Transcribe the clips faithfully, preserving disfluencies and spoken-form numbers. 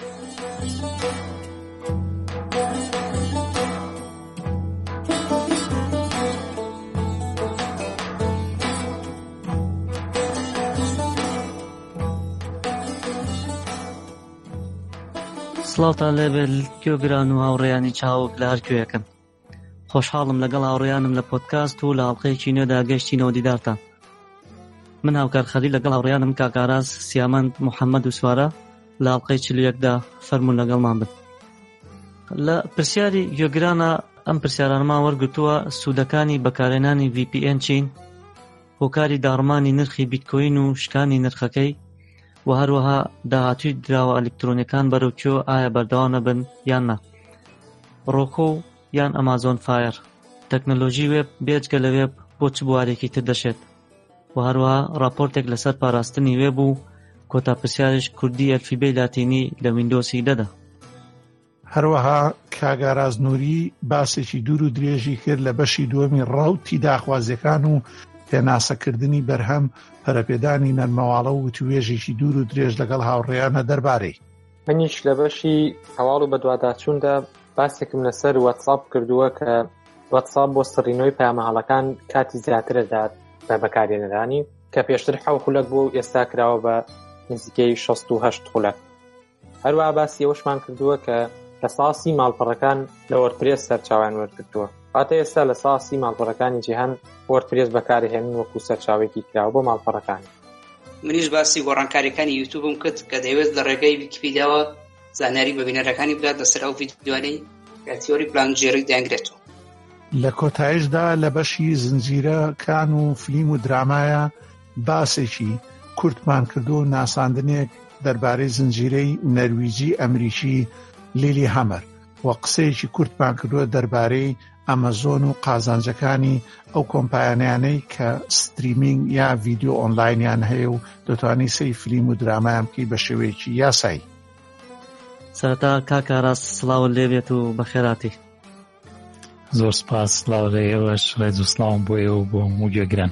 سڵاوتان لێبێت گوێگران و هاوڕێیانی چاوک لە هەر کوێیەکەن. خۆشحاڵم لەگەڵ هاوڕێیانم لە پۆدکاست و لە هەڵقەیەکی نوێدا گەیشتینەوە دیدارتان. من هاوکار خەلیل لەگەڵ هاوڕێیانم کاکاراز، سیامەند، محەممەد و سوارە لە هەڵقەی چل و یەکدا فەرموون لەگەڵمان بن. لە پرسیاری گوێگرانە ئەم پرسیارانمان وەرگرتووە سوودەکانی بەکارهێنانی ڤی پی ئێن چین، هۆکاری داڕمانی نرخی بیتکۆین و شکانی نرخەکەی و هەروەها داهاتووی دراوە ئەلکترۆنیەکان بەرەوکوێ ئایا بەردەوام نەبن یان نا. ڕۆکۆ یان ئەمازۆن فایر، تەکنۆلۆژی وێب بێجگە لە وێب بۆ چ بوارێکی تر دەشێت و هەروەها راپۆرتێک لەسەر پاراستنی وێب و کۆتا پرسیارش کوردی ئەلفیبەی لاتینی لە ویندۆسی دەدا. هەروەها کاگاراز نووری باسێکی دوور و درێژی کرد لە بەشی دووەمی ڕاوتی داخوازیەکان و پێناسەکردنی بەرهەم پەرەپێدانی نەرمەواڵە و توێژێکی دوور و درێژ لەگەڵ هاوڕێیانە دەربارەی. منیش لە بەشی هەواڵ و بەدواداچووندا باسێکم لەسەر واتساپ کردووە کە واتساپ بۆ سڕینەوەی پەیامەهەڵەکان کاتی زیاترەدات بە بەکارهێنەرانی کە پێشتر حەو خولەک بوو ئێستا کراوە بە نزیکەی شەست و هەشت خولەک. هەروەها باسی ئەوەشمان کردووە کە لە ساسی ماڵپەڕەکان لە وەردپرێس سەرچاویان وەرگرتووە. هاتە ئێستا لە ساسی ماڵپەڕەکانی جیهان وەردپرێس بەکارهێنن وەکو سەرچاوێکی کراوە بۆ ماڵپەڕەکانی. منیش باسی گۆڕانکاریەکانی یوتیوبم کرد کە دەیەوێت لە ڕێگەی ویکیپیدیاوە زانیاری بە بینەرەکانی بدات لەسەر ئەو ڤیدیۆانەی کە تیۆری پلانگژێڕی دەنگرێتەوە. لە کۆتایشدا لە بەشی زنجیرەکان و فیلم و درامایە باسێکی کورتمان کردو و ناساندنێک دەربارەی زنجیرەی نەرویجی ئەمریکی لیلی هەمەر و قسەیەکی کورتمان کردووە دەربارەی ئەمەزۆن و قازانجەکانی ئەو کۆمپانیانەی کە ستریمینگ یا ڤیدیۆ ئۆنلاینیان هەیە و دەتوانی سەی فیلم و درامایان بکەی بە شێوەیەکی یاسایی. سەرەتا کاکاراز سڵاو لێبێت و بەخێراتی. زۆر سپاس. سڵاو لە ئێوەش، ڕێز و سڵاوم بۆ ئێوە بۆ هەموو گوێگران.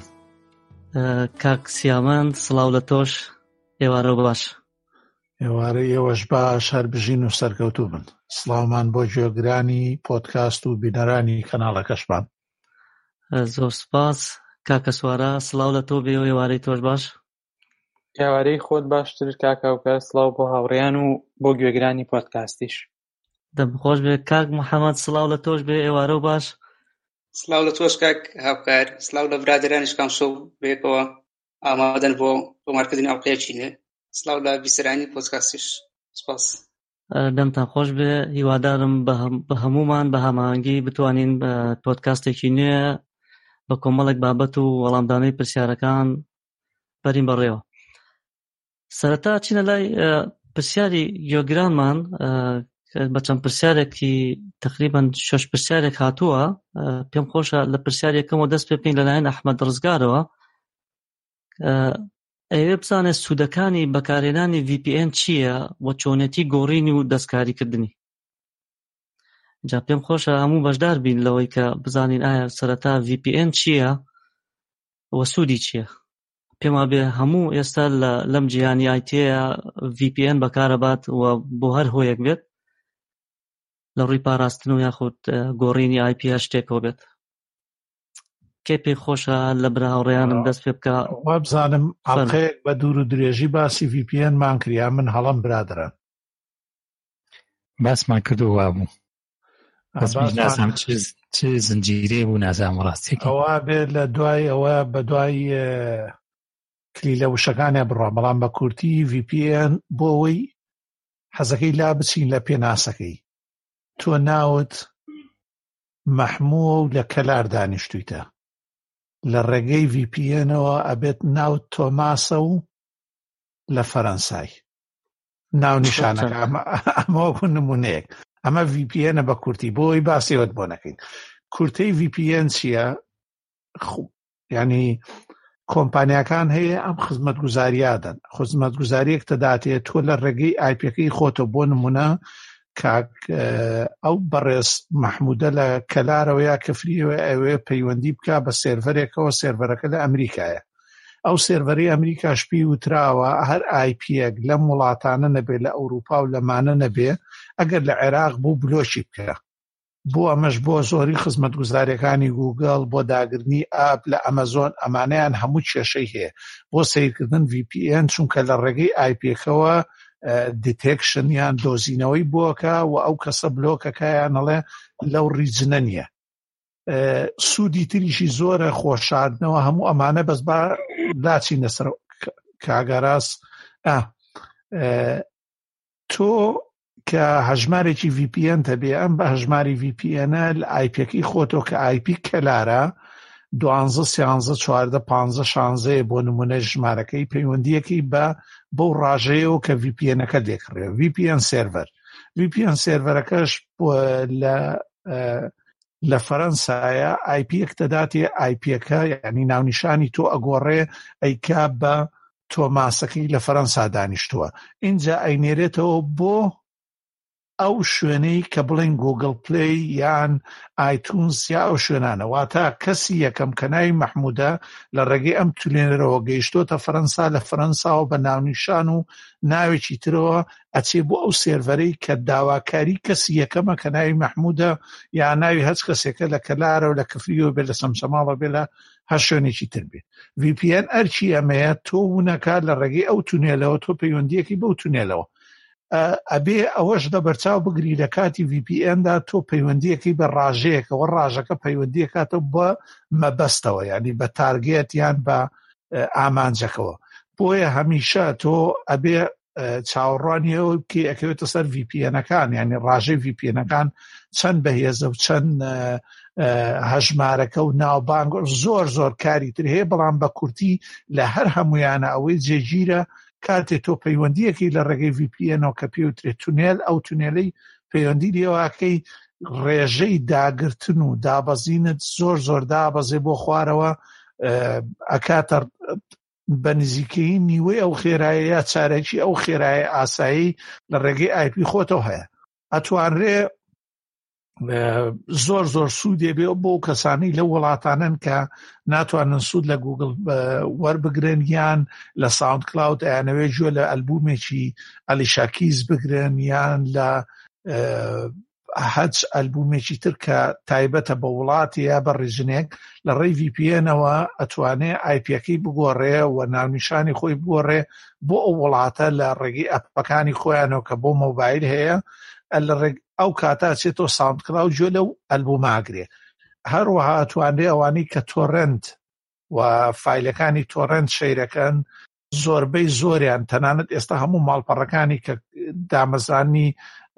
کاک سیامەند سڵاو لە تۆش، ئێوارە باش. ئێوارە ئێوەش باش، هەر بژین و سەرکەوتوو بن. سڵاومان بۆ گوێگرانی پۆدکاست و بینەرانی کەناڵەکەشمان. زۆر سپاس. کاکە سوارە سڵاو لە تۆ بێ و ئێوارەی تۆش باش. ئێوارەی خۆت باشتر کاکاوکە. سڵاو بۆ هاوڕێیان و بۆ گوێگرانی پۆدکاستیش. دەمخۆش بێ. کاک محەممەد سڵاو لە تۆش بێ، ئێوارە و باش. سڵاو لە تۆش کاک هاوکار. سڵاو لە برادرانیش کام شەو بێکەوە ئامادەن بۆ تۆمارکردنی ئەڵقەیەکی نوێ. سڵاو لە بیسەرانی پۆدکاستیش. سپاس. دەمتان خۆش بێ. هیوادارم بە هەمومان بە هەماهەنگی بتوانین پۆدکاستێکی نوێ بە کۆمەڵێک بابەت و وەڵامدانەی پرسیارەکان بەرین بەڕێوە. سەرەتا چینە لای پرسیاری گوێگرانمان بە چەند پرسیارێکی تقریباً شەش پرسیارێک هاتووە. پێم خۆشە لە پرسیارێکەمەوە دەست پێ بکەین لەلایەن ئەحمەد ڕزگارەوە. ئەوێ بزانێت سوودەکانی بەکارهێنانی ڤی پی ئێن چییە و چۆنێتی گۆڕینی و دەستکاریکردنی. جا پێم خۆشە هەموو بەشدار بین لەوەی کە بزانین ئایا سەرەتا ڤی پی ئێن چییە و سوودی چییە. پێم وابێ هەموو ئێستا لەم جیهانی ئای تیەیە ڤی پی ئێن بەکارەبات و بۆ هەر هۆیەک بێت لە ڕووی پاراستن و یاخود گۆڕینی ئای پی شتێکەوە بێت. کێ پێی خۆشە لە برا هاوڕێیانم دەست پێ بکە. وا بزانم ئەڵقەیەک بە دوور و درێژی باسی ڤی پی ئێن مان کریا. من هەڵم برادران باسمان کردووە بوو. نازانم چ زنجیرێ بوو، نازانم ڕاستێکی ئەوە بێت لە دوای ئەوە بە دوای کلیلە وشەکانە بڕۆ، بەڵام بە کورتی ڤی پی ئێن بۆ ئەوەی حەزەکەی لا بچین لە پێناسەکەی. تۆ ناوت مەحمووە و لە کەلار دانیشتوویتە، لە ڕێگەی ڤی پی ئێنەوە ئەبێت ناوت تۆماسە و لە فەرەنسای ناو نیشانەکە. ئەمە بوو نمونەیەک. ئەمە ڤی پی ئێنە بە کورتی، بۆی باسیەوەت بۆ نەکەین. کورتەی ڤی پی ئێن چییە؟ ینی کۆمپانیاکان هەیە ئەم خزمەتگوزاریادەن. خزمەتگوزاریەک تەداتێت تۆ لە ڕێگەی ئای پیەکەی خۆتە. بۆ نمونە کاک ئەو بەڕێز مەحموودە لە کەلارەوە یا کەفریەوە ئەوێ پەیوەندی بکە بە سێرڤەرێکەوە، سێرڤەرەکە لە ئەمریکایە. ئەو سێڤەری ئەمریکاش پێی وتراوە هەر ئای پیەک لەم وڵاتانە نەبێ لە ئەوروپا و لەمانە نەبێ ئەگەر لە عێراق بوو بلۆچی بکە. بۆ ئەمەش بۆ زۆری خزمەتگوزاریەکانی گوگڵ بۆ داگرنی ئاپ لە ئەمەزۆن ئەمانەیان هەموو کێشەی هەیە بۆ سیرکردن ڤی پی ئێن چونکە لە ڕێگەی ئای پیەکەوە دیتێکشن یان دۆزینەوەی بۆکە و ئەو کەسە بلۆکەکەیانەڵێ لەو ریجنە نییە. سوودی تریشی زۆرە خۆشاردنەوە هەموو ئەمانە بەس با لاچی نەسەر کاگەڕاست تۆ کە هەژمارێکی ڤی پی ئێن هەبێ ئەم بە هەژماری ڤی پی ئێنە لە ئای پیەکەی خۆتۆ کە ئای پی کەلارە دوانزە سیانزە چواردە پانزە شانزەیە بۆ نمونە ژمارەکەی پەیوەندیەکەی بە بەو ڕاژەیەوە کە ڤی پی ئێنەکە دێکڕێ ڤی پی ئێن سێڤەر ڤی پی ئێن سێڤەرەکەش لە لە فەرەنسایە ئای پیەک دەداتێ ئای پیەکە یعنی ناونیشانی تۆ ئەگۆڕێ ئەیکا بە تۆماسەکەی لە فەرەنسا دانیشتووە اینجا ئەینێرێتەوە بۆ ئەو شوێنەی کە بڵێن گوگل پلی یان ئایتونس یا ئەو شوێنانە واتە کەسی یەکەم کە ناوی مەحموودە لە ڕێگەی ئەم تولێنەرەوە گەیشتۆتە فەرەنسا لە فەرەنساوە بە ناونیشان و ناوێکی ترەوە ئەچێ بۆ ئەو سێڤەرەی کە داواکاری کەسی یەکەمە کە ناوی مەحموودە یا ناوی هەچ کەسێکە لە کەلارە و لە کفریەوە بێ لە سەمسەماڵە بێ لە هەر شوێنێکی تر بێ. ڤی پی ئێن ئەرچی ئەمەیە تۆ وونەکە لە ڕێگەی ئەو تونێلەوە تۆ پەیوەندیەکی بەو تونێلەوە ئەبێ ئەوەش دەبەرچاو بگری لە کاتی ڤی پی ئێندا تۆ پەیوەندیەکەی بە ڕاژەیەکەوە ڕاژەکە پەیوەندیەکاتە بە مەبەستەوە یعنی بە تارگێت یان بە ئامانجەکەەوە بۆیە هەمیشە تۆ ئەبێ چاوەڕوانیەوە کە ئەکەوێتە سەر ڤی پی ئێنەکان یعنی ڕاژەی ڤی پی ئێنەکان چەند بەهێزە و چەند هەژمارەکە و ناوبانگ زۆر زۆر کاری تر هەیە بەڵام بە کورتی لە هەر هەمویانە ئەوەی جێگیرە کاتێ تۆ پەیوەندیەکی لە ڕێگەی ڤی پی ئێنەوە کە پێوترێت تونێل ئەو تونێلەی پەیوەندی لێواکەی ڕێژەی داگرتن و دابەزینت زۆر زۆر دابەزێ بۆ خوارەوە ئەکاتە بە نزیکەی نیوەی ئەو خێرایە یا چارەکی ئەو خێرایە ئاسایی لە ڕێگەی ئای پی خۆتەوە هەیە ئەتوانرێ زۆر زۆر سوودێ بێ بۆ کەسانی لە وڵاتانن کە ناتوانن سوود لە گوگل وەربگرن یان لە ساوند کلاود ئەیانەوێ گوێ لە ئەلبومێکی ئەلیشا کیز بگرن یان لە هەچ ئەلبومێکی تر کە تایبەتە بە وڵاتی یا بە ڕێژنێک لە ڕێی ڤی پی ئێنەوە ئەتوانێ ئای پیەکەی بگۆڕێ و ناونیشانی خۆی بگۆڕێ بۆ ئەو وڵاتە لە ڕێگەی ئەپەکانی خۆیانەوە کە بۆ مۆبایل هەیە ئەو کاتا چێتۆ ساوند کلاود گوێ لەو ئەلبوماگرێ هەروەها ئەتوانرێ ئەوانەی کە تۆڕەنت و فایلەکانی تۆڕەنت شەیرەکەن زۆربەی زۆریان تەنانەت ئێستا هەموو ماڵپەڕەکانی کە دامەزانی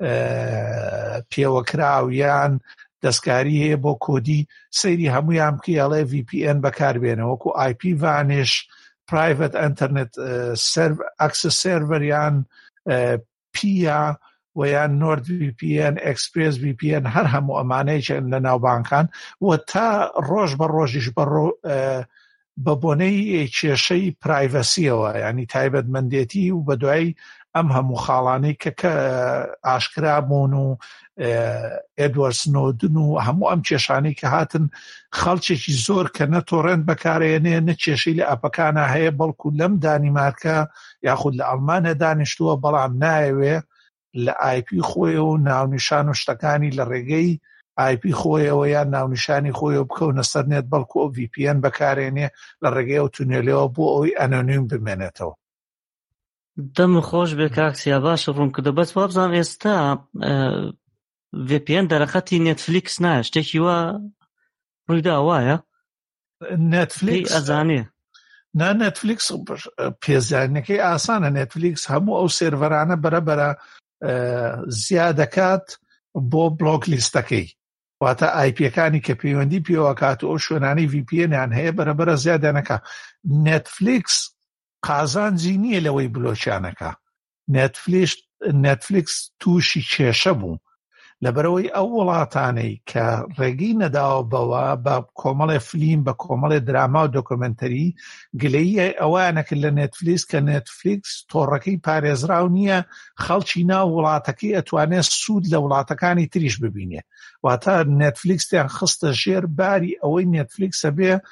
پێوەکراویان دەستکاری هەیە بۆ کۆدی سەیری هەمویان بکەڵێ ڤی پی ئێن بەکاربێنەوە وەکو ئای پی ڤانش پرایڤەت ئینتەرنێت ئەکسس سێڤەر یان پیا و یان نۆرد ڤی پی ئێن ئەکسپرێس ڤی پی ئێن هەر هەموو ئەمانەیەکن لە ناوبانکان و تا ڕۆژ بە ڕۆژیش بە بۆنەی کێشەی پرایڤەسیەوە ینی تایبەتمەندێتی و بە دوای ئەم هەموو خاڵانەی کە ئاشکرا بوون و ئێدوارد سنۆدن و هەموو ئەم کێشانەی کە هاتن خەڵکێکی زۆر کە نە تۆڕەنت بەکارێنێ نە کێشەی لە ئەپەکانە هەیە بەڵکو لەم دانیمارکە یاخود لە ئەڵمانیا دانیشتووە بەڵام نایەوێ لە ئای پی خۆیەوە و ناونیشان و شتەکانی لە ڕێگەی ئای پی خۆیەوە یان ناونیشانی خۆیەوە بکەونە سەر نێت بەڵکو ئەو ڤی پی ئێن بەکارێنێ لە ڕێگەی ئەو تونێلەوە بۆ ئەوەی ئەنۆنیم بمێنێتەوە. دەم خۆش بێ کاکسیا باشە ڕوون کردە بەس وابزان ئێستا ڤی پی ئێن دەرەخەتی نێتفلیکس نایە شتێکی وە ڕوویدا وایە نێتفلیکس ئەزانێ نا نێتفلیکس پێزانینەکەی ئاسانە نێتفلیکس هەموو ئەو سێڤەرانە بەرەبەرە زیادەکات بۆ بلۆک لیستەکەی واتە ئای پیەکانی کە پەیوەندی پێوەکات و ئەو شوێنانەی ڤی پی ئێنیان هەیە بەرەبەرە زیادەنەکە. نێتفلیکس قازانجی نییە لەوەی بلۆچیانەکە. نێتفلیکس تووشی کێشە بوو لەبەرەوەی ئەو وڵاتانەی کە ڕێگەی نەداوە بەوە بە کۆمەڵێ فلیم بە کۆمەڵێ دراما و دۆکۆمنتەری گلەیی ئەوانەکە لە نێتفلیکس کە نێتفلیکس تۆڕەکەی پارێزراو نییە خەڵکی ناو وڵاتەکەی ئەتوانێت سوود لە وڵاتەکانی تریش ببینێ واتە نێتفلیکسیان خستە ژێر باری ئەوەی نێتفلیکسە بێ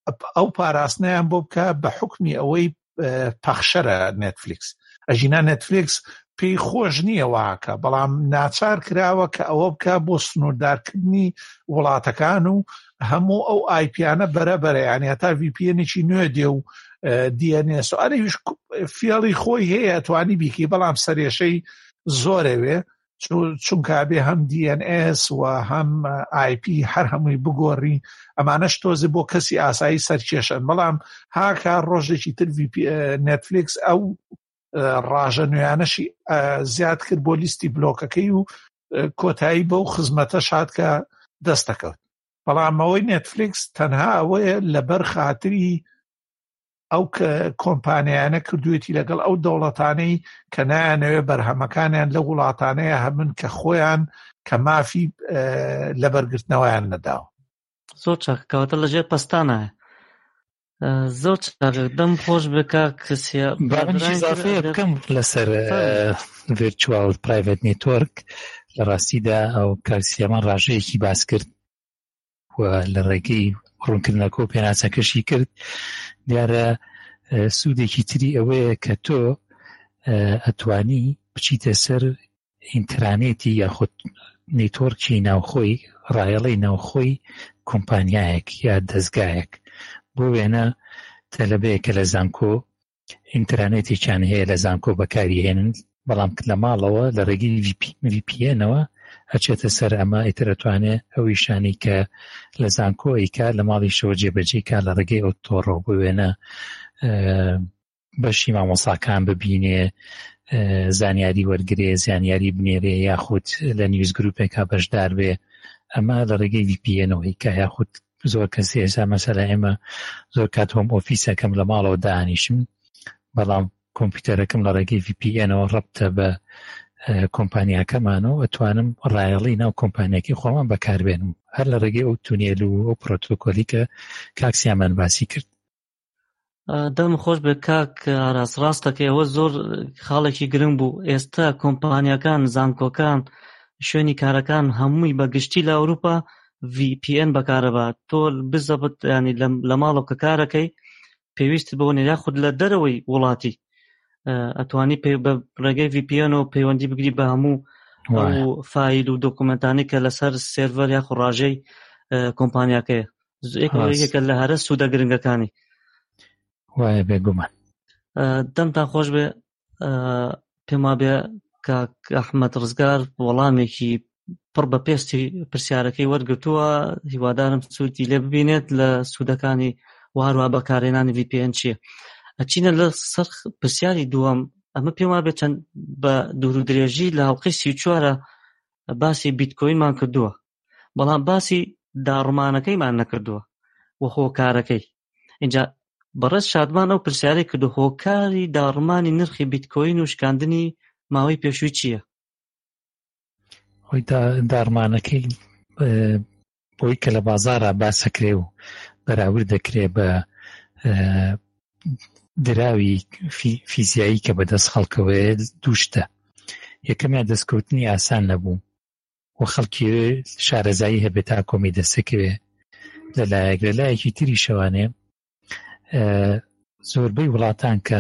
ئەو پاراستنیان بۆ بکە بە حکمی ئەوەی پەخشەرە نێتفلیکس. ئەژینا نێتفلیکس پێی خۆش نییە واکە، بەڵام ناچار کراوە کە ئەوە بکە بۆ سنووردارکردنی وڵاتەکان و هەموو ئەو آی پیانە بەرەبەرە، یعنی هەتا ڤی پی ئێنێکی نوێ دێ و دی ئەن ئێس و ئەرەویش فێڵی خۆی هەیە توانی بیکی، بەڵام سەرێشەی زۆرەوێ چونکە بێ هەم دی ئەن ئێس و هەم آی پی هەر هەمووی بگۆڕی، ئەمانەش تۆزی بۆ کەسی ئاسایی سەرکێشن. بەڵام هاکە ڕۆژێکی تر نێتفلیکس ئەو ڕاژە نوێیانەشی زیاد کرد بۆ لیستی بلۆکەکەی و کۆتایی بەو خزمەتە شاد کە دەستەکەوت. بەڵام ئەوەی نێتفلیکس تەنها ئەوەیە لەبەر خاتری ئەو کۆمپانیانە کردوێتی لەگەڵ ئەو دەوڵەتانەی کە نایانەوێ بەرهەمەکانیان لە وڵاتانەیە هەمن کە خۆیان کە مافی لەبەرگرتنەوەیان نەداوە. زۆر چاک کەواتە لەژێر پەستانە. زۆر چاک دەم خۆش بکە کەسیە بابنیزافەیە بکەم لەسەر ڤیرچوال پرایڤێت نێتوەرک. لە ڕاستیدا ئەو کارسیەمان ڕاژەیەکی باس کرد و لە ڕێگەی ڕوونکردنەکە و پێناسەکەشی کرد. دیارە سوودێکی تری ئەوەیە کە تۆ ئەتوانی بچیتە سەر ئینترانێتی یاخود نێتوەرکی ناوخۆی ڕایەڵەی ناوخۆی کۆمپانیایەک یا دەستگایەک. بۆ وێنە تەلەبەیەکە لە زانکۆ ئینترانێتێکیان هەیە لە زانکۆ بەکاری هێنن، بەڵام لە ماڵەوە لە ڕێگەی ڤی پی ئێنەوە ئەچێتە سەر ئەمە ئیترەتوانێ ئەوی شانی کە لە زانکۆ ئیکا لە ماڵی شەوە جێبەجێ کا لە ڕێگەی ئەو تۆڕۆ بۆ وێنە بەشی مامۆساکان ببینێ، زانیاری وەرگێ، زانیاری بنێرێ، یاخود لە نیوز گروپێکا بەشدار بێ. ئەمە لە ڕێگەی ڤی پی ئێنەوەی کە یاخود زۆر کەسی ئێستا مەسەلا ئێمە زۆر کات هۆم ئۆفیسەکەم لە ماڵەوە دانیشم، بەڵام کۆمپیوتەرەکەم لە ڕێگەی ڤی پی ئێنەوە ڕەبتە بە کۆمپانیاکەمانەوە ئەتوانم ڕایەڵی ناو کۆمپانیاکی خۆمان بەکاربێنم هەر لە ڕێگەی ئەو تونێل و ئەو پرۆتۆکۆلی کە کاکسیامان باسی کرد. دەم خۆش بە کاک ئاراس، ڕاستەکە ئەوە زۆر خاڵێکی گرنگ بوو. ئێستا کۆمپانیاکان، زانکۆکان، شوێنی کارەکان هەمووی بەگشتی لە ئەوروپا ڤی پی ئێن بەکارەبات. تۆ بزەبت ینی لە ماڵەوە کە کارەکەی پێویست بۆنێ یاخود لە دەرەوەی وڵاتی ئەتوانی بە ڕێگەی ڤی پی ئێنەوە پەیوەندی بگری بە هەموو ئەو فایل و دۆکومنتانی کە لەسەر سێرڤەر یاخود ڕاژەی کۆمپانیاکەیە. یەکێکە لە هەرە سوودە گرنگەکانی. وایە بێگومان. دەمتان خۆش بێ، پێم وابێ کاک ئەحمەد ڕزگار وەڵامێکی پڕ بە پێستی پرسیارەکەی وەرگرتووە. هیوادارم سوودی لێ ببینێت لە سوودەکانی و هەروە بەکارهێنانی ڤی پی ئێن چییە. ئەچینە لە سەر پرسیاری دووەم. ئەمە پێم وابێ چەند بە دوور و درێژی لە هەڵقەی سی و چوارە باسی بیتکۆینمان کردووە، بەڵام باسی داڕمانەکەیمان نەکردووە و هۆکارەکەی. اینجا بەڕێز شادمان ئەو پرسیارەی کردو، هۆکاری داڕمانی نرخی بیتکۆین و شکاندنی ماوەی پێشووی چییە؟ خۆی داڕمانەکەی بۆی کە لە بازارە باسەکرێ و بەراورد دەکرێ بە دراوی فیزیایی کە بەدەست خەڵکەوەیە دووشتە. یەکەمیان دەستکەوتنی ئاسان نەبوو و خەڵکی شارەزایی هەبێت تا کۆمی دەستەکەوێ. لەلایەک لەلایەکی تری شەوانێ زۆربەی وڵاتان کە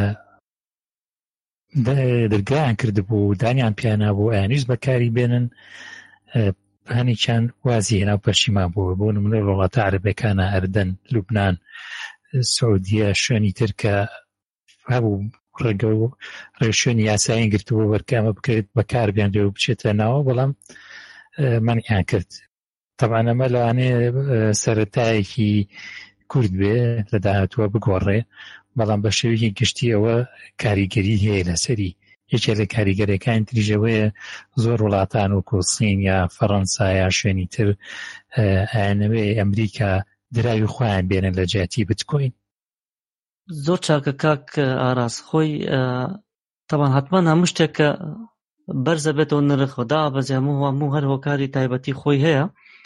دەرگایان کردبوو دانیان پیانە بوو ئایانویست بەکاری بێنن، هەنێکیان وازی هێنا پەرشیما بووە. بۆ نمونە وڵاتە عەرەبیەکانە ئەردەن، لوبنان، سعودیە، شوێنی تر کە هەبوو ڕێگە و ڕێشوێنی یاساییان گرتووە وەرکامە بکرێت بەکار بێنرێ و بچێتە ناوە، بەڵام مەنعیان کرد. تەبعاً ئەمە لەوانەیە سەرەتایەکی کورد بێ لە داهاتووە بگۆڕێ، بەڵام بە شێوەیەکی گشتی ئەوە کاریگەری هەیە لەسەری. یەکێ لە کاریگەریەکان تریژەوەیە زۆر وڵاتان وەکو سین یا فەڕەنسا یا شوێنی تر ئایانەوێ ئەمریکا دراوی خۆیان بێنن لە جیاتی بیتکۆین. زۆر چاکە کاک ئاراس. خۆی تەبان حتمان هەموو شتێک کە بەرزە بێتەوە نرخ و دابەزێ هەموو هەموو هەر هۆکاری تایبەتی خۆی هەیە.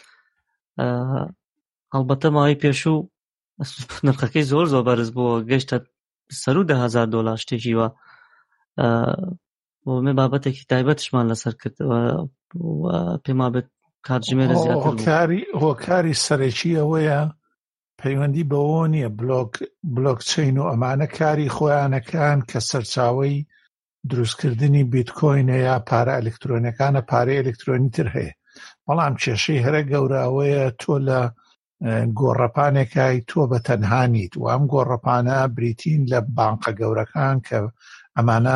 هەڵبەتە ماوەی پێشوو نرخەکەی زۆر زۆر بەرز بووە، گەیشتە سەر و دە هەزار دۆلار شتێکی وە. بۆ مێ بابەتێکی تایبەتشمان لەسەر کردەوە و پێم وابێت کاتژمێرە زیاتر بوو. هۆکاری سەرەکی ئەوەیە پەیوەندی بەوە نییە بلۆک بلۆکچین و ئەمانە کاری خۆیانەکان کە سەرچاوەی دروستکردنی بیتکۆینە یا پارە ئەلکترۆنیەکانە پارەی ئەلکترۆنی تر هەیە بەڵام کێشەی هەرە گەوراوەیە تۆ لە گۆڕەپانێکای تۆ بە تەنهانیت و ئەم گۆڕەپانە بریتین لە بانقە گەورەکان کە ئەمانە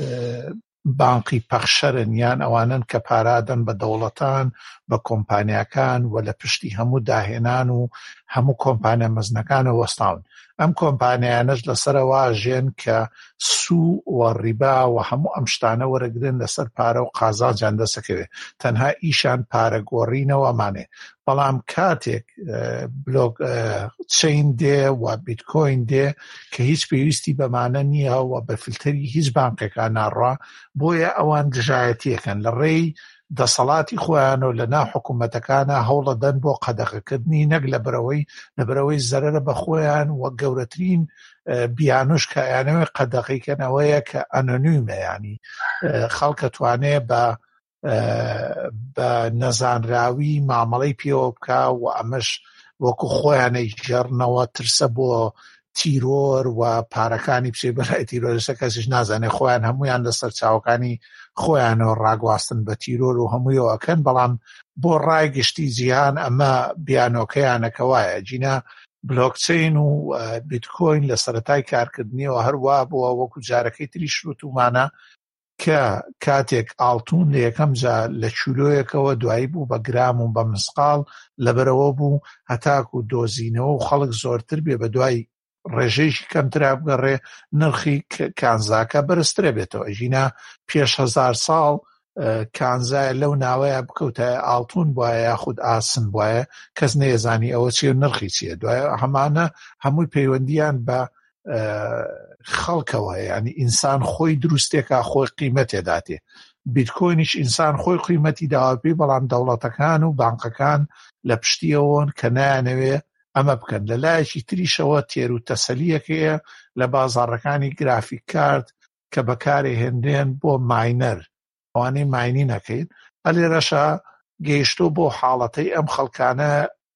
بانقی پەخشەرن یان ئەوانن کە پارادەن بە دەوڵەتان بە کۆمپانیاکان و لە پشتی هەموو داهێنان و هەموو کۆمپانیا مەزنەکانە وەستاون ئەم کۆمپانیانەش لەسەرەوە ژێن کە سوو و ڕیبا و هەموو ئەم شتانە وەرەگرن لەسەر پارە و قازانجان دەسەکەوێت تەنها ئیشان پارە گۆڕینەوەمانێ بەڵام کاتێک بلۆک چین دێ و بیتکۆین دێ کە هیچ پێویستی بەمانە نییە و بە فیلتەری هیچ بانقێکا ناڕوا بۆیە ئەوان دژایەتیەکەن لە ڕێی دەسەڵاتی خۆیان و لە ناو حکوومەتەکانە هەوڵەدەن بۆ قەدەغەکردنی نەک لە بەرەوەی لە بەرەوەی زەرەرە بە خۆیان و گەورەترین بیانوش کایانەوەی قەدەغیکەنەوەیە کە ئەنۆنیمە ینی خەڵکە توانێ بە بە نەزانراوی مامەڵەی پێوە بکە و ئەمەش وەکو خۆیانەی ژێڕنەوە ترسە بۆ تیرۆر و پارەکانی بچێ بەلای تیرۆرەسە کەسیش نازانێ خۆیان هەمویان لەسەر چاوەکانی خۆیانەوە ڕاگواستن بە تیرۆر و هەموویەوەکەن بەڵام بۆ ڕای گشتی جیهان ئەمە بیانۆکەیانەکەوایە جینا بلۆکچین و بیتکۆین لە سەرەتای کارکردنیەوە هەروە بووە وەکو جارەکەی تری شروتومانە کە کاتێک ئاڵتون لە یەکەم جا لە چولۆیەکەوە دوایی بوو بە گرام و بە مسقال لەبەرەوە بوو هەتاک و دۆزینەوە و خەڵک زۆرتر بێ بە دوای ڕێژەیەکی کەمترا بگەڕێ نرخی کانزاکە بەرزترە بێتەوە ژینا پێش هەزار ساڵ کانزای لەو ناوەیە بکەوتە ئاڵتون بواە یاخود ئاسن بواە کەس نێزانی ئەوە چیە نرخی چیە دوای هەمانە هەمووی پەیوەندیان بە خەڵکەوە ینی ئینسان خۆی دروستێکە خۆی قیمەتێداتێ بیتکۆینیش ئینسان خۆی قیمەتی داواپی بەڵام دەوڵەتەکان و بانقەکان لە پشتیەوەن کە نایانەوێ ئەمە بکەن لە لایەکی تریشەوە تێر و تەسەلیەکەیە لە بازاڕەکانی گرافیک کارت کە بەکارێ هێنرێن بۆ ماینەر ئەوانەی ماینی نەکەین ئەلێرەشە گەیشتۆ بۆ حاڵەتەی ئەم خەڵکانە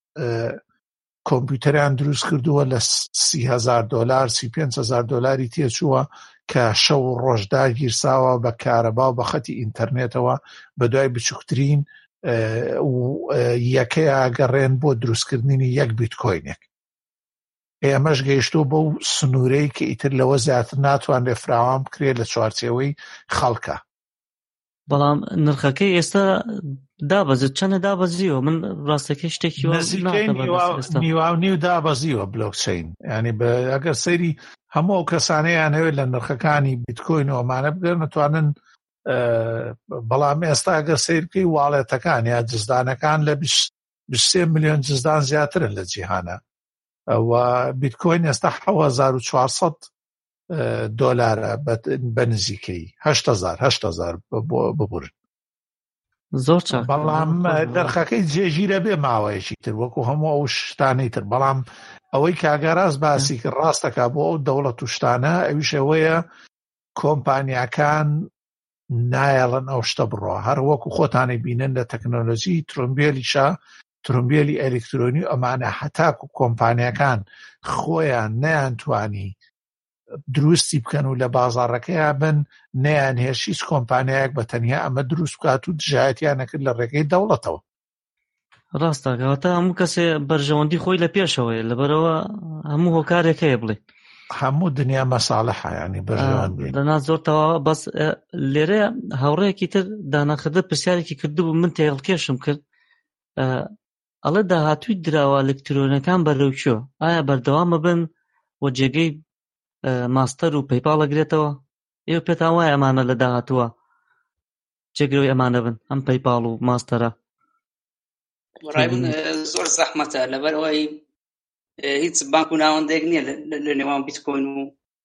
کۆمپیوتەریان دروست کردووە لە سی هەزار دۆلار سی پێنج هەزار دۆلاری تێچووە کە شەو و ڕۆژدا گیرساوە بە کارەبا و بە خەتی ئینتەرنێتەوە بە دوای بچووکترین یەکەیە ئاگەڕێن بۆ دروستکردنی یەک بیتکۆینێک ئێمەش گەیشتۆ بەو سنوورەی کە ئیتر لەوە زیاتر ناتوانرێ فراوان بکرێت لە چوارچێوەی خەڵکە بەڵام نرخەکەی ئێستا دابەزێت چەندە دابەزیوە من ڕاستەکەی شتێکی نیواونی و دابەزیوە بلۆکچین ینی ئەگەر سەیری هەموو کەسانەیان هەوێت لە نرخەکانی بیتکۆین و ئەمانە بگەن نتوانن بەڵام ئێستا ئەگەر سیرکەی واڵێتەکان یا جزدانەکان لە بیست و سێ ملیۆن جزدان زیاترن لە جیهانە و بیتکۆین ئێستا حەوت هەزار و چوارسەد دۆلارە بە نزیکەی هەشت هەزار هەشت هەزار ببورن زۆر چاک بەڵام نرخەکەی جێگیرە بێ ماوەیەکی تر وەکو هەموو ئەو شتانەی تر بەڵام ئەوەی کاگەڕاست باسی کرد ڕاستەکە بۆ ئەو دەوڵەت و شتانە ئەویش ئەوەیە کۆمپانیاکان نایەڵن ئەو شتە بڕۆ هەر وەکو خۆتانی بینن لە تەکنۆلۆژی ترۆمبیلیشا ترۆمبیلی ئەلکترۆنی ئەمانە هەتاکو کۆمپانیاکان خۆیان نەیانتوانی دروستی بکەن و لە بازاڕەکەیان بن نەیان هێش هیچ کۆمپانیایەک بە تەنیا ئەمە دروست بکات و دژایەتیان نەکرد لە ڕێگەی دەوڵەتەوە ڕاستە کەواتە هەموو کەسێ بەرژەوەندی خۆی لە پێشەوەیە لەبەرەوە هەموو هۆکارێک هەیە بڵێ هەموو دنیا مەساڵحە ینی بەرژەوەندی لەنا زۆرتەوە بەس لێرە هاوڕەیەکی تر دانەخردە پرسیارێکی کردبوو من تێڵکێشم کرد ئەڵێ داهاتووی دراوە ئەلکترۆنەکان بەرەوکوێ ئایا بەردەوامە بن و جێگەی ماستەر و پەیپاڵ ئەگرێتەوە ئێوە پێتان وایە ئەمانە لە داهاتووە جێگرەوەی ئەمانە بن ئەم پەیپاڵ و ماستەرە ڕای من زۆر زەحمەتە لەبەرەوەی هیچ بانک و ناوەندێک نییە لە نێوان بیتکۆین و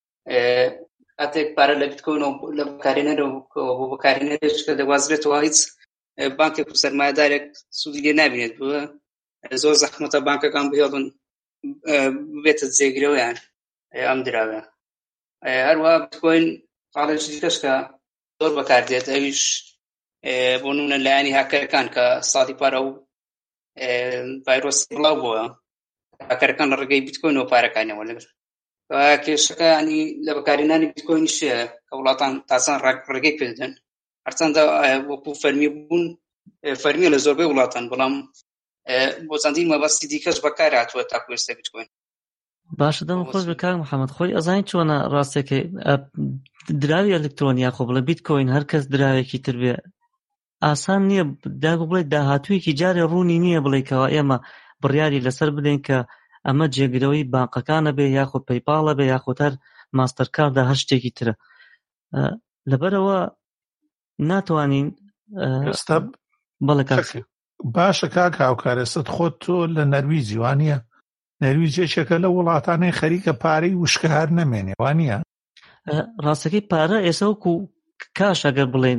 کاتێک پارە لە بیتکۆین و لە بەکارهێنەرە و بۆ بەکارهێنەرێک کە دەوازرێتەوە هیچ بانکێک و سەرمایەدارێک سوودی لێ نابینێت بووە زۆر زەحمەتە بانکەکان بهێڵن بێتە جێگرەوەیان ئەم دراوە هەروەها بیتکۆین خاڵێکی دیکەش کە زۆر بەکاردێت ئەویش بۆ نمونە لایەنی هاکەرەکان کە ساڵی پارە و ڤایرۆسی بڵاو بووە هاکەرەکان لە ڕێگەی بیتکۆینەوە پارەکانیەوە لەگەر کێشەکە ینی لە بەکارهێنانی بیتکۆینیشە کە وڵاتان تاسان ڕێگەی پێدەن هەرچەندە وەکو فەرمی بوون فەرمیە لە زۆربەی وڵاتان بەڵام بۆ چەندین مەبەستی دیکەش بەکار هاتووە تاکو ئێستا بیتکۆین. باشە دەم خۆش بە کاک محەممەد خۆی ئەزانین چۆنە ڕاستێکی دراوی ئەلکترۆنیا خۆ بڵە بیتکۆین هەر کەس دراوێکی تر بێ ئاسان نییە داگو بڵێ داهاتوویەکی جارێ ڕوونی نییە بڵێکەوە ئێمە بڕیاری لەسەر بدەین کە ئەمە جێگرەوەی بانقەکانە بێ یاخۆ پەیپاڵە بێ یاخۆ هەر ماستەرکاردا هەر شتێکی ترە لەبەرەوە ناتوانین بەڵێ کاکسێ باشە کاک هاوکارێستت خۆت تۆ لە نەرویجی وانە نەرویجێکێکە لە وڵاتانەی خەریکە پارەی وشکە هەر نەمێنێ وانە ڕاستەکەی پارە ئێسەوەکو کاش ئەگەر بڵێن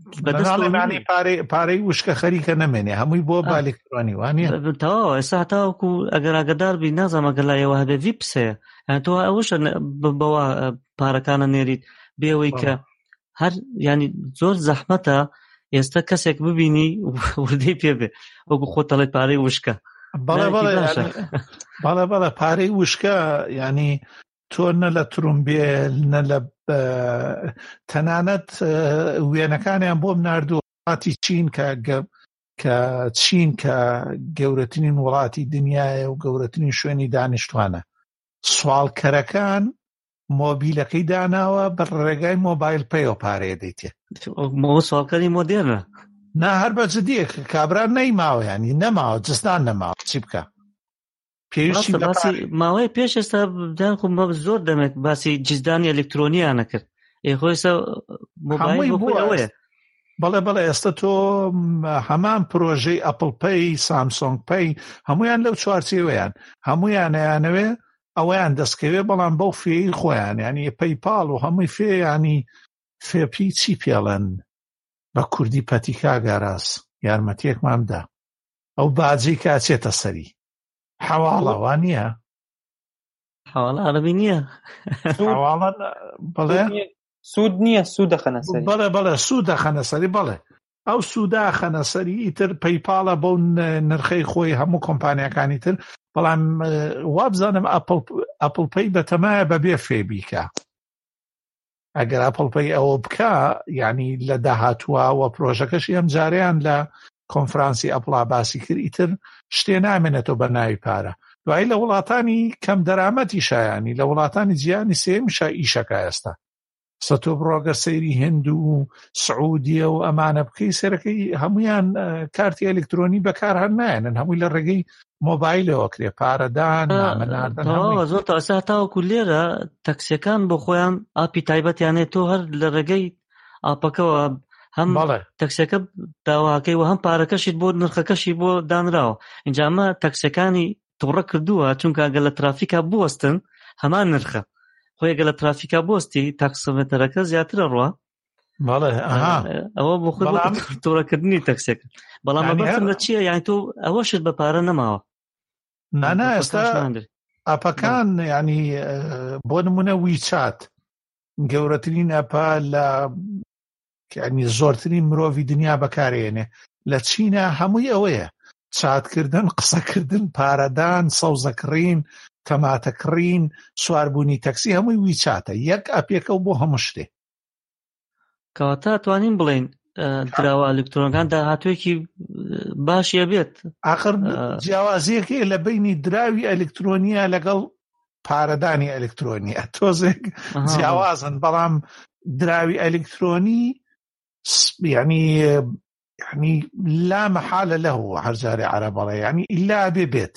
پارەی وشکە خەریکە نەمێنێ هەمووی بۆ بالێکترۆنی وانە تەواو ئێستا هەتاوەکو ئەگەر ئاگادار بی نازانم ئەگەر لایەوە هەبێ ڤیپسەیە تۆ ئەوەشە بەوە پارەکانە نێریت بێەوەی کە هەر ینی زۆر زەحمەتە ئێستا کەسێک ببینی وردەی پێ بێ وەکو خۆت دەڵێت پارەی وشکە بەڵێ بەڵێ بەڵێ پارەی وشکە ینی تۆ نە لە ترومبێل نە لە تەنانەت وێنەکانیان بۆم ناردووە وڵاتی چین کە کە چین کە گەورەترین وڵاتی دنیاە و گەورەترین شوێنی دانیشتوانە سوالکەرەکان مۆبیلەکەی داناوە بە ڕێگای مۆبایل پێیەوە پارەیە دەیتێ سوالکەری مۆدێرنە نا هەر بە جدیە کابرا نەیماوە ینی نەماوە جستان نەماوە چی بکە پێویستی باسی ماوەی پێش ئێستا بدان خو زۆر دەمێت باسی جزدانی ئەلکترۆنیانە کرد ئێخۆیسە مۆبایل بۆیە بەڵێ بەڵێ ئێستا تۆ هەمان پرۆژەی ئەپڵ پەی سامسۆنگ پەی هەمویان لەو چوارچێوەیان هەمویان یانەوێ ئەویان دەستکەوێ بەڵام بەو فێی خۆیان ینی پەیپاڵ و هەمووی فێ ینی فێپی چی پێڵەن بە کوردی پەتیکا گاراس یارمەتیەکمامدا ئەو باجی کاچێتە سەری حواڵەوە نییە حواڵە عەرەبی نییە حواڵە بڵێ سوود نییە سوودەخەنە سەری بەڵێ بەڵێ سوودەخەنە سەری بەڵێ ئەو سووداخەنە سەری ئیتر پەیپاڵە بەو نرخەی خۆی هەموو کۆمپانیەکانی تر بەڵام وابزانم ئەپڵ پەی بەتەمایە بەبێ فێ بیکە ئەگەر ئەپڵ پەی ئەوە بکە یعنی لە داهاتووە و پرۆژەکەشی ئەم جاریان لە کۆنفرانسی ئەپڵا باسی کرد ئیتر شتێ نامێنێتەوە بە ناوی پارە دوایی لە وڵاتانی کەم دەرامەتی شایانی لە وڵاتانی جیانی سێمیشە ئیشەکە ئێستا سەتۆ بڕۆگە سەیری هند و سعودیە و ئەمانە بکەی سەرەکەی هەمویان کارتی ئەلکترۆنی بەکار هەر نایەنن هەمووی لە ڕێگەی مۆبایلەوە کرێ پارەدان نامەناردن زۆر تا ئێستا تاوەکو لێرە تەکسیەکان بۆ خۆیان ئاپی تایبەتیانێت تۆ هەر لە ڕێگەی ئاپەکەەوە هەم تەکسیەکە داواکەی و هەم پارەکەشیت بۆ نرخەکەشی بۆ دانراوە اینجا ئەمە تەکسیەکانی تووڕە کردووە چونکە ئەگەر لە ترافیکا بوەستن هەمان نرخە خۆیگە لە ترافیکا بۆستی تاکسۆمێتەرەکە زیاترە ڕوە ئەوە بۆ خۆی تووڕەکردنی تەکسێکە بەڵام بەبەرم لە چییە یانی تۆ ئەوەشت بە پارە نەماوە نانا ئێستا ئاپەکان ینی بۆ نمونە ویچات گەورەترین ئەپا لە ینی زۆرترین مرۆڤی دنیا بەکارێنێ لە چینە هەمووی ئەوەیە چاتکردن قسەکردن پارەدان سەوزەکڕین تەماتەکڕین سواربوونی تەکسی هەمووی ویچاتە یەک ئەپێکە و بۆ هەموو شتێ کەواتە توانین بڵێن دراوە ئەلکترۆنەکان داهاتوویەکی باشیە بێت ئاخر جیاوازیەکەی لە بینی دراوی ئەلکترۆنیە لەگەڵ پارەدانی ئەلکترۆنیە تۆزێک جیاوازن بەڵام دراوی ئەلکترۆنی یعنی یعنی لا محالە لەه هەرجارێ عەرەبەڵێ یعنی ئیلا بێ بێت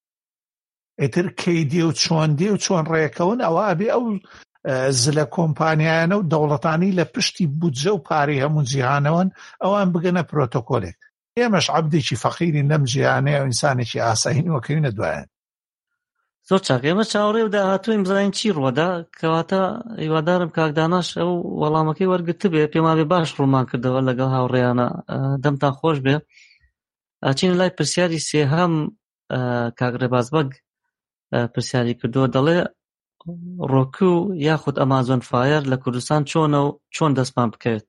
ئیتر کەیدێ و چۆن دێ و چۆن ڕێکەون ئەوە ئەبێ ئەو زلە کۆمپانیایانە و دەوڵەتانی لە پشتی بودجە و پارەی هەموو جیهانەوەن ئەوان بگەنە پرۆتۆکۆلێک ئێمەش عەبدێکی فەقیرین لەم جیهانەیە و ئینسانێکی ئاسایین وەکەوینە دوایەن زۆر چاک ئێمە چاوەڕێ و داهاتووین بزانین چی ڕوەدا کەواتە هیوادارم کاک داناش ئەو وەڵامەکەی وەرگرت بێ پێما بێ باش ڕوومان کردەوە لەگەڵ هاوڕێیانە دەمتان خۆش بێ ئاچین لای پرسیاری سێهەم کاک ڕێبازبەگ پرسیاری کردووە دەڵێ ڕۆکو یاخود ئەمازۆن فایر لە کوردستان چۆنە و چۆن دەستمان بکەوێت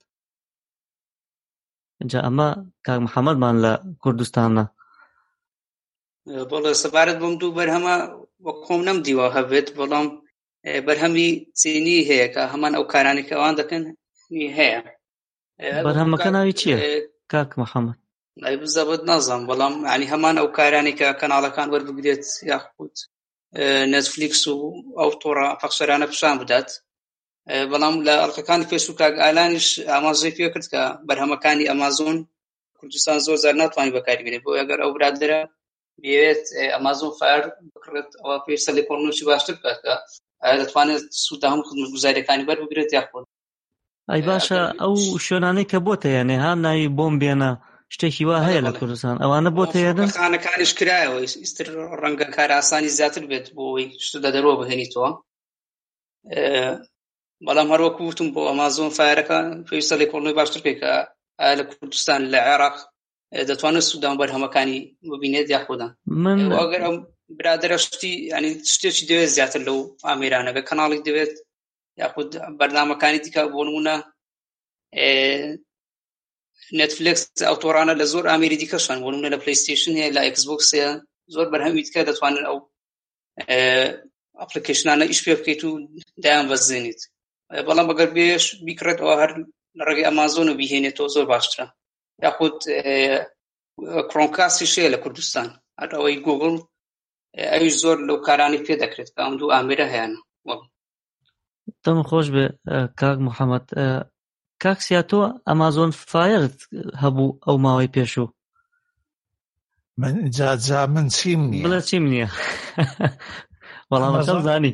جا ئەمە کاک محەممەدمان لە کوردستانە بەڵێ سەبارەت بەم دوو بەرهەمە وەک خۆم نەمدیوە هەبێت بەڵام بەرهەمی چینی هەیە کە هەمان ئەو کارانی کە ئەوان دەکەن هەیە. بەرهەمەکە ناوی چییە کاک محەممەد؟ ئەی بزەبت نازانم بەڵام ینی هەمان ئەو کارانی کە کەناڵەکان وەربگرێت یاخود نێتفلیکس و ئەو تۆڕە پەخشەرانە پیشان بدات. بەڵام لە ئەڵلقەکانی فێسبووک کاک ئالانیش ئاماژەی پێ کرد کە بەرهەمەکانی ئەمازۆن کوردستان زۆر زار ناتوانانی بەکاری بێنێت بۆ ئەگەر ئەو برادرە بێت ئەمازۆن فایر بکڕێت ئەوە پێش سەلی کۆڕنوشی باشتر بکات کە دەتوانێت سوودە هەموو خزمەتگوزاریەکانی بەربگرێت یاخود ئەی باشە ئەو شوێنانەی کە بۆتە یانێ ها ناوی بۆم بێنە شتێکی وا هەیە لە کوردستان ئەوانە بۆتە یادن خانەکانیش کرایەوە ئیستر ڕەنگە کار ئاسانی زیاتر بێت بۆی شتە دەرەوە بهێنیتەوە. بەڵام هەروەکو وتم بۆ ئەمازۆن فایرەکە پێویستە لێکۆڵینەوەی باشتر بکەیت کە ئایا لە کوردستان لە عێراق دەتوانێت سوودان بەرهەمەکانی ببینێت یاخودان. من ئەگەر ئەم برادرە شتی ینی شتێکی دەوێت زیاتر لەو ئامێرانەکە کەناڵی دەوێت یاخود بەرنامەکانی دیکە بۆ نمونە نێتفلیکس ئەو تۆڕانە لە زۆر ئامێری دیکەشان بۆ نمونە لە پلەیستیشن هەیە لە ئێکسبۆکس هەیە زۆر بەرهەمی دیکە دەتوانن ئەو ئەپلیکیشنانە ئیش پێ بکەیت و دایان بەزێنیت. بەڵام ئەگەر بێش بیکڕێتەوە هەر لە ڕێگەی ئەمازۆن و بیهێنێتەوە زۆر باشترە. یاخود کڕۆمکاستی شەیە لە کوردستان هەر ئەوەی گوگڵ ئەویش زۆر لەو کارانی پێ دەکرێت کە ئەم دوو ئامێرە هەیەنە. دەم خۆش بێ کاک محەممەد. کاک سیاتۆ ئەمازۆن فایرت هەبوو ئەو ماوەی پێشوو؟ من جاجا من چیم نییە. بڵێ چیم نییە وەڵامەکەم زانی.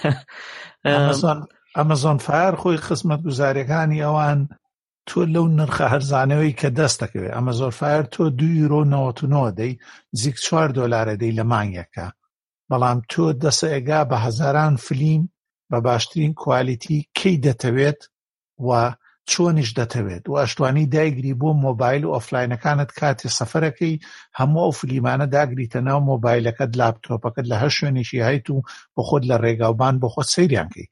ئەمازۆن فایر خۆی خزمەت گوزاریەکانی ئەوان تۆ لەو نرخە هەرزانەوەی کە دەست دەکەوێت ئەمازۆن فایر تۆ دو یورۆ نەوەت و نۆ دەی زیک چوار دۆلارە دەی لە مانگێکە. بەڵام تۆ دەسە ئێگا بە هەزاران فلیم بە باشترین کوالیتی کەی دەتەوێت و چۆنیش دەتەوێت و ئەشتوانی دایگری بۆ مۆبایل و ئۆفلاینەکانت کاتی سەفەرەکەی هەموو ئەو فلیمانە داگریتە ناو مۆبایلەکەت لاپتۆپەکەت لە هەر شوێنێکی هەیت و بۆ خۆت لە ڕێگاوبان بۆ خۆت سەیریان کەی.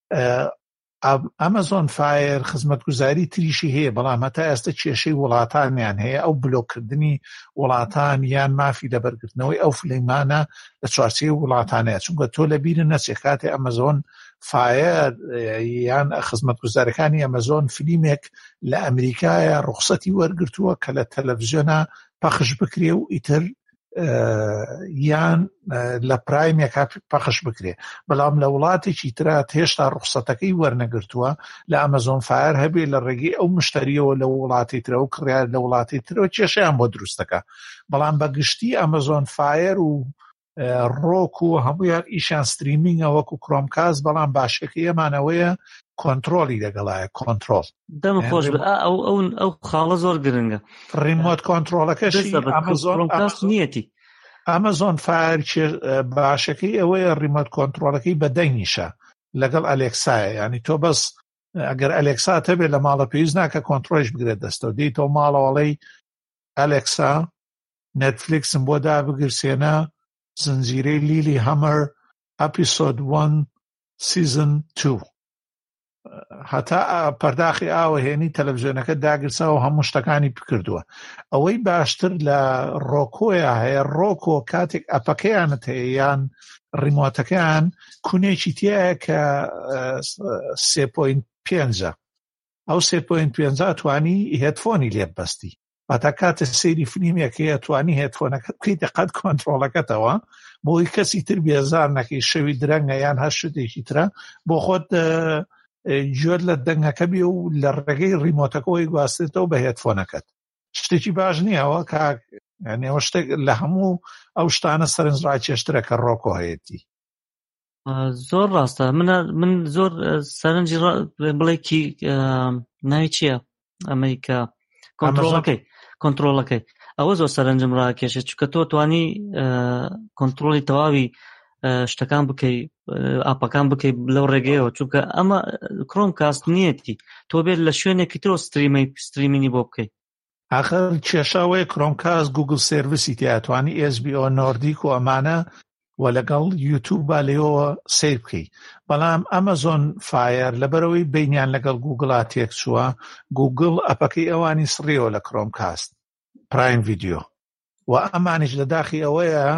ئەمازۆن فایر خزمەتگوزاری تریشی هەیە بەڵام هەتا ئێستا کێشەی وڵاتانیان هەیە ئەو بلۆکردنی وڵاتان یان مافی لەبەرگرتنەوەی ئەو فلیمانە لە چوارچێی وڵاتانەیە چونکە تۆ لە بیرە نەچێ کاتێ ئەمازۆن فایر یان خزمەتگوزارەکانی ئەمازۆن فلیمێک لە ئەمریکایە ڕوخسەتی وەرگرتووە کە لە تەلەڤیزیۆنە پەخش بکرێ و ئیتر یان لە پرایمێکا پەخش بکرێ. بەڵام لە وڵاتێکی ترات هێشتا ڕوخسەتەکەی وەرنەگرتووە لە ئەمازۆن فایر هەبێ لە ڕێگەی ئەو مشتریەوە لە وڵاتی ترە و کڕیار لە وڵاتی ترەوە کێشەیان بۆ دروستەکە. بەڵام بەگشتی ئەمازۆن فایر و ڕۆک و هەموویان ئیشان ستریمینگە وەکو کڕۆمکاس بەڵام باشەکە ئەمانەوەیە کۆنتڕۆلی لەگەڵایە کۆنتڕۆل. دەم خۆش ئەو ئەو خاڵە زۆر گرنگە. ڕیمۆت کۆنتڕۆلەکەشی ئەمازۆن نیەتی. ئەمازۆن فایر باشەکەی ئەوەیە ڕیمۆت کۆنتڕۆلەکەی بەدەنگیشە لەگەڵ ئەلێکسایە. ینی تۆ بەس ئەگەر ئەلێکسا هەبێت لە ماڵە پێویست ناکە کۆنتڕۆلش بگرێت دەستەوە دێیتەوە ماڵەوەڵەی ئەلێکسا نێتفلیکسم بۆ دابگرسێنە زنجیرەی لیلی هەمەر ئەپیسۆد وان سیزن تو هەتا پەرداخی ئاوە هێنی تەلەڤیزیۆنەکە داگرساوە هەموو شتەکانی بکردووە. ئەوەی باشتر لە ڕۆکۆیە هەیە ڕۆکۆ کاتێک ئەپەکەیانت هەیە یان ڕیمۆتەکەیان کونێکی تایە کە سێ پۆینت پێنجە ئەو سێ پۆینت پێنجە توانی هێدفۆنی لێ بەستی هەتا کاتە سەیری فلیمێکەیە توانی هێدفۆنەکەت بکەیتە قەت کۆنتڕۆڵەکەتەوە بۆی کەسی تر بێزار نەکەی شەوی درەنگە یان هەر شتێکی ترە بۆ خۆت جۆر لە دەنگەکە بێ و لە ڕێگەی ڕیمۆتەکەەوەی گواستێتەوە بە هێدفۆنەکەت. شتێکی باش نییەوە کاک یانەوە شتێک لە هەموو ئەو شتانە سەرنجڕاکێشترە کە ڕۆکۆ هەیەتی. زۆر ڕاستە. من زۆر سەرنجی بڵێکی ناوی چییە ئەمریکا کۆنتڕۆڵەکەی کۆنتڕۆڵەکەی ئەوە زۆر سەرنجم ڕاکێشێت چونکە تۆ توانی کۆنتڕۆڵی تەواوی شتەکان بکەی ئاپەکان بکەی لەو ڕێگەیەوە چونکە ئەمە کڕۆم کاست نیەتی تۆ بێت لە شوێنێکی ترۆ ستریمینی بۆ بکەیت. ئاخر کێشاوەیە کڕۆمکاس گوگل سێڤیسی تیاتوانی ئێس بی ئۆ نۆردیک و ئەمانە و لەگەڵ یوتیوبە لێەوە سیر بکەی. بەڵام ئەمازۆن فایر لەبەرەوەی بینیان لەگەڵ گوگڵا تێک چووە گوگڵ ئەپەکەی ئەوانی سڕیەوە لە کڕۆمکاست پرایم ڤیدیۆ و ئەمانیش لە داخی ئەوەیە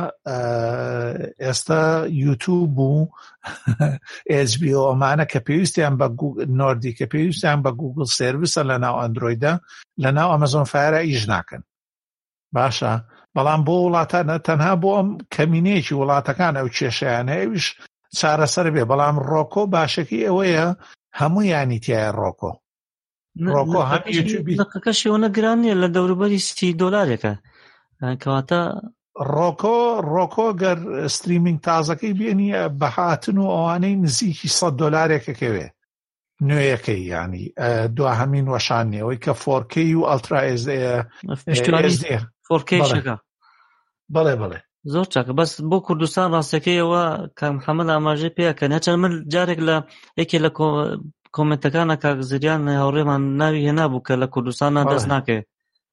ئێستا یوتیوب و ئێچ بی ئۆ ئەمانە کە پێویستیان بە نۆردی کە پێویستیان بە گوگل سێرویسە لە ناو ئەندرۆیدە لە ناو ئەمەزۆن فایرە ئیش ناکەن باشە بەڵام بۆ وڵاتانە تەنها بۆ ئەم کەمینەیەکی وڵاتەکان ئەو کێشەیانە ئەویش چارەسەر بێ بەڵام ڕۆکۆ باشەکی ئەوەیە هەموو یانی تایە ڕۆکۆ ڕۆکۆ هەم یوتیوبی لەقەکەشی ئەوە گران نیە لە دەوروبەری سی دۆلارێکە کەواتە ڕۆکۆ ڕۆکۆ گەر ستریمینگ تازەکەی بێنی بە هاتن و ئەوانەی نزیکی سەد دۆلارێکەکەوێ نوێیەکەی ینی دوا هەمین وەشانیەوەی کە فۆرکەی و ئەڵترا ئێس دی فۆرکەیشەکە بەڵێ بڵێ زۆر چاکە بەس بۆ کوردستان ڕاستەکەیەوە کام محەممەد ئاماژەی پێکەن نەچەند من جارێک لە یەکێ لە کۆمنتەکانە کاک زریان هاوڕێمان ناوی هێنابوو کە لە کوردستانە دەست ناکەوێت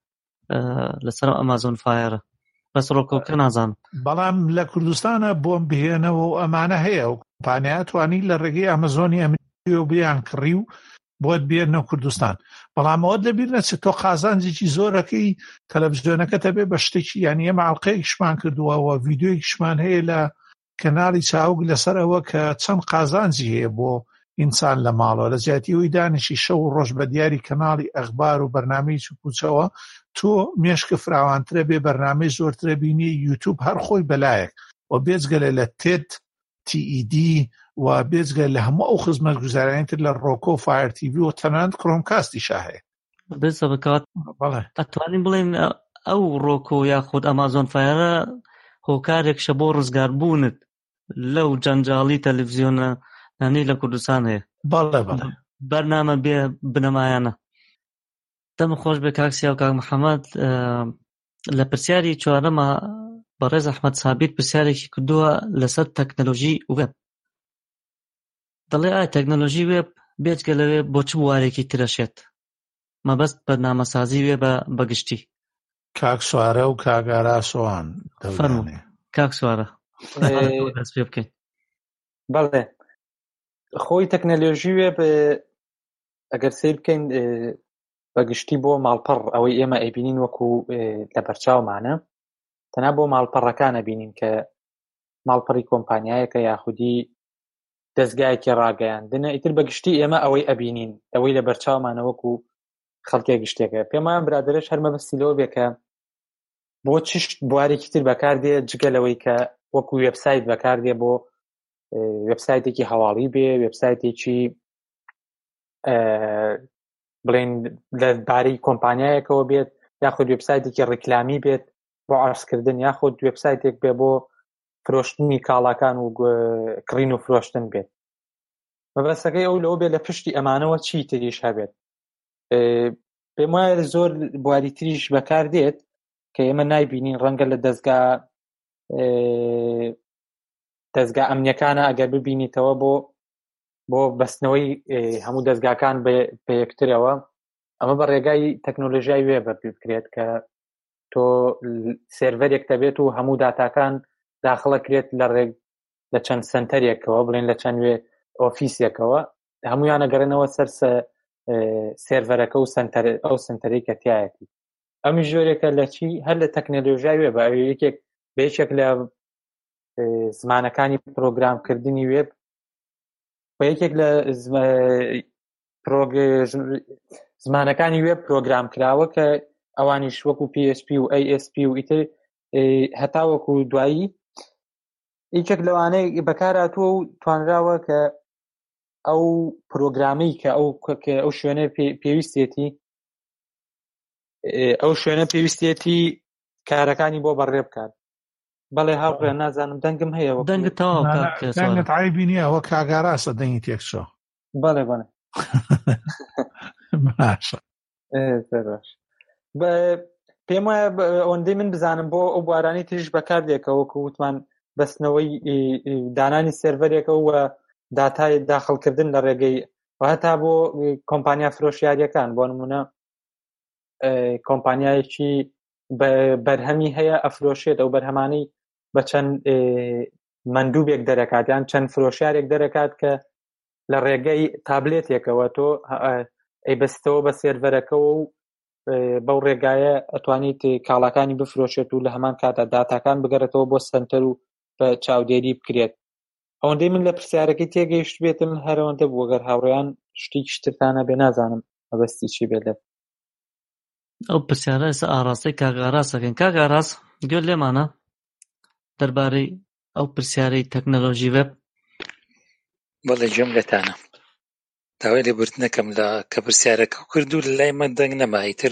لەسەر ئەمازۆن فایرە بەس ڕۆکۆکە نازانم بەڵام لە کوردستانە بۆم بهێنەوە و ئەمانە هەیە و کۆمپانیا توانی لە ڕێگەی ئەمازۆنی ئەمریکی و بیان کڕی و بۆت بێنەوە کوردستان بەڵام ئەوە لەبیر نەچێت تۆ قازانجێکی زۆرەکەی تەلەڤیزیۆنەکەتە بێ بە شتێکی یانی ئێمە ئەڵقەیەکیشمان کردووەوە ڤیدیۆیەکیشمان هەیە لە کەناڵی چاوگ لەسەر ئەوە کە چەند قازانجی هەیە بۆ ئینسان لە ماڵەوە لە زیاتیەوەی دانیشی شەو و ڕۆژ بە دیاری کەناڵی ئەخبار و بەرنامەی چوپوچەوە تۆ مێشکە فراوانترە بێ بەرنامەی زۆرترە بینی یوتیوب هەر خۆی بەلایەک و بێجگەلە لە تێت تی ئی دی و بێجگەل لە هەموو ئەو خزمەت گوزارانیتر لە ڕۆکۆ فایر تیڤی و تەنانەت کڕۆمکاستیشا هەیە بێسە بکات ئەتوانین بڵێن ئەو ڕۆکۆ یاخود ئەمازۆن فایرە هۆکارێکشە بۆ ڕزگاربوونت لەو جەنجاڵی تەلەڤیزیۆنە نانی لە کوردستان هەیە بەڵێ بەڵێ بەرنامە بێ بنەمایانە دەم خۆش بێ کاکسیا و کاک محەممەد لە پرسیاری چوارەمە بەڕێز ئەحمەد سابیر پرسیارێکی کردووە لەسەر تەکنەلۆژی وێب دەڵێ ئایا تەکنەلۆژی وێب بێجگە لەوێ بۆ چ بوارێکی ترەشێت مەبەست بەرنامەسازی وێ بە گشتی کاک سوارە و کاگارا سۆوان فەرموو کاک سوارە دەست پێ بکەین بەڵێ خۆی تەکنەلۆژی وێب ئەگەر سیر بکەین بەگشتی بۆ ماڵپەڕ ئەوەی ئێمە ئەیبینین وەکو لە بەرچاومانە تەنها بۆ ماڵپەڕەکانە بینین کە ماڵپەڕی کۆمپانیایەکە یاخودی دەستگایەکی ڕاگەیاندنە ئیتر بەگشتی ئێمە ئەوەی ئەبینین ئەوەی لە بەرچاومانە وەکو خەڵکێک گشتێکە پێم وایە برادەرش هەرمە بەستی لەوە بێ کە بۆ چشت بوارێکی تر بەکاردێ جگەلەوەی کە وەکو وێبسایت بەکاردێ بۆ وێبسایتێکی هەواڵی بێ وێبسایتێکی بڵێن لەبارەی کۆمپانیایەکەوە بێت یاخود وێبسایتێکی ڕیکلامی بێت بۆ عەرزکردن یاخود وێبسایتێک بێ بۆ فرۆشتنی کاڵاکان و کڕین و فرۆشتن بێت مەبەستەکەی ئەو لەوە بێت لە پشتی ئەمانەوە چی تریش هەبێت پێم وایە زۆر بواری تریش بەکاردێت کە ئێمە نایبینین ڕەنگە لە دەستگا دەستگا ئەمنیەکانە ئەگەر ببینیتەوە بۆ بۆ بەستنەوەی هەموو دەستگاکان بە یەکترەوە ئەمە بە ڕێگای تەکنۆلۆژیای وێ بکرێت کە تۆ سێرڤەرێک دەبێت و هەموو داتاکان داخڵە کرێت لە ڕێگ لە چەند سنتەرێکەوە بڵێن لە چەند وێ ئۆفیسێکەوە هەمویانە گەڕێنەوە سەر سێرڤەرەکە و ئەو سنتەرەی کە تایەتی ئەمی ژۆرێکە لە چی هەر لە تەکنۆلۆژیای وێ بە یەکێک بە یەکێک لە زمانەکانی پرۆگرامکردنی وێب بە یەکێک لە زمانەکانی وێب پرۆگرام کراوە کە ئەوانیش وەکو پی ئەچ پی و ئەی ئەس پی و ئیتر هەتا وەکو دوایی یەکێک لەوانەیە بەکارهاتووە و توانراوە کە ئەو پرۆگرامی کە ئەو ئەو شوێنە پێویستێتی ئەو شوێنە پێویستێتی کارەکانی بۆ بەڕێ بکات بەڵێ هاوڕێ نازانم دەنگم هەیە دەنگت تەواو دەنگت عیبی نییە ئەوە کاگاراسە دەنگی تێکچۆ بەڵێ بەڵێ باشە پێم وایە ئەوەندەی من بزانم بۆ ئەو بوارانی تریش بەکاردێکەوە کە وتمان بەستنەوەی دانانی سێرڤەرێکە و داتای داخڵکردن لە ڕێگەی هەتا بۆ کۆمپانیا فرۆشیاریەکان بۆ نمونە کۆمپانیایەکی بەرهەمی هەیە ئەفرۆشێت ئەو بەرهەمانەی بە چەند مندوبێک دەرەکات یان چەند فرۆشیارێک دەرەکات کە لە ڕێگەی تابلێتێکەوە تۆ ئەیبەستەوە بە سێرڤەرەکەەوە و بەو ڕێگایە ئەتوانیت کاڵاکانی بفرۆشێت و لە هەمان کاتە داتاکان بگەڕێتەوە بۆ سنتەر و بە چاودێری بکرێت. ئەوەندەی من لە پرسیارەکەی تێگەیشت بێتم هەرەوەندە بوو گەر هاوڕێیان شتێکی شتتانە بێ نازانم مەبەستی چی بێت لێ. ئەو پرسیارە ئێستا ئاڕاستەی کاک ئاراس دەکەین. کاک ئاراس گوێت لێمانە دەربارەی ئەو پرسیارەی تەکنەلۆژی وێب؟ بەڵێ گوێم لێتانە. داوای لێبوردنەکەم لە کە پرسیارەکە کرد و لای من دەنگ نەما، ئیتر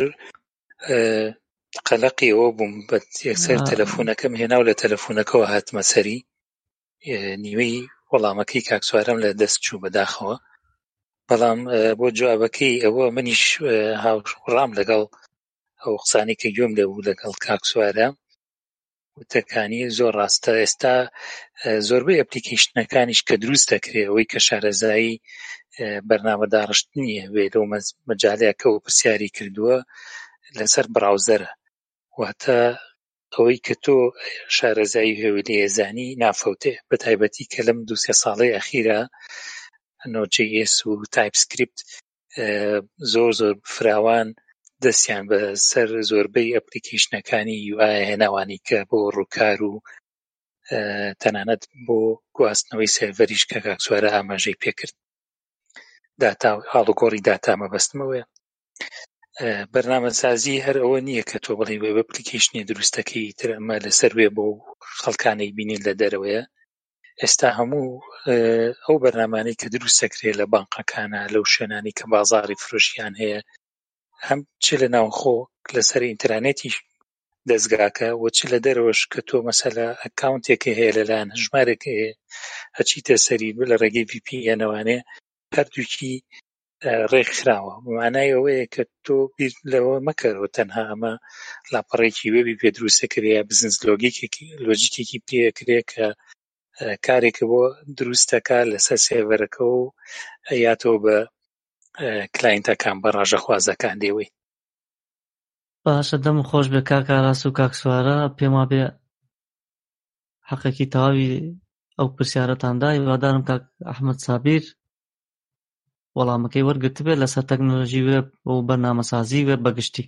قەلەقی ئەوە بووم بە یەکسەر تەلەفۆنەکەم هێنا و لە تەلەفۆنەکەەوە هاتمە سەری نیوەی وەڵامەکەی کاک سوارەم لە دەست چوو بەداخەوە. بەڵام بۆ جوابەکەی ئەوە منیش هاوڕام لەگەڵ ئەو قسانی کە گوێم لێبوو لەگەڵ کاک سوارە وتەکانی زۆر ڕاستە. ئێستا زۆربەی ئەپلیکیشنەکانیش کە دروست دەکرێت ئەوەی کە شارەزایی بەرنامەداڕشتنی هەبێت لەو مەجالەیە کە ئەو پرسیاری کردووە لەسەر براوزەرە، واتە ئەوەی کە تۆ شارەزایی هەوێت لە ێزانی نافەوتێ، بە تایبەتی کە لەم دوو سێ ساڵەی ئەخیرە نۆت جی ئێس و تایپسکریپت زۆر زۆر فراوان دەستیان بە سەر زۆربەی ئەپلیکیشنەکانی یو ئای هێناوانی کە بۆ ڕووکار و تەنانەت بۆ گواستنەوەی سێڤەریش کە کاک سوارە ئاماژەی پێکرد. داتا هاڵوگۆڕی داتا مەبەستمەوەیە. بەرنامەسازی هەر ئەوە نییە کە تۆ بڵێ وێب ئەپلیکیشنی دروستەکەی تر ئەمە لەسەر وێ بۆ خەڵکانەی بینین لە دەرەوەیە. ئێستا هەموو ئەو بەرنامانەی کە دروست دەکرێت لە بانقەکانە لەو شوێنانی کە بازاڕی فرۆشیان هەیە، هەم چ لە ناوخۆ لەسەر ئینترانێتی دەستگاکە و چ لە دەرەوەش کە تۆ مەسەلا ئەکاونتێکی هەیە لەلایەن ژمارێک هەیە ئەچیتە سەری لە ڕێگەی ڤی پی ئێنەوانێ هەردووکی ڕێکخراوە. مانای ئەوەیە کە تۆ بیر لەوە مەکەرەوە تەنها ئەمە لاپەڕێکی وێبی پێ دروستەکرێ یا بزنس لۆجیکێکی پێکرێ کە کارێکە بۆ دروستەکە لەسەر سێڤەرەکە و یاتەوە بە کلاینتەکان بە ڕاژەخوازەکان دێوەی. باشە، دەم خۆش بێ کاک ئاراس و کاک سوارە، پێم وا بێ حەقێکی تەواوی ئەو پرسیارەتاندا. هیوادارم کاک ئەحمەد سابیر وەڵامەکەی وەرگرتبێ لەسەر تەکنۆلۆژی وێب و بەرنامەسازی وێب بەگشتی.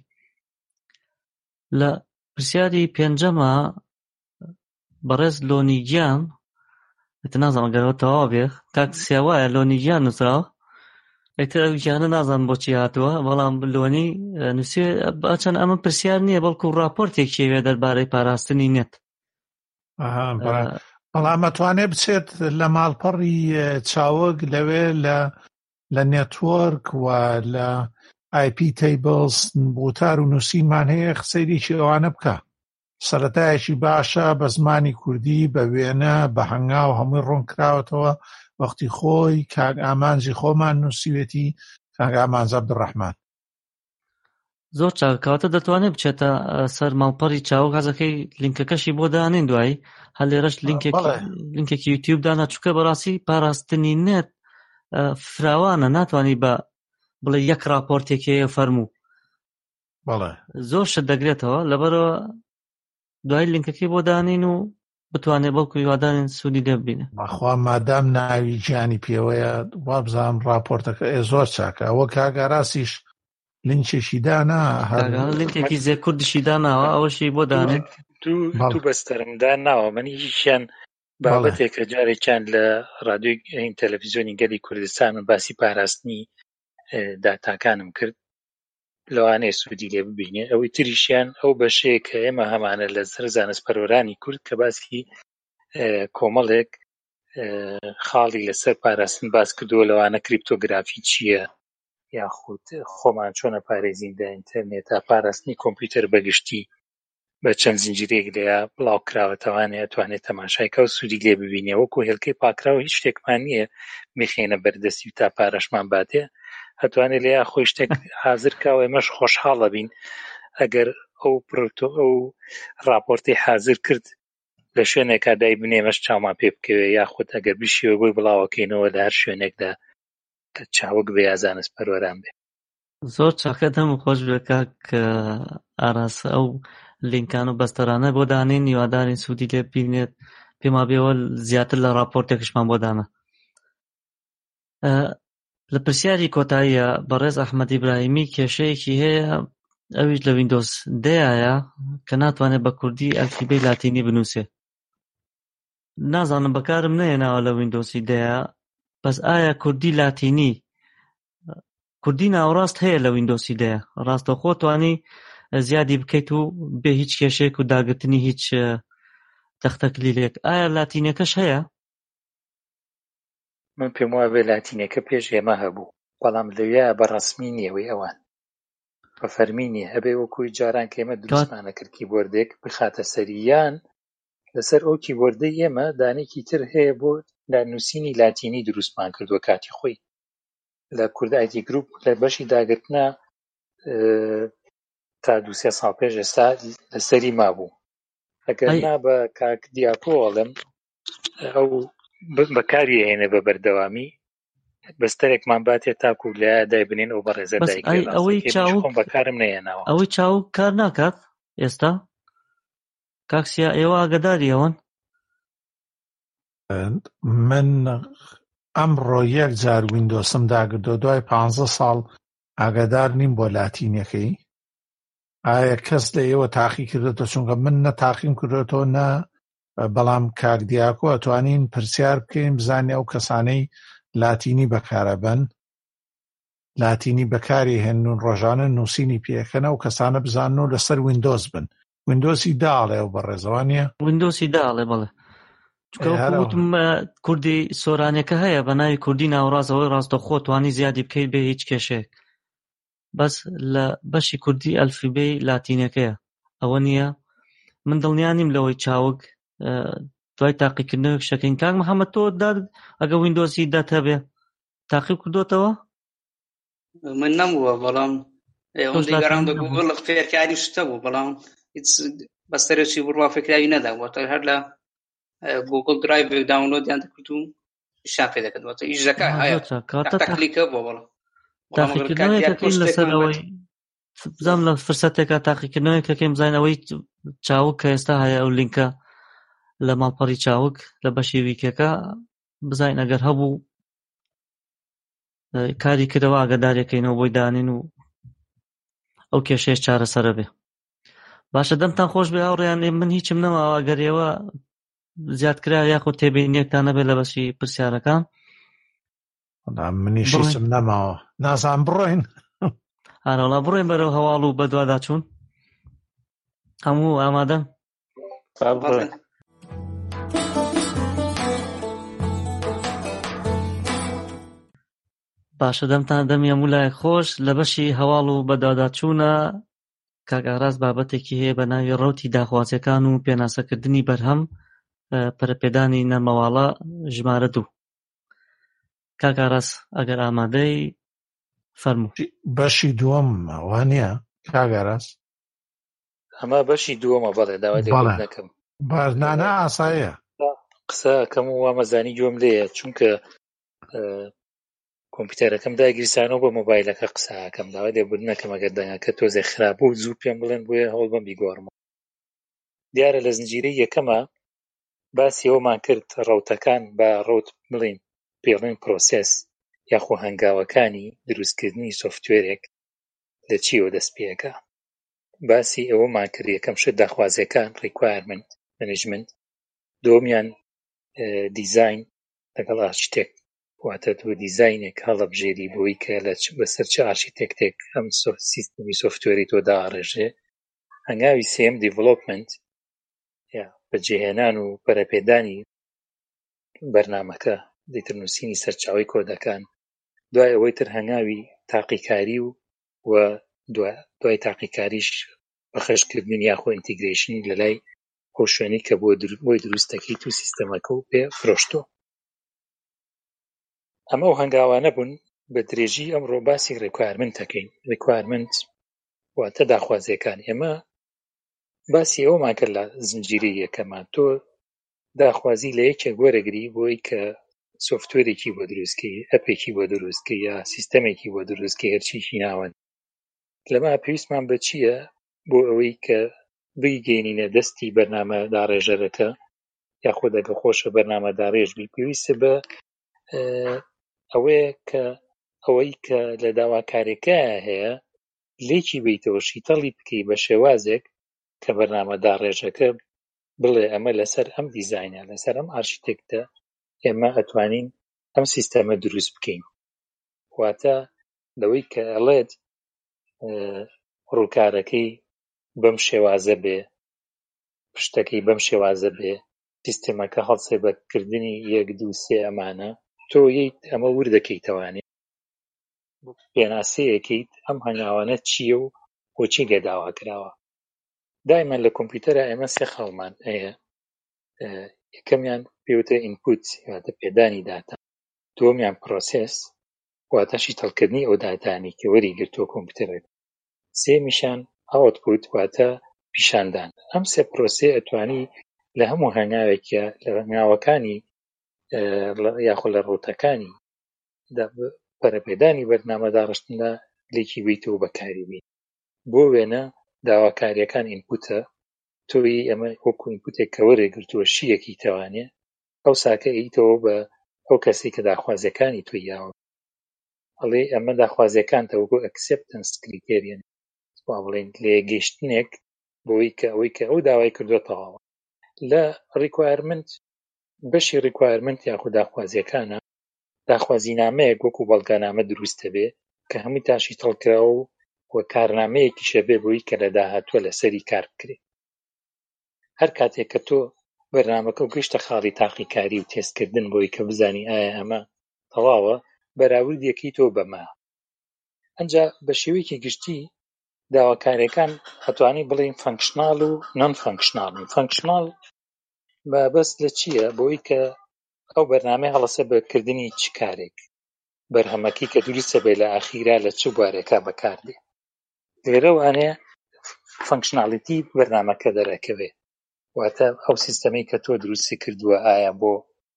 لە پرسیاری پێنجەمە بەڕێز لۆنیگیان نازانم ئەگەرەوە تەواو بێ کاک سیاوایە لۆنیگیان نووسراوە، ئەیتر ئەو گیانە نازانم بۆچی هاتووە، بەڵام لۆنی نووسێ ئەچەند ئەمە پرسیار نییە بەڵکو ڕاپۆرتێکی هەیە دەربارەی پاراستنی نێت. بەڵام ئەتوانێ بچێت لە ماڵپەڕی چاوەک لەوێ لە نێتوۆرک و لە آی پی تیبلز بوتار و نووسینمان هەیە قسەیێکی ئەوانە بکە. سەرەتایەکی باشە بە زمانی کوردی بە وێنە بە هەنگاو هەمووی ڕوون کراوەتەوە وەختی خۆی کاک ئامانجی خۆمان نووسیوێتی کاک ئامانج عەبدوڕەحمان. زۆر چاکەواتە دەتوانێت بچێتە سەر ماڵپەڕی چاوەک، حەزەکەی لینکەکەشی بۆ دانین دوایی هەر لێرەش لینکێکی یوتیوب دانا، چووکە بەڕاستی پاراستنی نێت فراوانە، ناتوانی بە بڵێ یەک راپۆرتێکی هەیە فەرموو زۆر شت دەگرێتەوە، لەبەرەوە دوای لینکەکەی بۆ دانین و بتوانێت بەڵکو هیوادارین سوودی لێ ببینێ. بەخوا مادام ناوی گیانی پێوەیە وابزانم راپۆرتەکە ئێ زۆر چاکە. ئەوە کاک ئاراسیش لینکێکی دانا، لینکێکی زێ کوردیشی داناوە، ئەوەشی بۆ دانێت دوو بەستەرمدا ناوە. منیشیان بابەتێکە جارێکیان لە ڕادیۆی تەلەڤیزیۆنی گەلی کوردستان من باسی پاراستنی داتاکانم کرد، لەوانەیە سوودی لێ ببینێ. ئەوەی تریشیان ئەو بەشەیە کە ئێمە هەمانە لە سەر زانستپەرۆرانی کورد کە باسی کۆمەڵێک خاڵی لەسەر پاراستن باس کردووە، لەوانە کریپتۆگرافی چییە یاخود خۆمان چۆنە پارێزین لە ئینتەرنێتە، پاراستنی کۆمپیوتەر بەگشتی بە چەند زنجیرێک لێیە بڵاو کراوەتەوانێت ئەتوانێت تەماشایکە و سوودی لێ ببینێ. وەکو هێلکەی پاکراوە هیچ شتێکمان نییە میخێنە بەردەستی و تا پارەشمان باتێ، هەتوانێت لێیە خۆی شتێک حازر کاوە. ئێمەش خۆشحاڵە بین ئەگەر ئەو پرۆتۆ ئەو راپۆرتی حازر کرد لە شوێنێکا دای بنێمەش چاومان پێ بکەوێ، یاخود ئەگەر بشیوە بۆی بڵاوەکەینەوە لە هەر شوێنێکدا کە چاوەک بێ یا زانستپەرۆران بێ. زۆر چاکە، دەم خۆش بێ کاک ئاراس ئەو لینکان و بەستەرانە بۆ دانین، هیوادارین سوودی لێ ببینێت. پێم وا بێەوە زیاتر لە راپۆرتێکشمان بۆ دانا. لە پرسیاری کۆتاییە بەڕێز ئەحمەد ئیبراهیمی کێشەیەکی هەیە ئەویش لە ویندۆز دەیە کە ناتوانێت بە کوردی ئەلفیبەی لاتینی بنووسێ. نازانم بەکارم نەهێناوە لە ویندۆزی دەیە، بەس ئایا کوردی لاتینی کوردی ناوەڕاست هەیە لە ویندۆزی دەیە، ڕاستەوخۆ توانی زیادی بکەیت و بێ هیچ کێشەیەک و داگرتنی هیچ تەختەکلیلێک. ئایا لاتینەکەش هەیە؟ من پێم وایە بێ لاتینەکە پێش ئێمە هەبوو، بەڵام لەوێ بە ڕەسمی نییەوەی ئەوان بە فەرمی نییە، هەبێ وەکوی جاران کە ئێمە دروستمانە کرد کیبۆردێک بخاتە سەریان لەسەر ئەو کیبۆردەی ئێمە دانێکی تر هەیە بۆ دانووسینی لاتینی دروستمان کردووە کاتی خۆی. لە کورد ئایتی گروپ لە بەشی داگرتنە تا دو سێ ساڵ پێش ئێستا لەسەری مابوو. ئەگەرنا بە کاک دیاکۆڵم ئەو بەکاری هێنە بە بەردەوامی بەستەرێکمان باتێ تاکو لە دایبنین ئەو بەڕێزە دایکێ بەکارم نەهێناوە. ئەوەی چاو کار ناکات ئێستا کاکسیا ئێوە ئاگداری ئەوەن؟ من ئەمڕۆ یەک جار ویندۆسم داگردۆ دوای پانزە ساڵ ئاگدار نیم بۆ لاتینەکەی. ئایا کەس لە ئێوە تاقی کردێتەوە؟ چونکە من نە تاقیم کردێتەوە نە، بەڵام کاک دیاکۆ ئەتوانین پرسیار بکەین بزانێ ئەو کەسانەی لاتینی بەکارەبەن لاتینی بەکاری هێنن ڕۆژانە نووسینی پێکەنە و کەسانە بزانن و لەسەر ویندۆز بن. ویندۆسی داڵێ و بەڕێزەوانیە ویندۆسی داڵێ بەڵێ چکەوتم کوردی سۆرانەکە هەیە بە ناوی کوردی ناوەڕاستەوەی ڕاستەخۆ توانی زیادی بکەیت بێ هیچ کێشەیەک، بەس لە بەشی کوردی ئەلفیبەی لاتینەکەیە ئەوە نییە. من دڵنیا نیم لەوەی چاوک دوای تاقیکردنەوەی شەکەین. کاک محەممەد تۆ ئەگە ویندۆسی دەت هەبێ تاقیب کردوتەوە؟ من نەبووە، بەڵام ئەوەندەی گەڕاندە گوگڵ فێرکاری شتە بوو، بەڵام هیچ بەستەرێکی بڕوا فێکراوی نەداوەتە هەر لە گوگڵ درایڤ داونلۆدیان دەکرد و شان پێ دەکردوەتە ئیش دەکا هەیە تاقلیکە بووە بەڵام تاقیکردنەوەیەکەکەین لەسەرەوەی بزانم لە فرسەتێکە تاقیکردنەوەیەکەکەین بزانین ئەوەی چاوک کە ئێستا هەیە ئەو لینکە لە ماڵپەڕی چاوک لە بەشی ویکێکە بزانین ئەگەر هەبوو کاری کردەوە ئاگاداریەکەینەوە بۆی دانین و ئەو کێشەیەش چارەسەرە بێ. باشە دەمتان خۆش بێ هاوڕێیان. من هیچم نەماوە ئەگەر ئێوە زیادکرا یاخود تێبینیەکتان هەبێت لە بەشی پرسیارەکان. منیش هیچم نەماوە، نازانم بڕۆین. هەروەڵا بڕۆین بەرەو هەواڵ و بەدووادا چوون. هەموو ئامادەن؟ باشە دەمتان دەمی هەموو لایەک خۆش. لە بەشی هەواڵ و بەدووادا چوونە کاک ئاراس بابەتێکی هەیە بە ناوی ڕەوتی داخوازیەکان و پێناسەکردنی بەرهەم پەرەپێدانی نەمەواڵە ژمارە دوو. کاک ئاراس ئەگەر ئامادەی فەرموو. بەشی دووەم وانە کاک ئاراس؟ ئەمە بەشی دووەمە. بەڵێ داوای لێبوون نەکەم. بەرنانە ئاساییە قسە ئەەکەم و وامەزانی گوێم لێیە، چونکە کۆمپیوتەرەکەم داگیرسانەوە بە مۆبایلەکە قسەکەم داوای لێبوون نەکەم ئەگەر دەنگەکە تۆزێ خراپ بوو زوو پێم بڵێن بۆیە هەوڵ بەم بیگۆڕمەوە. دیارە لە زنجیرەی یەکەمە باسی ئەومان کرد ڕەوتەکان بە ڕەوت بڵین پێڵین پرۆسێس یاخۆ هەنگاوەکانی دروستکردنی سۆفتوێرێک لە چیەوە دەست پێەکە. باسی ئەوەمان کرد یەکەم شت داخوازیەکان ریکوایرمنت مەنیجمنت، دووەمیان دیزاین لەگەڵ ئارشیتێک، واتە تۆ دیزاینێک هەڵەبژێری بۆی کە لە بەسەر چه ئارشیتێکتێک ئەم سیستمی سۆفتوێری تۆ داڕێژێ. هەنگاوی سێم دیڤلۆپمنت یا بەجێهێنان و پەرەپێدانی بەرنامەکە دیتر نووسینی سەرچاوی کۆدەکان. دوای ئەوەی تر هەنگاوی تاقیکاری و و دوای تاقیکاریش بەخێشکردن یاخۆ ئینتیگرێشنی لە لای ئەو شوێنی کە بۆی دروستەکەی تو سیستەمەکە و پێ فرۆشتۆ. ئەمە و هەنگاوانە بوون. بە درێژی ئەمڕۆ باسی ریکوایرمنت دەکەین. ریکوایرمنت واتە داخوازیەکان. ئێمە باسی ئەومان کرد لە زنجیرەی یەکەمان، تۆ داخوازی لە یەکێک وەرەگری بۆی کە سۆفتوێرێکی بۆ دروستکەی، ئەپێکی بۆ دروستکەی یا سیستەمێکی بۆ دروستکەی هەرچیشی ناوەن. لەمە پێویستمان بە چییە بۆ ئەوەی کە بگەینینە دەستی بەرنامە داڕێژەرەکە یاخۆ دەگە خۆشە بەرنامە داڕێژ بی، پێویستە بە ئەوەیە کە ئەوەی کە لە داواکارێکە هەیە لێکی بیتەوە شیتەڵی بکەی بە شێوازێک کە بەرنامەدار ڕێژەکە بڵێ ئەمە لەسەر ئەم دیزاینە لەسەر ئەم ئارشیتێکتە ئێمە ئەتوانین ئەم سیستەمە دروست بکەین. واتە لەوەی کە ئەڵێت ڕووکارەکەی بەم شێوازە بێ، پشتەکەی بەم شێوازە بێ، سیستەمەکە هەڵسێ بەکردنی یەک دوو سێ ئەمانە، تۆ یەیت ئەمە وردەکەیتەوانێ پێناسەیەکەیت ئەم هەنگاوانە چییە و بۆچی لێداوا کراوە. دایما لە کۆمپیوتەرە ئێمە سێ خەڵمان هەیە. یەکەمیان پێوتە ئینپوت واتە پێدانی داتا، دووەمیان پرۆسێس واتە شیتەڵکردنی ئەو داتانی کە وەریگرتووە کۆمپیوتەرێک، سێمیشان ئاوتپوت واتە پیشاندان. ئەم سێ پرۆسێ ئەتوانی لە هەموو هەنگاوێکە لە هەنگاوەکانی یاخۆ لە ڕوتەکانی پەرەپێدانی بەرنامەداڕشتنە لێکی بیتەوە بەکاری بین. بۆ وێنە داواکاریەکان ئینپوتە، تۆی ئەمە وەکو ئینپوتێک کە وەرێگرتووە شیەکی تەوانێ ئەو ساکە ئەیتەوە بە ئەو کەسی کە داخوازیەکانی توی یاوە ئەڵێ ئەمە داخوازیەکانتە وەکو ئەکسێپتەنس کریتێریەن وا بڵێن لێگەیشتنێک بۆی کە ئەوەی کە ئەو داوای کردووە تەواوە. لە ڕیکوایرمنت بەشی ڕیکوایرمنت یاخود داخوازیەکانە داخوازینامەیەک وەکو بەڵگەنامە دروستە بێ کە هەمووی تاشی تەڵکراوە و وە کارنامەیەکیشە بێ بۆی کە لە داهاتووە لەسەری کار بکرێت. هەر کاتێک کە تۆ بەرنامەکە و گەیشتە خاڵی تاقیکاری و تێستکردن بۆی کە بزانی ئایا ئەمە تەواوە بەراوردیەکەی تۆ بەما. ئەنجا بە شێوەیەکی گشتی داواکاریەکان ئەتوانی بڵێن فانکشناڵ و نۆن فانکشناڵ. فانکشناڵ بەبەست لە چییە؟ بۆی کە ئەو بەرنامەی هەڵەسە بەکردنی چ کارێک، بەرهەمەکەی کە دروستە بێ لە ئاخیرا لە چ بوارێکا بەکاردێ. لێرە وانەیە فانکشناڵیتی بەرنامەکە دەرەکەوێ، واتە ئەو سیستەمەی کە تۆ دروستی کردووە ئایا بۆ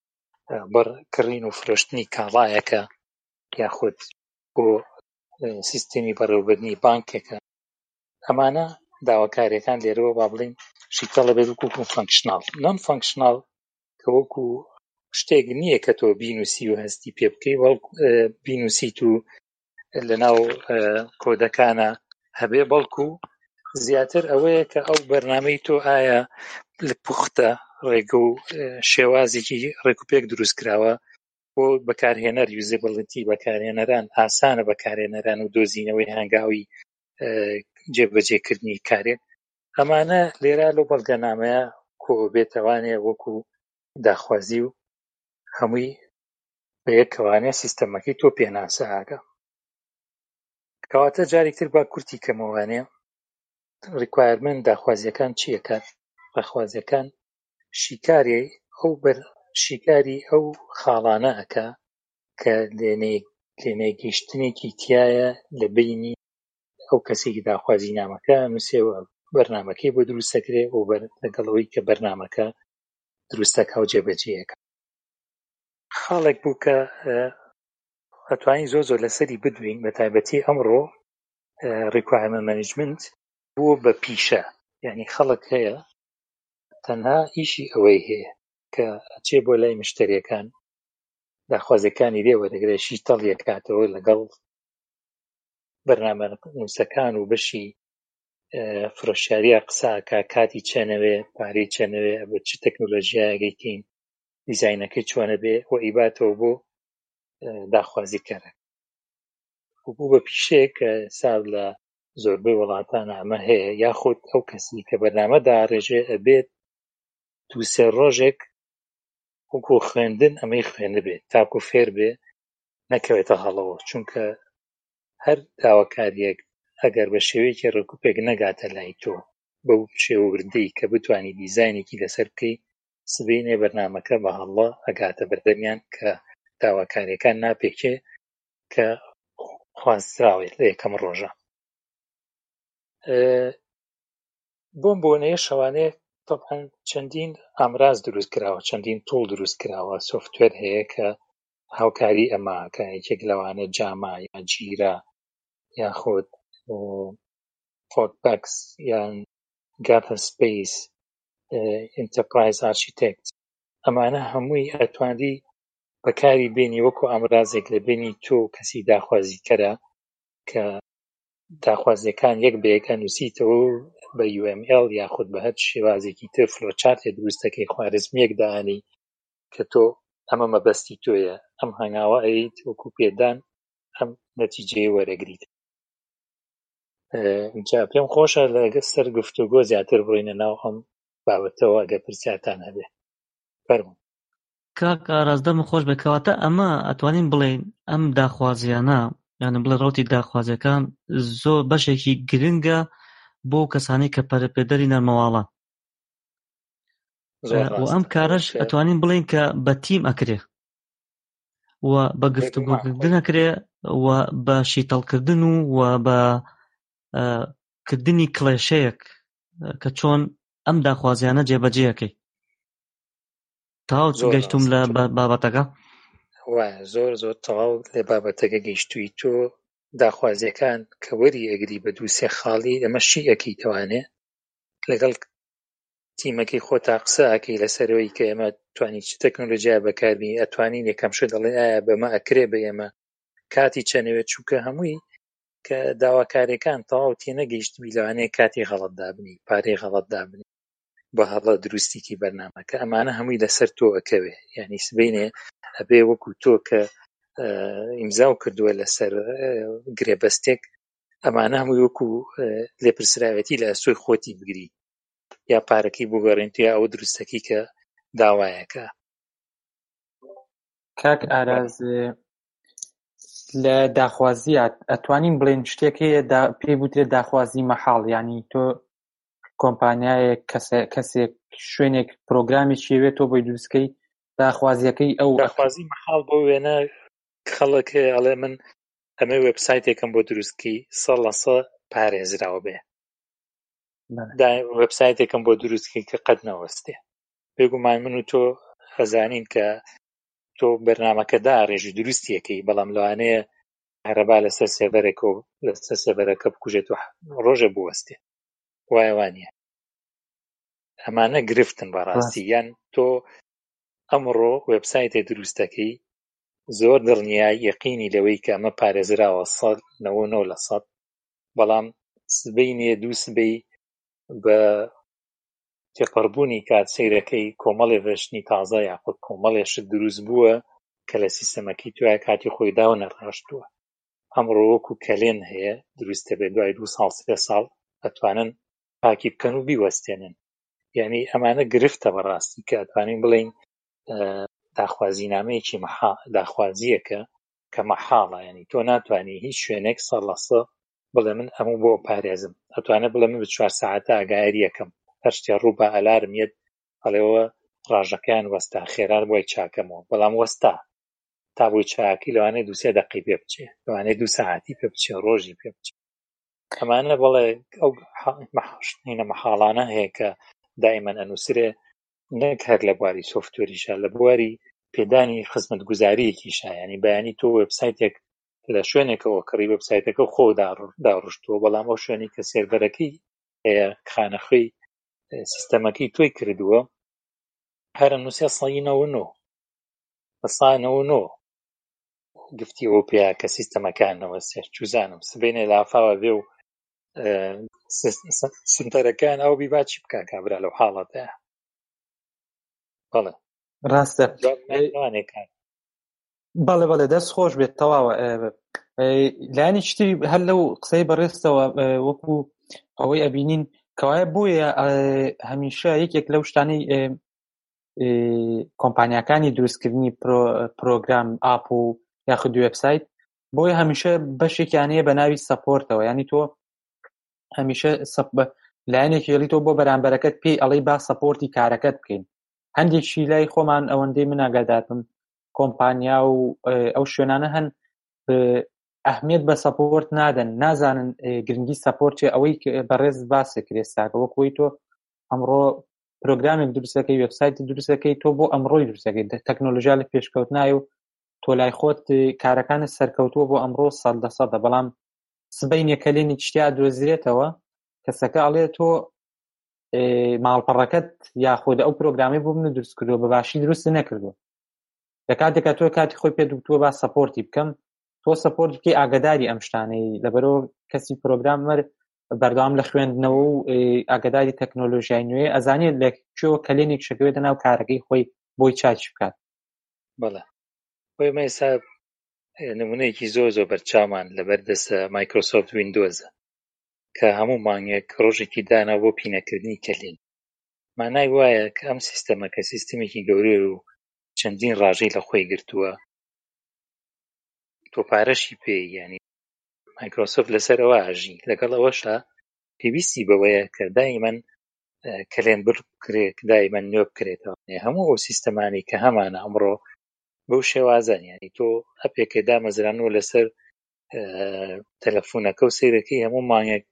بڕکڕین و فرۆشتنی کاڵایەکە یاخود بۆ سیستەمی بەڕێوەبردنی بانکێکە. ئەمانە داواکاریەکان لێرەوە با بڵین شیتەڵە بێت وەکو فانکشناڵ. نۆن فانکشناڵ کە وەکو شتێک نییە کە تۆ بینوسی و هەستی پێ بکەی بینوسیت و لەناو کۆدەکانە هەبێ، بەڵکو زیاتر ئەوەیە کە ئەو بەرنامەی تۆ ئایا لە پوختە ڕێگە و شێوازێکی ڕێکوپێک دروست کراوە بۆ بەکارهێنەر یوزێبڵتی بەکارهێنەران ئاسانە بەکارهێنەران و دۆزینەوەی هەنگاوی جێبەجێکردنی کارێک. ئەمانە لێرە لەو بەڵگەنامەیە کۆ بێتەوانێ وەکو داخوازی و هەمووی بە یەکەوانێ سیستەمەکەی تۆ پێناسە ئاگە. کەواتە جارێکتر با کورتی کەمەوانێ ریکوایرمنت داخوازیەکان چیەکات؟ داخوازیەکان شیکاری ئەو بەر شیکاری ئەو خاڵانە ئەکا کە لێنێگەیشتنێکی تایە لە بینی ئەو کەسێکی داخوازی نامەکە نووسێوە بەرنامەکەی بۆ دروستەکرێ و لەگەڵەوەی کە بەرنامەکە دروستەکە و جێبەجێیەکە. خاڵێک بوو کە ئەتوانین زۆ زۆر لەسەری بدوین، بە تایبەتی ئەمڕۆ ریکوایرمنت مانیجمنت بووە بە پیشە. یعنی خەڵک هەیە تەنها ئیشی ئەوەی هەیە کە ئەچێ بۆ لای مشتریەکان داخوازیەکانی لێ وەرەگرێ، شیتەڵی ئەکاتەوە لەگەڵ بەرنامەنووسەکان و بەشی فرۆشیاریە قساکە کاتی چێنەوێ، پارەی چێنەوێ، بە چ تەکنۆلۆژیایەکەین دیزاینەکەی چۆنە بێ و ئیباتەوە بۆ داخوازیکەرە. بوو بە پیشەیە کە ساڵ لە زۆربەی وڵاتانە ئەمە هەیە، یاخود ئەو کەسی کە بەرنامە داڕێژێ ئەبێت دوو سێ ڕۆژێک وەکو خوێندن ئەمەی خوێنە بێت تاکو فێر بێ نەکەوێتە هەڵەوە. چونکە هەر داواکاریەک ئەگەر بە شێوەیەکی ڕێکوپێک نەگاتە لای تۆ بەو شێوەوردەی کە بتوانی دیزاینێکی لەسەر بکەی، سبەینێ بەرنامەکە بە هەڵە ئەگاتە بەردەمیان کە داواکاریەکان ناپێکێ کە خوازراوێت لە یەکەم ڕۆژە. بۆم بۆنەیە شەوانەیە تەبعەن چەندین ئامراز دروست کراوە، چەندین تۆڵ دروست کراوە، سۆفتوێر هەیە کە هاوکاری ئەماکە. یەکێک لەوانە جاما یا جیرا یاخود فۆرتبەکس یان گاتا سپیس، ئینتەرپرایز ئارشیتێکت. ئەمانە هەمووی ئەتوانی بەکاری بێنی وەکو ئامرازێک لە بینی تۆ کەسی داخوازیکەرە کە داخوازیەکان یەک بە یەک ئەنووسیتەوە بە یو ئەم ئێل یاخود بە هەر شێوازێکی تر فلۆچارتێ دروستەکەی خوارزمیەک داهێنی کە تۆ ئەمە مەبەستی تۆیە ئەم هەنگاوە ئەیت وەکو پێدان ئەم نەتیجەی وەرەگریت. جا پێم خۆشە لەگە سەر گفتوگۆ زیاتر بڕۆینە ناو ئەم بابەتەوە ئەگە پرسیارتان هەبێ. فەرموو. کاک ئاراستەمە خۆش بکەواتە ئەمە ئەتوانین بڵێن ئەم داخوازیانە یانە بڵێ ڕوتی داخوازیەکان زۆر بەشێکی گرنگە بۆ کەسانی کە پەرەپێدەری نەرمەواڵە و ئەم کارەش ئەتوانین بڵێن کە بە تیم ئەکرێ و بە گفتوگۆکردن ئەکرێ و بە شیتەڵکردن و و بە کردنی کڵێشەیەک کە چۆن ئەم داخوازیانە جێبەجێەکەی. تاو گەیشتوم لە بابەتەکە؟ وایە زۆر زۆر تەواو لێ بابەتەکە گەیشتووی. تۆ داخوازیەکان کە وەری ئەگری بە دوو سێ خاڵی ئەمە شی ئەەکەیتوانێ لەگەڵ تیمەکەی خۆتا قسە ئەکەی لەسەرەوەی کە ئێمە توانی چ تەکنۆلۆژیا بەکاربی ئەتوانین یەکەم شت دەڵێن ئایا بەمە ئەکرێ بە ئێمە کاتی چەنەوێت چووکە هەمووی کە داواکاریەکان تەواو تێنەگەیشتبی لەوانەیە کاتی غەڵەت دابنی پارەی غەڵەت دابنی بە هەڵە دروستیکی بەرنامەکە ئەمانە هەمووی لەسەر تۆ ئەکەوێ. یعنی سبەینێ ئەبێ وەکو تۆ کە ئیمزاو کردووە لەسەر گرێبەستێک ئەمانە هەمووی وەکو لێپرسراوەتی لە ئەسۆی خۆتی بگری یا پارەکەی بگەڕێن یا ئەوە دروستەکەی کە داوایەکە. کاک ئاراز لە داخوازیات ئەتوانین بڵێن شتێک هەیە پێی بوترێت داخوازی مەحاڵ، یعنی تۆ کۆمپانیایەک کەسێک شوێنێک پرۆگرامی شێوێت تۆ بۆی دروستکەی داخوازیەکەی ئەو داخوازی مەحاڵ بۆ وێنە خەڵک ئەڵێ من ئەمە وێبسایتێکم بۆ دروستکەی سەد لە سەد پارێزراوە بێ وێبسایتێکم بۆ دروستکەی کە قەت نەوەستێ. بێگومان من و تۆ خەزانین کە تۆ بەرنامەکەدا ڕێژی دروستیەکەی بەڵام لەوانەیە هەرەبا لەسەر سێڤەرێکە و لەسەر سێڤەرەکە بکوژێت و ڕۆژە بوەستێ وایە وانە. ئەمانە گرفتن بەڕاستی. یان تۆ ئەمڕۆ وێبسایتێ دروستەکەی زۆر دڵنیای یەقینی لەوەی کە ئەمە پارێزراوە سەد نەوە نۆ لە سەد بەڵام سبەینێ دوو سبەی بە تێپەڕبوونی کات سەیرەکەی کۆمەڵێ ڤەرشنی تازە یاخود کۆمەڵێشت دروست بووە کە لە سیستەمەکەی توای کاتی خۆی داو نەڕاشتووە. ئەمڕۆ وەکو کەلێن هەیە دروستە بێ دوای دوو ساڵ سێ ساڵ ئەتوانن پاکی بکەن و بیوەستێنن. یعنی ئەمانە گرفتە بەڕاستی کە ئەتوانین بڵێن داخوازینامەیەکی داخوازیەکە کە مەحاڵە. یعنی تۆ ناتوانانی هیچ شوێنێک سەد لە سەد بڵێ من ئەموو بۆ پارێزم. ئەتوانێت بڵێ من بە چوار سەعاتە ئاگایری یەکەم هەر شتێ ڕوو بە ئەلارم یەت هەڵێەوە ڕاژەکەیان وەستا خێران بۆی چاکەمەوە بەڵام وەستا تا بۆی چاکی لەوانەیە دوو سێ دەقەی پێ بچێ لەوانەیە دوو سەعاتی پێ بچێ ڕۆژی پێ بچێ. ئەمانە بەڵێ ئەو مەحشتینە مەحاڵانە هەیە کە دائیمەن ئەنووسرێ نەک هەر لە بواری سۆفتوەریشە لە بواری پێدانی خزمەتگوزاریەکیشە. ینی بەیانی تۆ وێبسایتێک لە شوێنێکەوە کڕی وێبسایتەکە خۆ داڕشتووە بەڵام ئەو شوێنی کە سێرڤەرەکەی هەیە خانەخوێی سیستەمەکەی تۆی کردووە هەرە نووسێ سەدی نەوە نۆ بە سەد نەوە نۆ گفتی ئەوە پێیا کە سیستەمەکانەوە سێر چوزانم سبەینێ لافاوە بێ و سنتەرەکان ئەو بیبا چی بکە کابرا لەو حاڵەتە. بەڵێ ڕاستە بەڵێ بەڵێ دەست خۆش بێت تەواوە. لایانی شتی هەر لەو قسەی بەڕێستەوە وەکو ئەوەی ئەبینین کەوایە بۆیە هەمیشە یەکێک لەو شتانەی کۆمپانیاکانی دروستکردنی پرۆگرام ئاپ و یاخود وێبسایت بۆیە هەمیشە بەشێکیانەیە بە ناوی سەپۆرتەوە. ینی تۆ هەمیشە لایەنێکی هێڵی تۆ بۆ بەرامبەرەکەت پێی ئەڵەی با سەپۆرتی کارەکەت بکەین. هەندێکشی لای خۆمان ئەوەندەی من ئاگادارم کۆمپانیا و ئەو شوێنانە هەن ئەهمیەت بە سەپۆرت نادەن نازانن گرنگی سەپۆرتی ئەوەی بەڕێز باسێکرێ ساکە وەکوی تۆ ئەمڕۆ پرۆگرامێک دروستەکەی وێبسایتی دروستەکەی تۆ بۆ ئەمڕۆی دروستەکەی تەکنۆلۆژیا لە پێشکەوت نایە و تۆ لای خۆت کارەکانت سەرکەوتووە بۆ ئەمڕۆ سەد لە سەدە بەڵام سبەینێ کەلێنی شتیا دۆزرێتەوە کەسەکە ئەڵێ تۆ ماڵپەڕەکەت یاخود ئەو پرۆگرامی بۆ من دروست کردووە بە باشی دروست نەکردووە لە کاتێکە تۆ کاتی خۆی پێ دوکتووە با سەپۆرتی بکەم تۆ سەپۆرت بکەی ئاگاداری ئەم شتانەی لەبەرەوە کەسی پرۆگرامەر بەردەوام لە خوێندنەوە و ئاگاداری تەکنۆلۆژیای نوێ ئەزانێت لە کوێوە کلێنێک شەکەوێتە ناو کارەکەی خۆی بۆی چاچ بکات. بەڵێ بۆی مە ئێستا نمونەیەکی زۆر زۆر بەرچاومان لەبەردەستە مایکرۆسۆفت ویندۆزە کە هەموو مانگێک ڕۆژێکی دانا بۆ پینەکردنی کلێن. مانای وایە کە ئەم سیستەمە کە سیستەمێکی گەورەیە و چەندین ڕاژەی لە خۆی گرتووە تۆ پارەشی پێی، یعنی مایکرۆسۆفت لەسەر ئەوە ئاژی، لەگەڵ ئەوەشە پێویستی بەوەیە کە دایمەن کلێن بکرێت، دایمەن نوێ بکرێتەوە. هەموو ئەو سیستەمانی کە هەمانە ئەمڕۆ بەو شێوازان، یعنی تۆ ئەپێکە دامەزرانەوە لەسەر تەلەفۆنەکە و سەیرەکەی هەموو مانگێک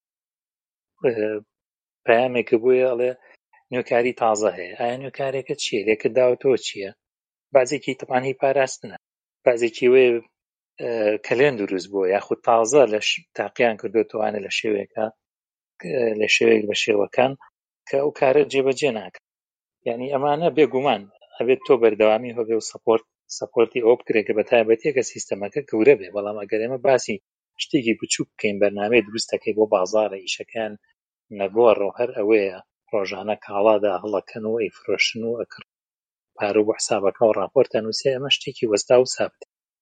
پەیامێکە بۆیە ئەڵێ نوێکاری تازە هەیە. ئایا نوێکارێکە چییە؟ لێکە داوەتەوە چییە؟ بازێکی تەمانی پاراستنە، بازێکی وێ کلێن دروست بووە یاخود تازە لە تاقییان کردوتوانە لە شێوێکە لە شێوەیەک بە شێوەکان کە ئەو کارە جێبەجێ ناکە. یعنی ئەمانە بێگومان ئەبێت تۆ بەردەوامی هەبێ و سەپۆرت سەپۆرتی ئەوە بکرێت کە بە تایبەتیەکە سیستەمەکە گەورە بێ. بەڵام ئەگەر ئێمە باسی شتێکی بچووک بکەین، بەرنامەی دروستەکەی بۆ بازاڕە ئیشەکان نەگۆڕ و هەر ئەوەیە ڕۆژانە کاڵادا هەڵەکەن و ئەیفرۆشن و ئەکڕ پارە بۆ حسابەکە و ڕاپۆرتە نووسێ، ئەمە شتێکی وەستا و سابت.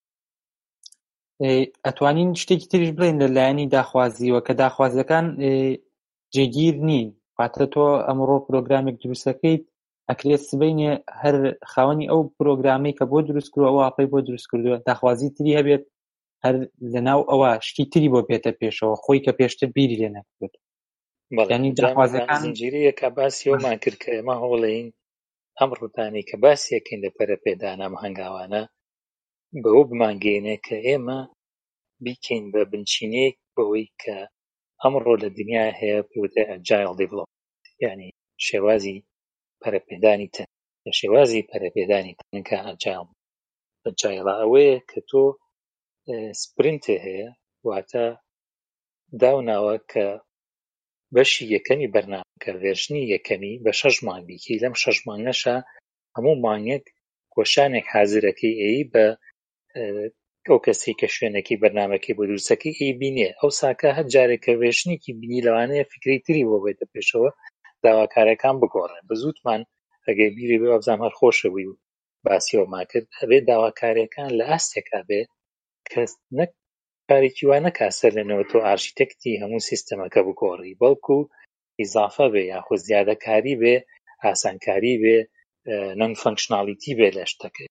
ئەتوانین شتێکی تریش بڵێن لەلایەنی داخوازیەوە کە داخوازیەکان جێگیر نین. واتە تۆ ئەمڕۆ پرۆگرامێک دروستەکەیت ئەکرێت سبەینێ هەر خاوەنی ئەو پرۆگرامی کە بۆ دروست کردووە ئەو ئاپەی بۆ دروست کردووە داخوازی تری هەبێت، هەر لەناو ئەوە شتی تری بۆ بێتە پێشەوە خۆی کە پێشتر بیری لێ نەکرێت. یعنی داخوازیەکان زنجیرەیەکە باسی ئەومان کرد کە ئێمە هەوڵەین ئەم ڕوودانی کە باسیەکەین لە پەرەپێدانە ئەم هەنگاوانە بەوە بمانگەێنێ کە ئێمە بیکەین بە بنچینەیەک بەوەی کە ئەمڕۆ لە دنیا هەیە پێوتە ئەجایل دیڤلۆپمنت، یعنی شێوازی پەرەپێدانی تەن. لە شێوازی پەرەپێدانی تەنکە ئەجایل ئەجایڵە ئەوەیە کە تۆ سپرینتێ هەیە، واتە داوناوە کە بەشی یەکەمی بەرنامەکە ڤێرژنی یەکەمی بە شەش مانگ بیکەی، لەم شەش مانگەشە هەموو مانگێک گۆشانێک حازرەکەی ئەی بە ئەو کەسی کە شوێنێکی بەرنامەکەی بۆ دروستەکەی ئەی بینێ. ئەو ساکە هەر جارێکە ڤێرژنێکی بینی لەوانەیە فکری تری بۆ بێتە پێشەوە داواکارەکان بگۆڕێن. بەزووتمان ئەگەر بیری بێ وەبزانام هەر خۆشە بووی و باسیەوەمان کرد ئەبێ داواکاریەکان لە ئاستێکا بێ کە نەک کارێکی وانە کاسەر لێنەوە تۆ ئارشیتێکتی هەموو سیستەمەکە بگۆڕی، بەڵکو ئیزافە بێ یاخود زیادەکاری بێ، ئاسانکاری بێ، نەن فەنکشنالیتی بێ لە شتەکەی.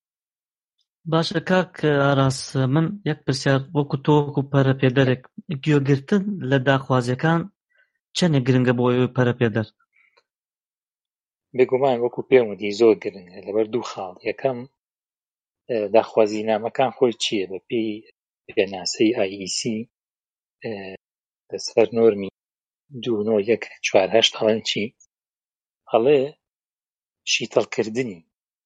باشە کاک ئاراس، من یەک پرسیار وەکو تۆ وەکو پەرەپێدەرێک گوێگرتن لە داخوازیەکان چەندێک گرنگە بۆ ئەوەی پەرەپێدەر؟ بێگومان وەکو پێم وتی زۆر گرنگە لەبەر دوو خاڵ. یەکەم داخوازینامەکان خۆی چییە؟ بە پێی پێناسەی آی ئی سی لەسەر نۆرمی دوو نۆ یەک چوار هەشت هەڵەن چی؟ هەڵێ شیتەڵکردنی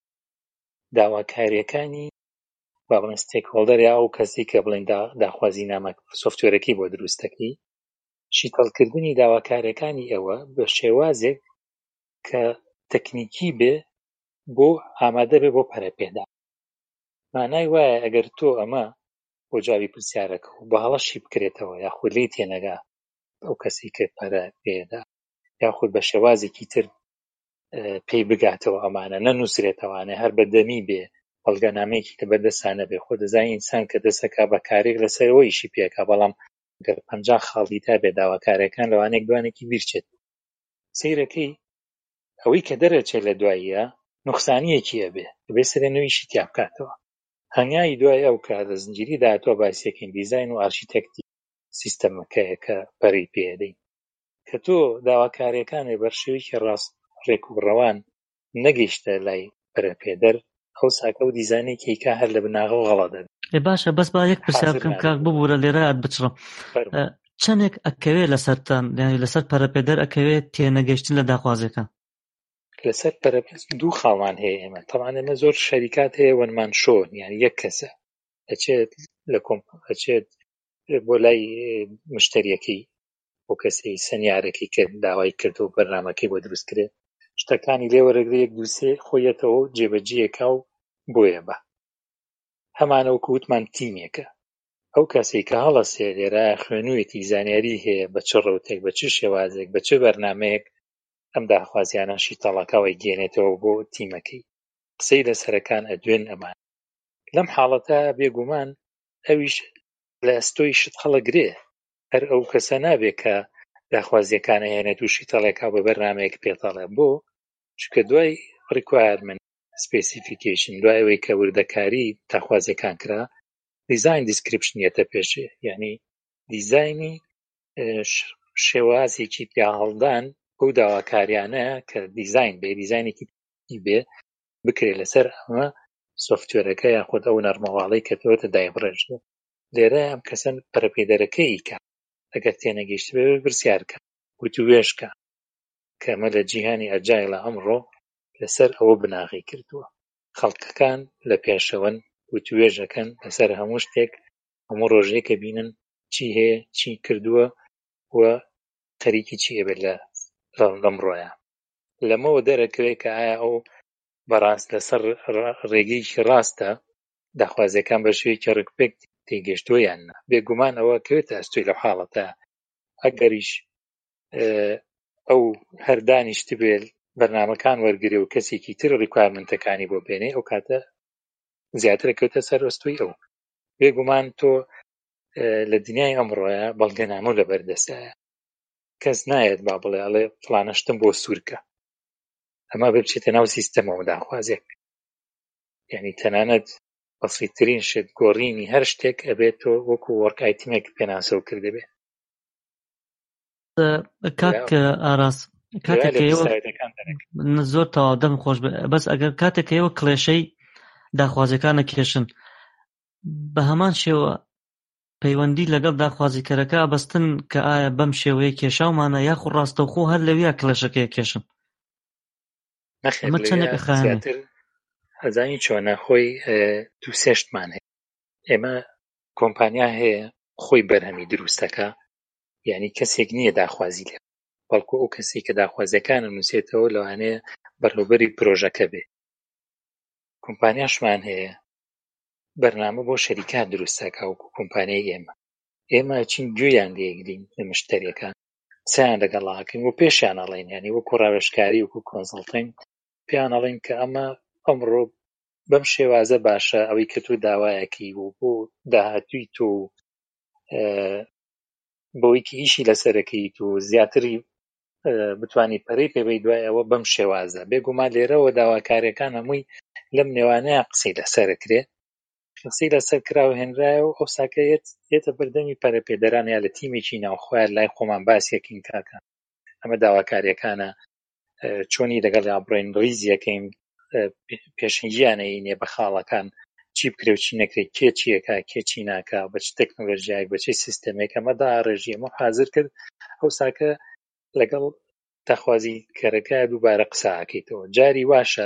داواکاریەکانی با بڵێن ستێک هۆڵدەر یا ئەو کەسی کە بڵێن داخوازینامە سۆفتوێرەکەی بۆ دروستەکەی، شیتەڵکردنی داواکاریەکانی ئەوە بە شێوازێک کە تەکنیکی بێ بۆ ئامادە بێ بۆ پەرەپێدان. مانای وایە ئەگەر تۆ ئەمە بۆ جوابی پرسیارەکە و بە هەڵەشی بکرێتەوە یاخود لێی تێنەگا ئەو کەسی کە پەرەپێدا یاخود بە شێوازێکی تر پێی بگاتەوە ئەمانە نەنووسرێتەوانێ هەر بەدەمی بێ بەڵگەنامەیەکی کە بەردەستانە بێ، خۆ دەزانی ئینسان کە دەسەکا بە کارێک لەسەرەوە ئیشی پێکا، بەڵام گەر پەنجا خاڵی تا بێ داواکاریەکان لەوانەیەک دوانێکی بیرچێت. سەیرەکەی ئەوەی کە دەرەچێت لە دواییە نوقسانیەکی هەبێ بێ سەرێنەوەیشی تیا بکاتەوە. هەنگاوی دوای ئەو کارە زنجیری داهاتوە باسیەکەین دیزاین و ئارشیتێکتی سیستەمەکەیە کە پەڕی پێدەین کە تۆ داواکاریەکانی بەرشێوەیەکی ڕاست ڕێک و ڕەوان نەگەیشتە لای پەرەپێدەر ئەو ساکە و دیزانێکی کا هەر لە بناغەوە غەڵە دەبێت. باشە بەس با یەک پرسیار بکەم کاک ببوورە لێرە ئەت بچڕم. چەندێک ئەکەوێت لەسەرتان یعنی لەسەر پەرەپێدەر ئەکەوێت تێنەگەیشتن لە داخوازیەکان؟ لەسەر پەرەپێدەر دوو خاڵمان هەیە ئێمە. تەمان ئێمە زۆر شەریکات هەیە وەنمان شۆن، یعنی یەک کەسە ئەچێت لە کۆمپ ئەچێت بۆ لای مشتریەکەی بۆ کەسی سەنیارێکی کرد داوای کردو و بەرنامەکەی بۆ دروست کرێت، شتەکانی لێوەرەگرێت یەک دووسێ خۆیەتەوە جێبەجێەکە و بۆیە بە هەمانە وەکو وتمان تیمێکە. ئەو کەسێک کە هەڵەسێ لێرە خوێنوویەتی زانیاری هەیە بە چ ڕەوتێک بە چ شێوازێک بە چ بەرنامەیەک ئەم داخوازیانە شیتەڵەکەوەی گێنێتەوە بۆ تیمەکەی قسەی لەسەرەکان ئەدوێن. ئەمان لەم حاڵەتە بێگومان ئەویش لە ئەستۆی شت هەڵەگرێ. هەر ئەو کەسە نابێت کە داخوازیەکان هێنێت و شیتەڵێکا بە بەرنامەیەک پێتەڵێ بۆ چونکە دوای ریکوایرمنت سپیسیفیکیشن دوای ئەوەی کە وردەکاری داخوازیەکان کرا دیزاین دیسکریپشنیەتە پێشێ، یعنی دیزایانی شێوازێکی پیا هەڵدان ئەو داواکاریانە کە دیزاین بێ دیزاینێکی بێ بکرێت لەسەر ئەمە سۆفتوێرەکە یاخود ئەو نەرمەواڵەی کە تۆتە دایبڕێژێ. لێرە ئەم کەسەن پەرەپێدەرەکەی کە ئەگەر تێنەگەیشت بێ برسیارکە وتوێژکە کە ئەمە لە جیهانی ئەجایلە ئەمڕۆ لەسەر ئەوە بناغی کردووە. خەڵکەکان لە پێشەوەن وتوێژەکەن لەسەر هەموو شتێک، هەموو ڕۆژێک کە بینن چی هەیە چی کردووە و خەریکی چی ئەبێت لە لەمڕۆیە. لەمەوە دەرەکەوێت کە ئایا ئەو بەڕاست لەسەر ڕێگەیەکی ڕاستە داخوازیەکان بە شێوەیەکی ڕکپێک تێگەشتووە یان نا. بێگومان ئەوە کەوێتە ئەستۆی لەو حاڵەتە. ئەگەریش ئەو هەردانیشت بێت بەرنامەکان وەرگرێ و کەسێکی تر ریکوایرمنتەکانی بۆ بێنێ ئەو کاتە زیاترە کەوتە سەر ئەستۆی ئەو. بێگومان تۆ لە دنیای ئەمڕۆیە بەڵگەنامە لە بەردەستایە، کەس نایەت با بڵێ ئەڵێ فڵانە شتم بۆ سوورکە، ئەمە بچێتە ناو سیستەمەوە داخوازێک، یعنی تەنانەت بەسیترین شت گۆڕینی هەر شتێک ئەبێت تۆ وەکو وەرک ئایتیمێک پێناسەو کردبێ. کاک ئاراس زۆر تەواو دەم خۆش بەس ئەگەر کاتێک ئێوە کڵێشەی داخوازیەکانە کێشن بە هەمان شێوە پەیوەندی لەگەڵ داخوازیکەرەکە ئەبەستن کە ئایا بەم شێوەیە کێشاومانە یاخود ڕاستەوخۆ هەر لەویا کڵێشەکەی کێشن؟ ئەمە چەندێک زیاتر هەزانی چۆنە خۆی دوو سێشتمان هەیە. ئێمە کۆمپانیا هەیە خۆی بەرهەمی دروستەکە، یعنی کەسێک نییە داخوازی لێ، بەڵکو ئەو کەسێک کە داخوازیەکانە نووسێتەوە لەوانەیە بەڕێوەبەری پرۆژەکە بێ. کۆمپانیاشمان هەیە بەرنامە بۆ شەریکان دروستەکە وەکو کۆمپانیای ئێمە. ئێمە چین گوێیان لێگرین لە مشتەریەکان چیان لەگەڵاکەین و پێشیان ئەڵێن، یعنی وەکو ڕاوێژکاری وەکو کۆنسڵتینگ پێیان ئەڵێن کە ئەمە ئەمڕۆ بەم شێوازە باشە ئەوەی کە تۆ داوایەکی و بۆ داهاتووی تۆ بۆیکی ئیشی لەسەرەکەیت و زیاتری بتوانانی پەرەی پێبەی دوای ئەوە بەم شێوازە. بێگومان لێرەوە داواکاریەکان هەمووی لەم نێوانەیە قسەی لەسەرەکرێ، قسەی لەسەر کراوە هێنرایە و ئەو ساکەیەت دێتە بەردەمی پەرەپێدەران یا لە تیمێکی ناوخۆیان لای خۆمان باسیەکەین کاکە ئەمە داواکاریەکانە چۆنی لەگەڵ ئابڕێن ڕیزیەکەین پێشنگیانەینێ بە خاڵەکان چی بکرێ و چی نەکرێت، کێ چیەکە کێ چی ناکە، بە چ تەکنۆلۆژیایەک بە چی سیستەمێک ئەمە داڕێژی ئەمە حازر کرد ئەو ساکە لەگەڵ داخوازیکەرەکە دووبارە قساکەیتەوە. جاری واشە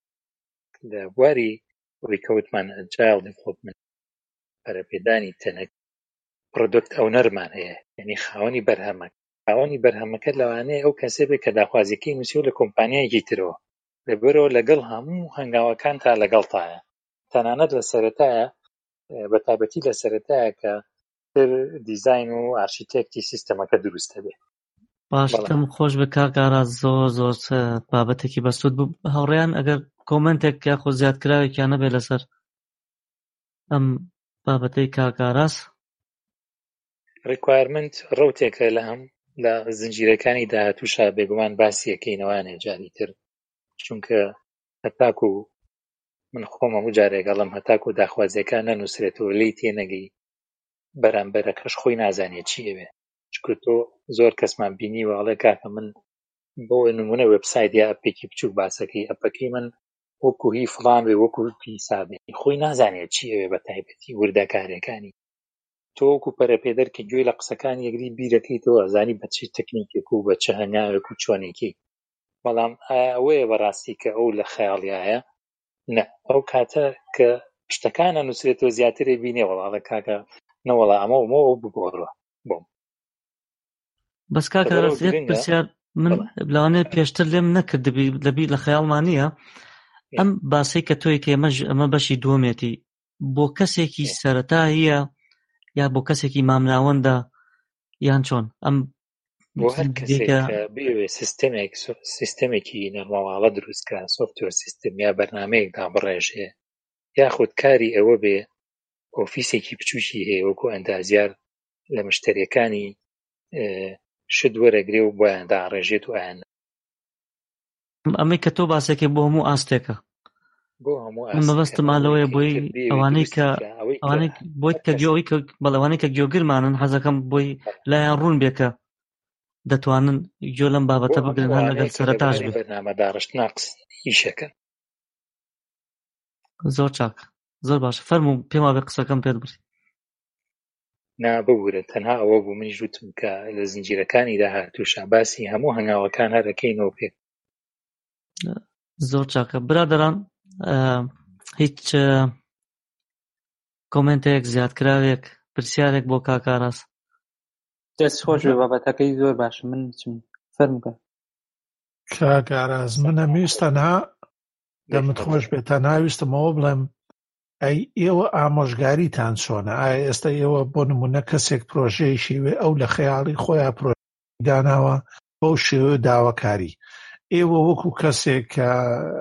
لە بواری ئەوەی کەوتمان ئەجایل دیڤلۆپمنت پەرەپێدانی تەنەک پرۆدەکت ئەو نەرمان هەیە، یعنی خاوەنی بەرهەمەک خاوەنی بەرهەمەکە لەوانەیە ئەو کەسێ بێت کە داخوازیەکەی نووسیوە لە کۆمپانیایەکی ترەوە، لەبەرەوە لەگەڵ هەموو هەنگاوەکان تا لەگەڵتایە، تەنانەت لە سەرەتایە بە تایبەتی لە سەرەتایە کە تر دیزاین و ئارشیتێکتی سیستەمەکە دروستە بێت. باش دەم خۆش بە کاک ئاراس زۆر زۆر بابەتێکی بەسوود بوو. هەوڕێیان ئەگەر کۆمنتێک یاخۆ زیادکراوێکیان نەبێت لەسەر ئەم بابەتەی کاک ئاراس؟ ریکوایرمنت ڕەوتێکە لە هەم لە زنجیرەکانی داهاتووشا بێگومان باسیەکەینەوانێ جاری تر، چونکە هەتاکو من خۆم هەموو جارێگەڵم هەتاکو داخوازیەکان نەنووسرێتەوە لی تێنەگەی بەرامبەرەکەش خۆی نازانێت چی ئەوێ، چونکە تۆ زۆر کەسمان بینیوە ئەڵێ کاکە من بۆ نمونە وێبسایت یا ئەپێکی بچووک باسەکەی ئەپەکەی من وەکو هی فڵان بێ وەکو پیسابێ، خۆی نازانێت چی ئەوێ بە تایبەتی وردەکارەکانی. تۆ وەکو پەرەپێدەر کە گوێی لە قسەکان یەکدی بیرەکەیتەوە ئەزانی بە چی تەکنیکێک و بە چه هەنگاوێک و چۆنێکی، بەڵام ئەوەیە بەڕاستی کە ئەو لە خەیاڵیایە نە، ئەو کاتە کە شتەکانە نووسێتەوە زیاترێ بینێ وەڵاڵە کاکە نەوەڵا ئەمە ومەوە بگۆڕە بۆم. بەس کاکە ڕاستێت پرسیار من لەوانەیە پێشتر لێم نەکردبی لەبی لە خەیاڵمان نییە ئەم باسەی کە تۆی کە ئەمە ئەمە بەشی دووەمێتی بۆ کەسێکی سەرەتا هەیە یا بۆ کەسێکی مامناوەندە یان چۆن؟ ئەم بۆ هەر کەسێک کە بێوێ سیستەمێک سیستەمێکی نەرمەواڵە دروستکە، سۆفتوێر سیستم یا بەرنامەیەک دابڕێژێ، یاخود کاری ئەوە بێ ئۆفیسێکی بچووکی هەیە وەکو ئەندازیار لە مشتەریەکانی شت وەرەگرێ و بۆیان داڕێژێت و ئایان ئەمەی کە تۆ باسێکێ بۆ هەموو ئاستێکە. بۆ هەموو مەبەستم مالەوەیە بۆی ئەوانەی کە ئەوانەی بۆی کە گوێی کە بەڵەوانەی کە گوێگرمانن حەزەکەم بۆی لایەن ڕوون بێکە دەتوانن گوێ لەم بابەتە بگرن هەر لەگەڵ سەرەتاش بێت. بەرنامە داڕشت ناقص ئیشەکەن. زۆر چاک، زۆر باش. فەرموو پێم وابێ قسەکەم پێت بڕی. نا ببوورە، تەنها ئەوە بوو منیش وتم کە لە زنجیرەکانی داهاتووشە باسی هەموو هەنگاوەکان هەرەکەینەوە پێ. زۆر چاکە برادەران، هیچ کۆمنتێک زیادکراوێک پرسیارێک بۆ کاکاڕاست؟ دەست خۆش بێ، بابەتەکەی زۆر باشە. من چم فەرمووکە کاکاڕاز منە ویستەنها دەمت خۆش بێت، تەنها ویستمەوە بڵێم ئەی ئێوە ئامۆژگاریتان چۆنە؟ ئایا ئێستا ئێوە بۆ نمونە کەسێک پرۆژەیەکی وێ ئەو لە خەیاڵی خۆیان پرۆژەی داناوە بەو شێوە داواکاری، ئێوە وەکو کەسێک کە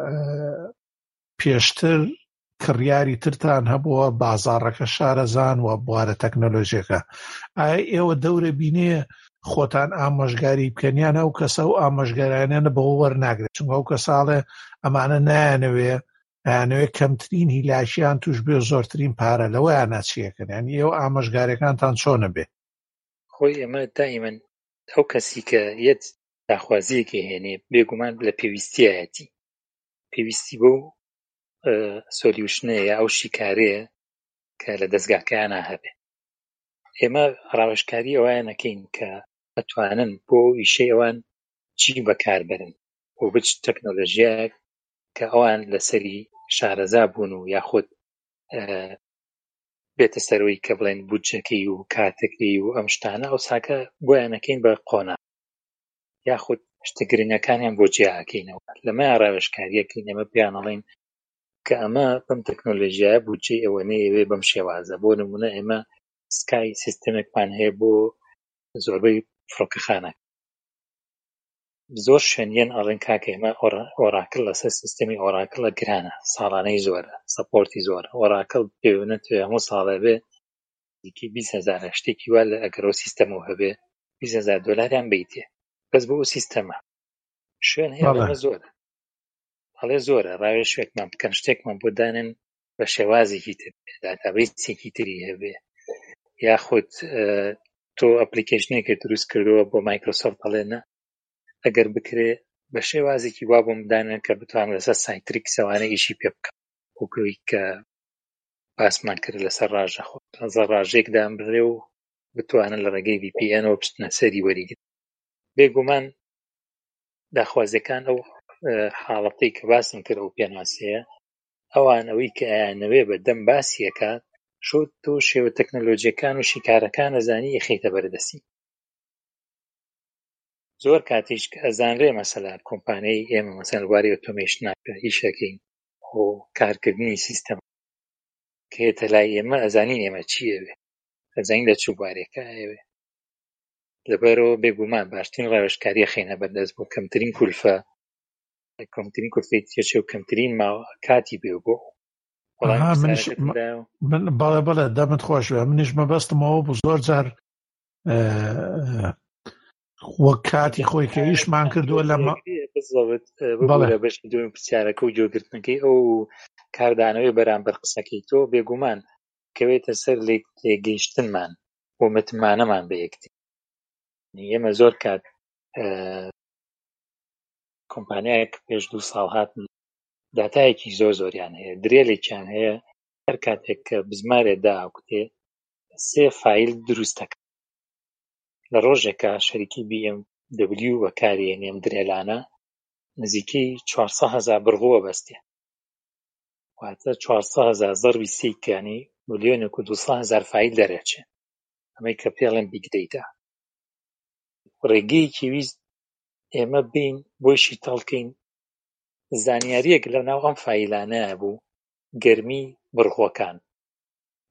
پێشتر کڕیاری ترتان هەبووە بازاڕەکە شارەزان و بوارە تەکنۆلۆژیەکە، ئایا ئێوە دەورە بینێ خۆتان ئامۆژگاری بکەنیان ئەو کەسە و ئامۆژگارانیانە بەوە وەرناگرێت؟ چونکە ئەو کەساڵێ ئەمانە نایانەوێ ئەیانەوێ کەمترین هیلاشیان توش بێ زۆرترین پارە لەوەیان ناچیەکەن، یانی ئێوە ئامۆژگارەکانتان چۆنە بێ؟ خۆی ئەمە دائیمەن ئەو کەسی کە یەت داخوازیەکی هێنێ بێگومان لە پێویستیایەتی پێویستی بۆ سۆلیوشنەیە ئەو شیکارەیە کە لە دەستگاکەیانە هەبێ. ئێمە ڕاوێژکاری ئەوەیە نەکەین کە ئەتوانن بۆ ئیشەی ئەوان چی بەکاربەرن بۆ بچ تەکنۆلۆژیایەک کە ئەوان لەسەری شارەزا بوون و یاخود بێتە سەرەوەی کە بڵێن بودجەکەی و کاتەکەی و ئەم شتانە ئەو ساکە بۆیان نەکەین بە قۆنا یاخود شتە گرنگەکانیان بۆ جیاکەینەوە. لەمە ڕاوێژکاریەکەین ئێمە پێیان ئەڵێن کە ئەمە بەم تەکنۆلۆژیایە بودجەی ئەوە نەیەوێ بەم شێوازە. بۆ نمونە ئێمە سکای سیستەمێکمان هەیە بۆ زۆربەی فڕۆکەخانە، زۆر شوێنیان ئەڵێن کاکە ئێمە ئۆراکڵ لەسەر سیستەمی ئۆراکڵە گرانە، ساڵانەی زۆرە، سەپۆرتی زۆرە. ئۆراکڵ پێوێنێت هەموو ساڵە بێ دیکەی بیست هەزار شتێکی وا لە ئەگەر ئەو سیستەمەوە هەبێ بیست هەزار دۆلاریان بیتێ بەس بۆ ئەو سیستەمە. شوێن هەیە ئەمە زۆرە، هەڵێ زۆرە ڕاوێژێکمان بکەن شتێکمان بۆ دانن بە شێوازێکی تر بێ، داتابەیسێکی تری هەبێ، یاخود تۆ ئەپلیکیشنێکی دروست کردووە بۆ مایکرۆسۆفت هەڵێنە ئەگەر بکرێ بە شێوازێکی وا بۆم بدانن کە بتوانم لەسەر سایتریکسەوانە ئیشی پێ بکەم وەکوی کە باسمان کرد لەسەر ڕاژە خۆ لەسەر ڕاژێک دام بڕێ و بتوانن لە ڕێگەی ڤی پی ئێنەوە بچنە سەری وەریگرن. بێگومان داخوازیەکان ئەو حاڵەتەی کە باسم کرد ئەو پێناسەیە ئەوان ئەوەی کە ئەیانەوێ بە دەم باسیەکە شۆ تۆ شێوە تەکنۆلۆجیەکان و شیکارەکان ئەزانی یەخیتە بەردەسی. زۆر کاتیش کە ئەزانرێ مەسەلا کۆمپانیای ئێمە مەسەلا واری ئۆتۆمێشناکە هیچەکەین بۆ کارکردنی سیستەم کە هێتە لای ئێمە ئەزانین ئێمە چیەوێ، ئەزانین لە چووبارێکە ئەوێ. لەبەرەوە بێگومان باشترین ڕاوێژکاریە خێنە بەردەست بۆ کەمترین کولفە کەمترین کولفەی تێچێ و کەمترین کاتی بێ بۆ بەڵێ بەڵێ دەمت خۆش بێ. منیش مەبەستمەوە بوو زۆر جار وەک کاتی خۆی کە ئیشمان کردووە لەمە بەڵێ بەشی دوێم پرسیارەکە و جۆگرتنەکەی ئەو کاردانەوەی بەرامبەر قسەکەی تۆ بێگومان کەوێتە سەر لێگەیشتنمان بۆ متمانەمان بە یەکتر. ئێمە زۆر کات کۆمپانیایەک پێش دوو ساڵ هاتن داتایەکی زۆر زۆریان هەیە، درێلێکیان هەیە هەر کاتێک کە بزمارێ داکوتێ سێ فایل دروستەکە لە ڕۆژێکە شەریکی بی ئێم دەبلیو بەکارهێنێ ئەم درێلانە نزیکەی چوارسەد هەزار بڕغوە بەستێ، واتە چوارسەد هەزار زەربی سێکانی ملیۆنێک و دووسەد هەزار فایل دەرەچێ. ئەمەی کە پێڵێن بیگ دەیتا. ڕێگەیەکی ویست ئێمە بین بۆیشی تەڵکەین زانیاریەک لەناو ئەم فایلانەیە بوو گەرمی بڕغوەکان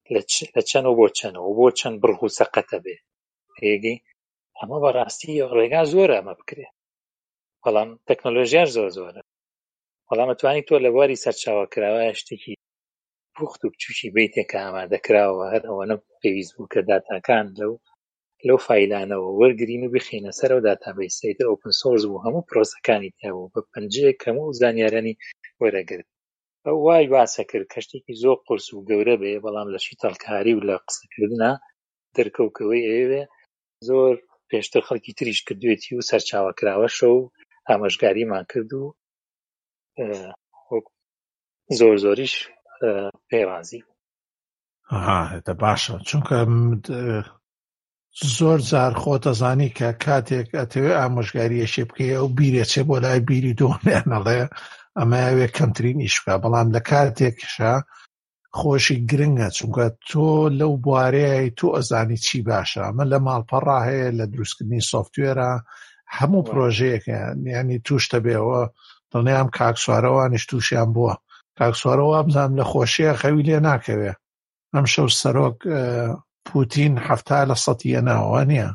لە چەند و بۆ چەنەوە بۆ چەند بڕغ و سەقەتە بێ هێگەی ئەمە بەڕاستی ڕێگا زۆرە ئەمە بکرێت بەڵام تەکنۆلۆژیاش زۆر زۆرە بەڵام ئەتوانی تۆ لە بواری سەرچاوەکراوە شتێکی پوخت و بچووکی بیتێکە ئامادەکراوە هەر ئەوەنە پێویست بوو کە داتاکان لەو لەو فایلانەوە وەرگرین و بخینە سەرەوە داتابیسیتر ئۆپن سۆرس بوو هەموو پرۆسەکانی تیابوو بە پەنجەیەک هەموو زانیارانی وەرەگرت ئەو وای باسە کرد کە شتێکی زۆر قورس و گەورە بێ بەڵام لە شیتەڵکاری و لە قسەکردنا دەرکەوکەوەی ئێوێ زۆر پێشتر خەڵکی تریش کردوێتی و سەرچاوەکراوەشە و ئامۆژگاریمان کرد و زۆر زۆریش پێڕازی هاتە باشە چونکە زۆر جار خۆ دەزانی کە کاتێک ئەتەوێ ئامۆژگاریەشێ بکەیە و بیرێچێ بۆ لای بیری دۆنێنەڵێ ئەمە ئەوێ کەمترین ئیش بکە بەڵام لە کاتێکشە خۆشی گرنگە چونکە تۆ لەو بوارەیە تۆ ئەزانی چی باشە ئەمە لە ماڵپەڕا هەیە لە دروستکردنی سۆفتوێرە هەموو پرۆژەیەکە یعنی توشتە بێەوە دڵنیام کاکسوارەوانیش تووشیان بووە کاکسوارەوە بزانام لە خۆشیە خەوی لێ ناکەوێ ئەم شەو سەرۆک پوتین هەفتا لە سەتیە ناوە نییە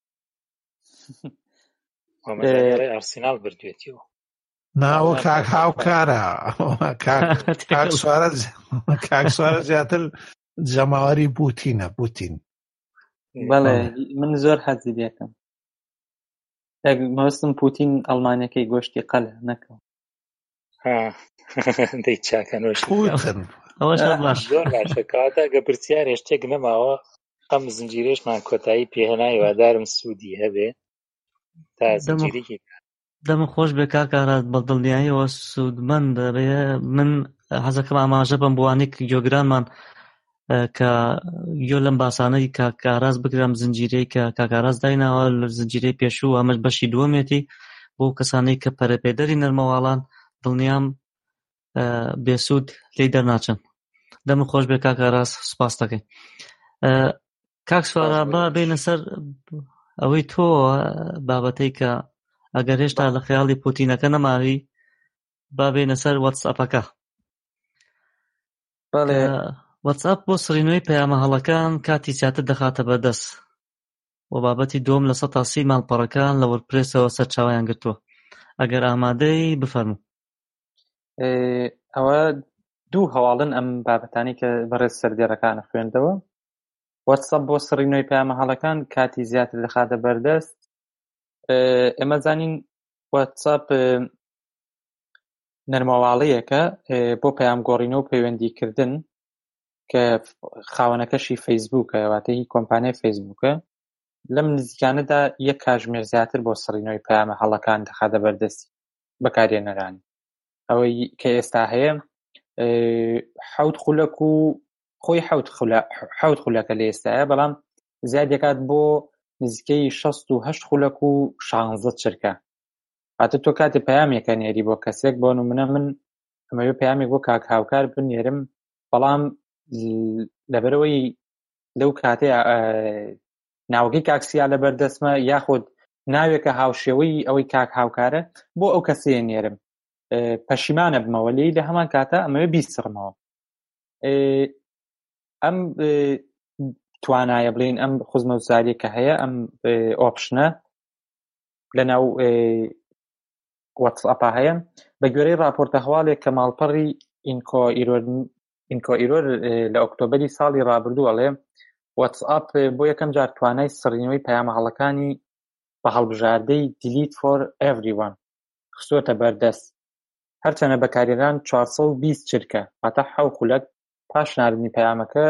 ئارسینال بردوێتیەوە ناوە کاک هاوکارە کاکسوارە زیاتر جەماوەری بوتینە بوتین بەڵێ من زۆر حەزی دێکم مەوەستم پوتین ئەڵمانیەکەی گۆشتی قەلە نەکەم دەی چاکەنۆش ئەوەش باش زۆر باشە کاتە گە پرسیارێ شتێک نەماوە ئەم زنجیرێشمان کۆتایی پێهێنای وادارم سوودی هەبێ تا زنجیرێکی دەمە خۆش بێ کاکارات بەدڵنیاییەوە سوودمەندە بێ من حەزەکەم ئاماژە بم بوانێک گۆگرانمان کە یۆ لەم باسانەی کاکاراز بگرم زنجیرەی کە کاکاراز دایناوە لە زنجیرەی پێشوو ئەمەش بەشی دووەمێتی بۆ کەسانەی کە پەرەپێدەری نەرمەواڵان دڵنیام بێسوود لێی دەرناچن دەمە خۆش بێ کاکاراز سوپاس دەکەین کاک سوارا با بینە سەر ئەوەی تۆ بابەتەی کە ئەگەر هێشتا لە خەیاڵی پوتینەکە نەماوی با بینە سەر واتسئەپەکە بەڵێ واتسئەپ بۆ سڕینەوەی پەیامە هەڵەکان کاتی زیاتر دەخاتە بەردەست و بابەتی دۆم لە سەد تا سی ماڵپەڕەکان لە وەردپرێسەوە سەرچاوەیان گرتووە ئەگەر ئامادەی بفەرموو ئەوە دوو هەواڵن ئەم بابەتانی کە بەڕێز سەردێڕەکانە خوێندەوە واتسەپ بۆ سڕینەوەی پەیامە هەڵەکان کاتی زیاتر دەخاتە بەردەست ئێمە زانین واتسەپ نەرمەواڵەیەکە بۆ پەیام گۆڕینەوە و پەیوەندیکردن کە خاوەنەکەشی فەیسبووکە واتە هی کۆمپانیای فەیسبووکە لەم نزیکانەدا یەک کاتژمێر زیاتر بۆ سڕینەوەی پەیامە هەڵەکان دەخاتە بەردەستی بەکارهێنەرانی ئەوەی کە ئێستا هەیە حەوت خولەک و خۆی حەوت خولەکە لە ئێستاە بەڵام زیاد دەکات بۆ نزیکەی شەست و هەشت خولەک و شانزدە چرکە هاتە تۆ کاتێ پەیامێکە نێری بۆ کەسێک بۆ نمونە من ئەمەوێ پەیامێک بۆ کاک هاوکار بنێرم بەڵام لەبەرەوەی لەو کاتێ ناوەکەی کاکسیا لەبەردەستمە یاخود ناوێکە هاوشێوەی ئەوەی کاک هاوکارە بۆ ئەو کەسەیە نێرم پەشیمانە بمەوە لێی لە هەمان کاتە ئەمەوێ بیسڕمەوە ئەم توانایە بڵین ئەم خوزمە وزاریە کە هەیە ئەم ئۆپشنە لەناو واتسئەپا هەیە بە گوێرەی راپۆرتە هەواڵێک کە ماڵپەڕی ئینکۆ ئیرۆر لە ئۆکتۆبەری ساڵی ڕابردوو ئەڵێ واتسئەپ بۆ یەکەم جار توانای سڕینەوەی پەیامە هەڵەکانی بە هەڵبژاردەی delete for everyone خستووەتە بەردەست هەرچەنە بەکارهێنان چوارسەد و بیست چرکە واتە حەوت خولەک پاش ناردنی پەیامەکە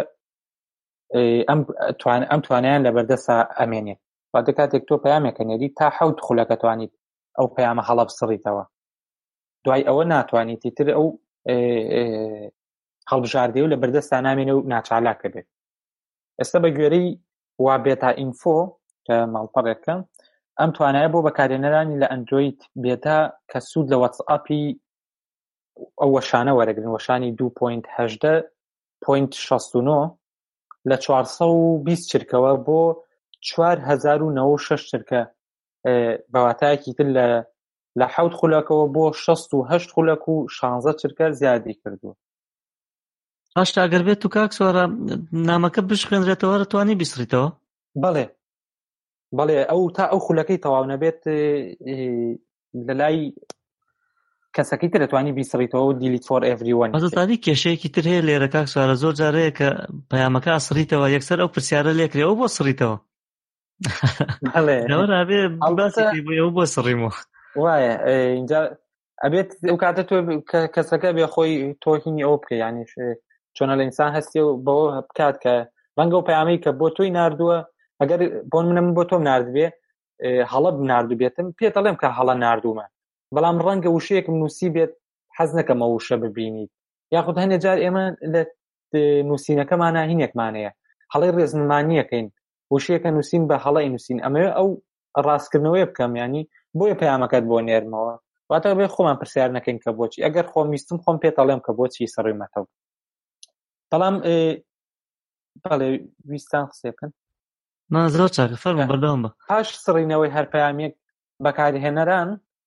ئەم توانایان لە بەردەستە ئەمێنێت واتە کاتێک تۆ پەیامێکە نێری تا حەوت خولەکە توانیت ئەو پەیامە هەڵە بسڕیتەوە دوای ئەوە ناتوانیتی تر ئەو هەڵبژاردەی و لە بەردەستا نامێنێ و ناچالاکە بێت ئێستا بە گوێرەی وا بێتا ئینفۆ کە ماڵپەڕێکە ئەم توانایە بۆ بەکارهێنەرانی لە ئەندروید بێتا کە سوود لە واتسئەپی ئەو وەشانە وەرەگرن وەشانی دوو پۆینت هەژدە پۆینت شەست و نۆ لە چوارسەد و بیست چرکەوە بۆ چوار هەزار و نەوە و شەش چرکە بەواتایەکی تر لە لە حەوت خولەکەوە بۆ شەست و هەشت خولەک و شانزدە چرکە زیادی کردووە هاشتا ئەگەر بێت و کاک سوارە نامەکە بشخێنرێتەوە توانی بیسڕیتەوە؟ بەڵێ بەڵێ ئەو تا ئەو خولەکەی تەواو نەبێت لە لای کەسەکەی تر دەتوانی بیسڕیتەوە و دیلیت فۆر ئێڤریوان. ئەزانی کێشەیەکی تر هەیە لێرە کاک سوارە، زۆر جارەیە کە پەیامەکە ئەسڕیتەوە یەکسەر ئەو پرسیارە لێکرێ ئەو بۆ سڕیتەوە. بەڵێ نەوەرابێ باسی بۆ ئەو بۆ سڕیمەوە وایە اینجا ئەبێت ئەو کاتە تۆ کەسەکە بێ خۆی تۆهینی ئەو بکە، یعنی چۆنە لە ئینسان هەستی و بەوە بکات کە ڕەنگە و پەیامەی کە بۆ تۆی ناردووە ئەگەر بۆ منە من بۆ تۆم ناردبێ هەڵە بناردو بێتم پێت دەڵێم کە هەڵە ناردوومە، بەڵام ڕەنگە وشەیەکم نووسی بێت حەز نەکەمە وشە ببینیت، یاخود هەندێک جار ئێمە لە نووسینەکەمانە هینێکمانەیە هەڵەی ڕێزنمانیەکەین وشەیەکە نووسین بە هەڵەی نووسین، ئەمەوێ ئەو ڕاستکردنەوەی بکەم، ینی بۆیە پەیامەکەت بۆ نێرمەوە واتە بێ خۆمان پرسیار نەکەین کە بۆچی، ئەگەر خۆم ویستم خۆم پێت دەڵێم کە بۆچی سڕیمەتەوە. بەڵام بەڵێ ویستان قسە بکەن ما زۆر چاکە فەرموو بەردەوام بە. پاش سڕینەوەی هەر پەیامێک بەکارهێنەران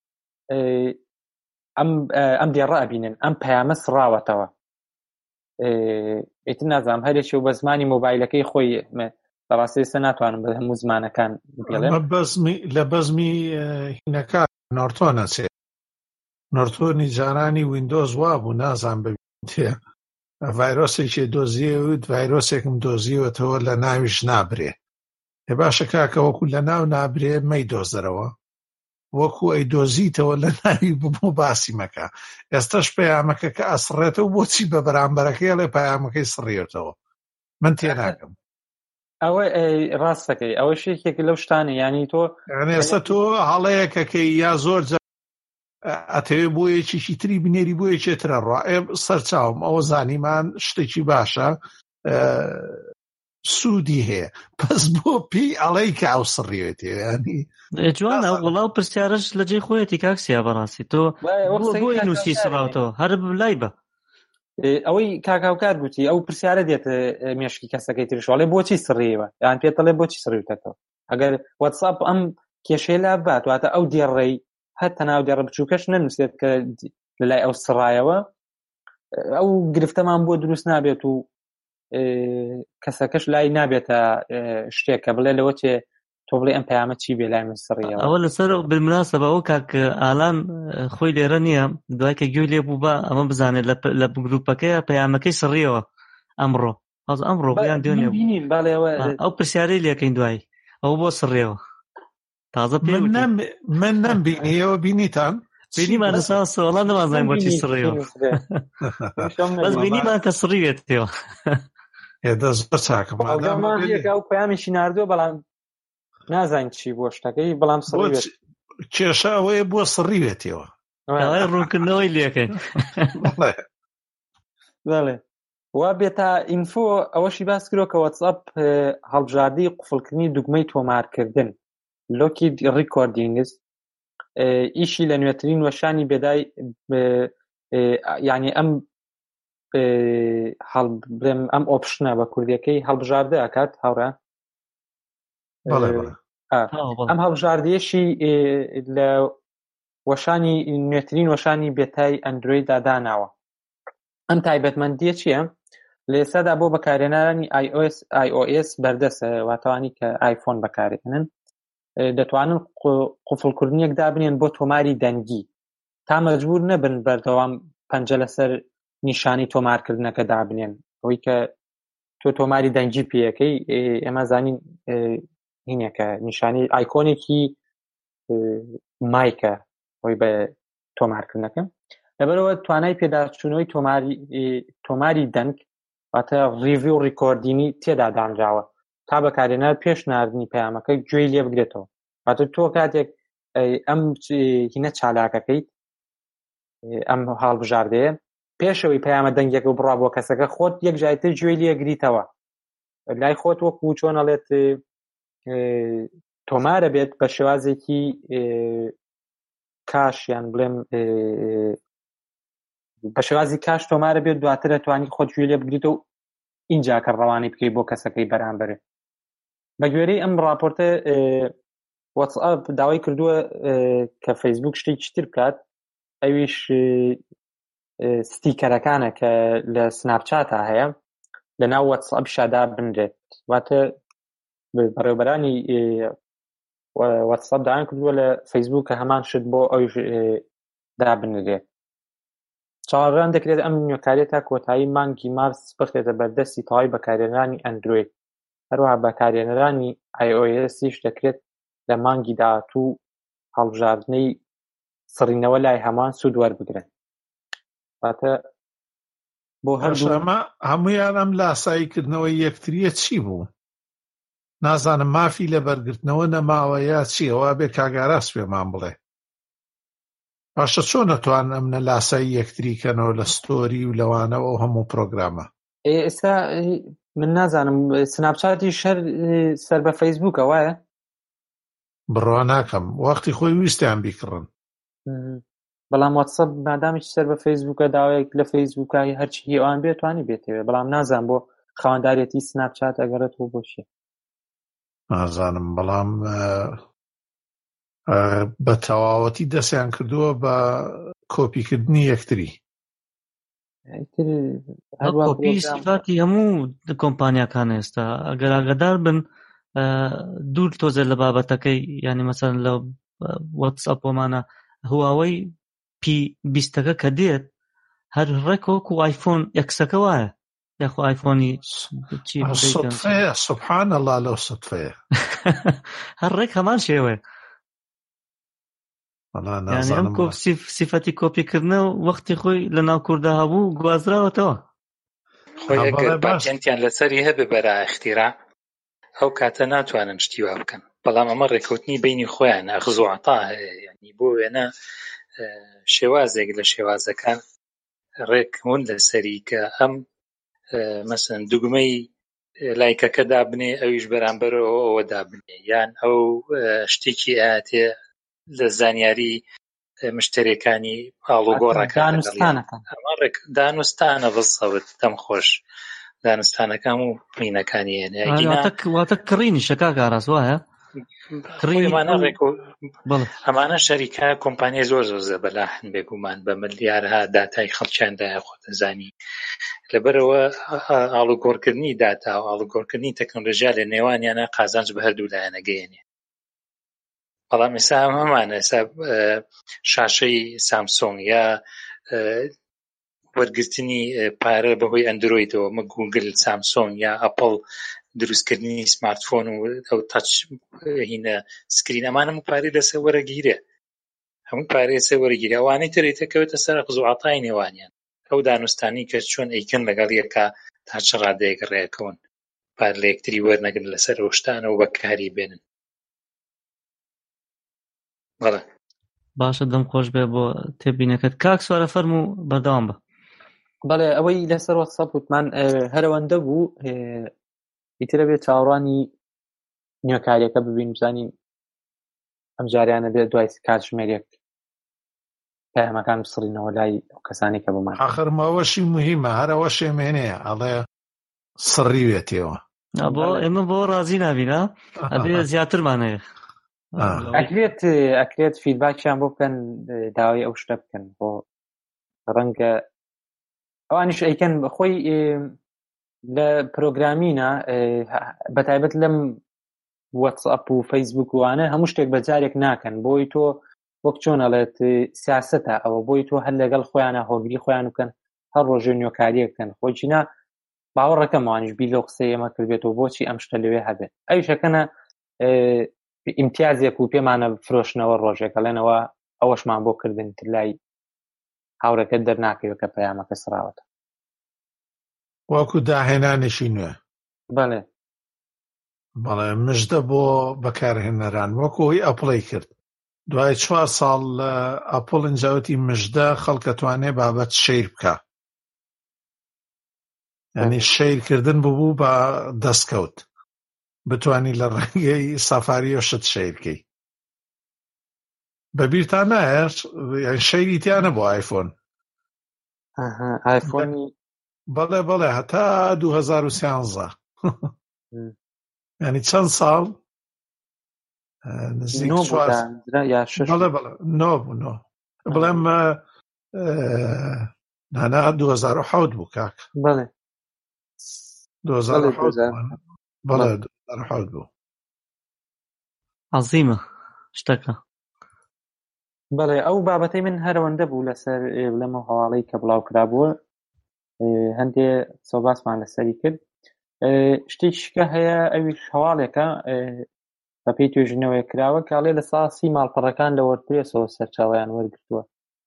ئەم ئەم دێڕە ئەبینن ئەم پەیامە سڕاوەتەوە، ئیتر نازانم هەرێکی و بە زمانی مۆبایلەکەی خۆی بەڕاستی سە ناتوانم بە هەموو زمانەکان بڵێم. لە بەزمی هینەکان نۆرتۆنە چێ نۆرتۆنی جارانی ویندۆز وا بوو نازان ببینێ ڤایرۆسێکی دۆزیەوت ڤایرۆسێکم دۆزیوەتەوە لە ناویش نابرێ، ێ باشە کاکە وەکو لە ناو نابرێ مەی دۆزەرەوە وەکو ئەی دۆزیتەوە لە ناوی ببوو باسی مەکە. ئێستاش پەیامەکە کە ئەسڕێتەوە بۆچی بە بەرامبەرەکەی لێ پەیامەکەی سڕێتەوە من تێ ناکەم. ئەوە ڕاستەکەی ئەوە شێکێک لەو شتانە، ینی تۆ ئێستا تۆ هەڵەیەکەکەی یا زۆر ئەتەوێ بۆ یەکێکی تری بنێری بۆ یەکێترە ڕوا سەرچاوم ئەوە زانیمان شتێکی باشە سوودی هەیە پس بۆ پێی ئەڵەی کە ئەو سڕیوێتێ ینی جوانە وڵاو پرسیارش لە جێی خۆیەتی کاکسیا بەڕاستی تۆ بۆی نووسی سڕاوتەوە هەر لای بە ئەوەی کاکاوکار گوتی ئەو پرسیارە دێت مێشکی کەسەکەی ترشڵێ بۆچی سڕیەوە یان پێت دەڵێ بۆچی سڕیوتەوە. ئەگەر واتساپ ئەم کێشەی لا بات واتە ئەو دێڕەی هەتا ناو دێڕە بچووکەش نەنووسێت کە لەلای ئەو سڕایەوە ئەو گرفتەمان بۆ دروست نابێت و کەسەکەش لای نابێتە شتێکە بڵێ لەوە چێ تۆ بڵێ ئەم پەیامە چی بێ لای من سڕیەوە. ئەوە لەسەر بالمناسبە ئەو کاک ئالان خۆی لێرە نییە دوای کە گوێ لێ بوو بە ئەمە بزانێت لە گروپەکەی پەیامەکەی سڕیەوە ئەمڕۆ ئەز ئەمڕۆ بۆیان دوێنێ ئەو پرسیارەی لێکەین دوای ئەو بۆ سڕیەوە تازە پێ من نەمبینیەوە بینیتان بینیمان لەسا سوڵان نەمازانین بۆچی سڕیەوە بەس بینیمان کە سڕیوێتەوە ئێدە زۆر چاکە ئەو پەیامیشی ناردووە بەڵام نازانین چی بۆ شتەکەی بەڵام سڕیوێت کێشە ئەوەیە بۆ سڕیوێتەوە ڕوونکردنەوەی لێکەین بەڵێ وا بێتە ئینفۆ ئەوەشی باس کرۆ کە واتساپ هەڵبژاردی قوفڵکردنی دوگمەی تۆمارکردن لۆکی ڕیکۆردینگز ئیشی لە نوێترین وەشانی بێدای یعنی ئەم هەڵبڵێم ئەم ئۆپشنە بە کوردیەکەی هەڵبژاردە ئەکات هاوڕە ئەم هەڵبژاردیەشی لە وەشانی نوێترین وەشانی بێتای ئەندرویدا داناوە. ئەم تایبەتمەندیە چییە؟ لە ئێستادا بۆ بەکارهێنانی آی ئۆ ئێس بەردەسە واتەوانی کە ئایفۆن بەکارهێنن دەتوانن قوفڵکردنیەک دابنێن بۆ تۆماری دەنگی تا مەجبور نەبن بەردەوام پەنجە لەسەر نیشانی تۆمارکردنەکە دابنێن. ئەوەی کە تۆ تۆماری دەنگی پێەکەی ئێمە زانین هینێکە نیشانی ئایکۆنێکی مایکە ئەوی بە تۆمارکردنەکە لەبەرەوە توانای پێداچوونەوەی تۆماری تۆماری دەنگ واتە ڕیڤی و ڕیکۆردینی تێدا دانراوە تا بەکارهێنەر پێش ناردنی پەیامەکە گوێی لێ بگرێتەوە. واتە تۆ کاتێک ئەم هینە چالاکەکەیت ئەم هەڵبژاردەیە پێشەوەی پەیامە دەنگێک و بڕا بۆ کەسەکە خۆت یەک جایتر گوێی لێ گریتەوە لای خۆت وەکو چۆنەڵێت تۆمارە بێت بە شێوازێکی کاشیان بڵێم بە شێوازی کاش تۆمارە بێت دواتر دەتوانی خۆت گوێی لێ بگریتەوە و اینجا کە ڕەوانی بکەی بۆ کەسەکەی بەرامبەرێ. بە گوێرەی ئەم راپۆرتە واتساپ داوای کردووە کە فەیسبوک شتێکی تر بکات ئەویش ستیکەرەکانە کە لە سناپچاتە هەیە لە ناو واتسەپشادا بنرێت واتە بەڕێوەبەرانی واتسەپ دایان کردووە لە فەیسبووکە هەمان شت بۆ ئەویش دابنرێت. چاوەڕوان دەکرێت ئەم نوێکاریە تا کۆتایی مانگی مارس بخرێتە بەردەستی تەواوی بەکارهێنەرانی ئەندروید. هەروەها بەکارهێنەرانی آی او ایسیش دەکرێت لە مانگی داهاتوو هەڵبژاردنەی سڕینەوە لای هەمان سوود وەربگرن. واتە بۆ هەردوو هەمویان ئەم لاساییکردنەوەی یەکتریە چی بوو؟ نازانم مافی لە بەرگرتنەوە نەماوە یا چیەوە بێ کاگاراس پێمان بڵێ. باشە چۆن نەتوان ئەمنە لاسایی یەکتریکەنەوە لە ستۆری و لەوانەوە و هەموو پرۆگرامە؟ ئێستا من نازانم سناپچاتی شەر سەر بە فەیسبووکە وایە؟ بڕوا ناکەم وەختی خۆی ویستیان بیکڕن. بەڵام واتسەپ مادامیش سەر بە فەیسبووکە داوایەک لە فەیسبووکای هەرچی ئەوان بێت توانی بێتەوێ، بەڵام نازان بۆ خاوەندارێتی سناپچات ئەگەڕێتەوە بۆشیە نازانم. بەڵام بە تەواوەتی دەستیان کردووە بە کۆپیکردنی یەکتری. کۆپی سیفاتی هەموو کۆمپانیاکان ئێستا ئەگەر ئاگادار بن دوور تۆزێ لە بابەتەکەی، یعنی مەسەن لە واتسەپۆمانە هواوەی پی بیستەکە کە دێت هەر ڕێکۆک و ئایفۆن ئەکسەکە وایە یاخۆ ئایفۆنی سوتفەیە. سوبحان الله لەو سوتفەیە هەر ڕێک هەمان شێوەیە. یعنی ئەم سیفەتی کۆپیکردنە وەختی خۆی لە ناو کووردا هەبوو گوازراوەتەوە. خۆی ئەگەر باجێنتیان لەسەری هەبێ بەرە اختیرا ئەو کاتە ناتوانن شتی وا بکەن، بەڵام ئەمە ڕێکەوتنی بینی خۆیان ئەخذ و عەتا هەیە. یعنی بۆ وێنە شێوازێک لە شێوازەکان ڕێکون لەسەری کە ئەم مەسەن دوگمەی لایکەکە دابنێ ئەویش بەرامبەرەوە ئەوە دابنێ، یان ئەو شتێکی ئااتێ لە زانیاری مشتەرەکانی ئاڵوگۆڕەکان دانوستانە بڵسەوت دەم خۆش دانستانەکان و پینەکانی واتە کڕینی شەکا گاراز وایە ئەمانە شەریکە کۆمپانیای زۆر زۆر زەبەلاحن بێگومان بە ملیارها داتای خەڵکیاندایە خۆتەزانی. لەبەرەوە ئاڵوگۆڕکردنی داتا و ئاڵوگۆڕکردنی تەکنۆلۆژیا لە نێوانیانە قازانج بە هەردوو لایەنەگەیەنێ. بەڵام ئێستا هەمانە ئێستا شاشەی سامسۆنگ یا وەرگرتنی پارە بەهۆی ئەندرۆیدەوە مە گوگل سامسۆنگ یا ئەپڵ دروستکردنی سمارتفۆن و ئەو تاچ هینە سکرین ئەمان هەموو پارەی لەسەر وەرەگیرێ، هەموو پارەی لەسەر وەرەگیرێ. ئەوانەی ترێتەکەوێتە سەر ئەخذ و عەتای نێوانیان، ئەو دانوستانی کە چۆن ئەیکەن لەگەڵ یەکا تا چ ڕادەیەک ڕێکەون پار لە یەکتری وەرنەگرن لەسەر ئەو شتانە و بەکاری بێنن. بەڵێ باشە دەم خۆش بێ بۆ تێبینەکەت. کاک سوارە فەرموو بەردەوام بە. بەڵێ ئەوەی لەسەر واتسەپ وتمان هەرەوەندە بوو ئیترە بێت چاوەڕوانی نوێکاریەکە ببین بزانین ئەم جاریانە بێت دوای کاتژمێرێک پەیامەکان بسڕینەوە لای ئەو کەسانی کە بمان. ئاخر ماوەشی موهیمە هەرەوە شێمێنەیە ئەڵێ سڕیوێتەوە بۆ ئێمە بۆ ڕازی نابینە ئەبێ زیاترمانەیە ئەکرێت ئەکرێت فیدباکیان بۆ بکەن داوای ئەو شتە بکەن بۆ ڕەنگە ئەوانیش ئەیکەن خۆی لە پرۆگرامینە بەتایبەت لەم واتسەپ و فەیسبوک وانە هەموو شتێک بەجارێک ناکەن بۆی تۆ وەک چۆنەڵێت سیاسەتە ئەوە بۆی تۆ هەر لەگەڵ خۆیانە هۆگری خۆیان بکەن هەر ڕۆژێ نوێکاریە بکەن. خۆچینە باوەڕەکەم وانیش بی لەو قسەی ئێمە کردێتەوە بۆچی ئەم شتە لەوێ هەبێت. ئەویشەکەنە ئیمتیازێک و پێمانە فرۆشنەوە ڕۆژێکە لێنەوە ئەوەشمان بۆ کردن تر لای هاوڕەکەت دەرناکەوە کە پەیامەکە سراوەتە وەکو داهێنانێکی نوێ. بەڵێ بەڵێ مژدە بۆ بەکارهێنەران وەکوی ئەپڵی کرد دوای چوار ساڵ لە ئەپڵ ئنجاوتی مژدە خەڵکەتوانێ بابەت شەیر بکە، یعنی شەیرکردن ببوو بە دەستکەوت بتوانی لە ڕێگەی سەفاری و شت شەیرکەی. بەبیرتان نایە شەیری تیانە بۆ ئایفۆن؟ ئایفۆنی بەڵێ بەڵێ هەتا دوو هەزار و سیانزە ینی چەند ساڵ نزیک بەڵێ بەڵێ نۆ بوو نۆ بڵێم نانا دوو هەزار و حەوت بوو کاک بەڵێ دوو هەزار و حەوت بەڵێ بەڵێ. دوو هەزار و حەوت بوو عەزیمە شتەکە. بەڵێ ئەو بابەتەی من هەرەوەندە بوو لەسەر لەمە هەواڵەی کە بڵاو کرابووە هەندێ سەباسمان لەسەری کرد. شتێکیشکە هەیە ئەویش هەواڵێکە بە پێی توێژینەوەی کراوە کاڵێ لە ساسی ماڵپەڕەکان لە وەردپرێسەوە سەرچاوەیان وەرگرتووە.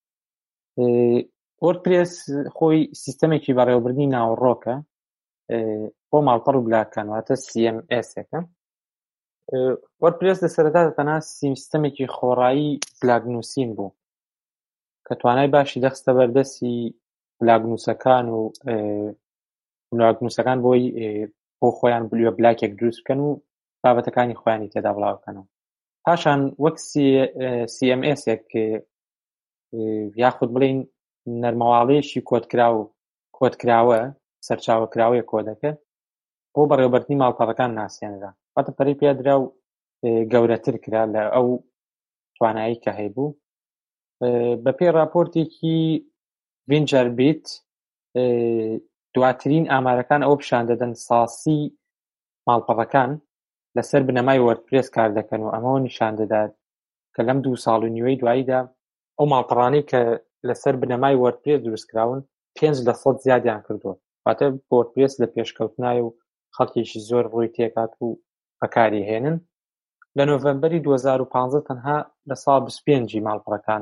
وەردپرێس خۆی سیستەمێکی بەڕێوەبردنی ناوەڕۆکە بۆ ماڵپەڕ و بلاکان واتە سی ئەم ئێسێکە. وەردپرێس لە سەرەتا تەنها سیستەمێکی خۆڕایی بلاگنووسین بوو کە توانای باشی دەخستە بەردەستی بلاگنووسەکان و بلاگنووسەکان بۆی بۆ خۆیان بلوێ بلاکێک دروست بکەن و بابەتەکانی خۆیانی تێدا بڵاوکەنەوە. پاشان وەک سی ئەم ئێسێک یاخود بڵین نەرمەواڵەیەشی کۆدکراو کۆدکراوە سەرچاوەکراوەیە کۆدەکە بۆ بەڕێوەبردنی ماڵپەڕەکان ناسیێنرا واتە پەرەی پێدرا و گەورەتر کرا لە ئەو توانایی کە هەیبوو. بە پێی راپۆرتێکی ڤینجەر بیت دواترین ئامارەکان ئەو پیشان دەدەن ساسی ماڵپەڕەکان لەسەر بنەمای وەردپرێس کار دەکەن و ئەمەوە نیشان دەدات کە لەم دوو ساڵ و نیوەی دواییدا ئەو ماڵپەڕانەی کە لەسەر بنەمای وەردپرێس دروستکراون پێنج لە سەد زیادیان کردووە واتە وەردپرێس لە پێشکەوتنایە و خەڵکێکی زۆر ڕووی تێکات و بەکاری هێنن. لە نۆڤەمبەری دوو هەزار و پانزە تەنها لە ساڵ بیست و پێنجی ماڵپەڕەکان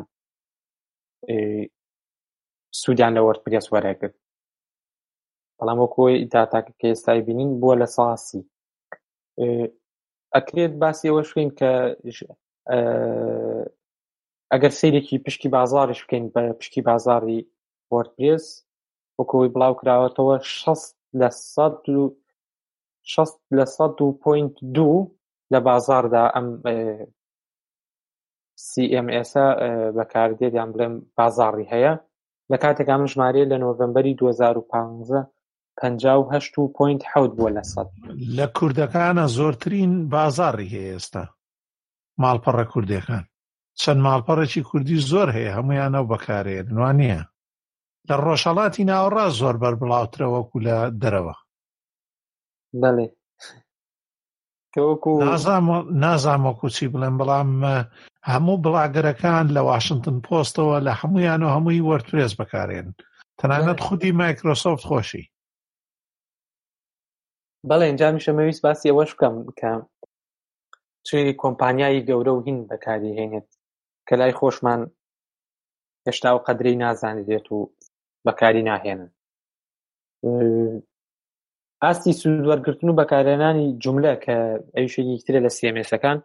سوودیان لە وەردپرێس وەرەگرت بەڵام وەکۆی داتاکە کە ئێستای بینین بووە لە ساسی. ئەکرێت باسی ئەوەش بکەین کە ئەگەر سەیرێکی پشکی بازاڕیش بکەین بە پشکی بازاڕی وەردپرێس وەکۆی بڵاو کراوەتەوە شەست لە سەد و شەست لە سەد و پۆینت دوو لە بازاڕدا ئەم سی ئەم ئێسە بەکاردێت یان بڵێم بازاڕی هەیە لە کاتێکا من ژمارەیە لە نۆڤەمبەری دوو هەزار و پانزە پەنجا و هەشت و پۆینت حەوت بووە لە سەد. لە کوردەکانە زۆرترین بازاڕی هەیە ئێستا ماڵپەڕە کوردەکان چەند ماڵپەڕێکی کوردی زۆر هەیە هەمویان ئەو بەکارێنن وان نییە لە ڕۆژهەڵاتی ناوەڕاست زۆر بەربڵاوترە وەکو لە دەرەوە. بەڵێ نازام وەکو چی بڵێم بەڵام هەموو بڵاگەرەکان لە واشنگتن پۆستەوە لە هەمویان و هەمووی وەردپرێس بەکارێن تەنانەت خودی مایکرۆسۆفت خۆشی. بەڵێ اینجا میشە مەویست باسی ئەوەش بکەم کە چی کۆمپانیای گەورە و هین بەکاری هێنێت کە لای خۆشمان هێشتا و قەدرەی نازانێت و بەکاری ناهێنن. ئاستی سوودوەرگرتن و بەکارهێنانی جوملە کە ئەویشێکی ترە لە سی ئەم ئێسەکان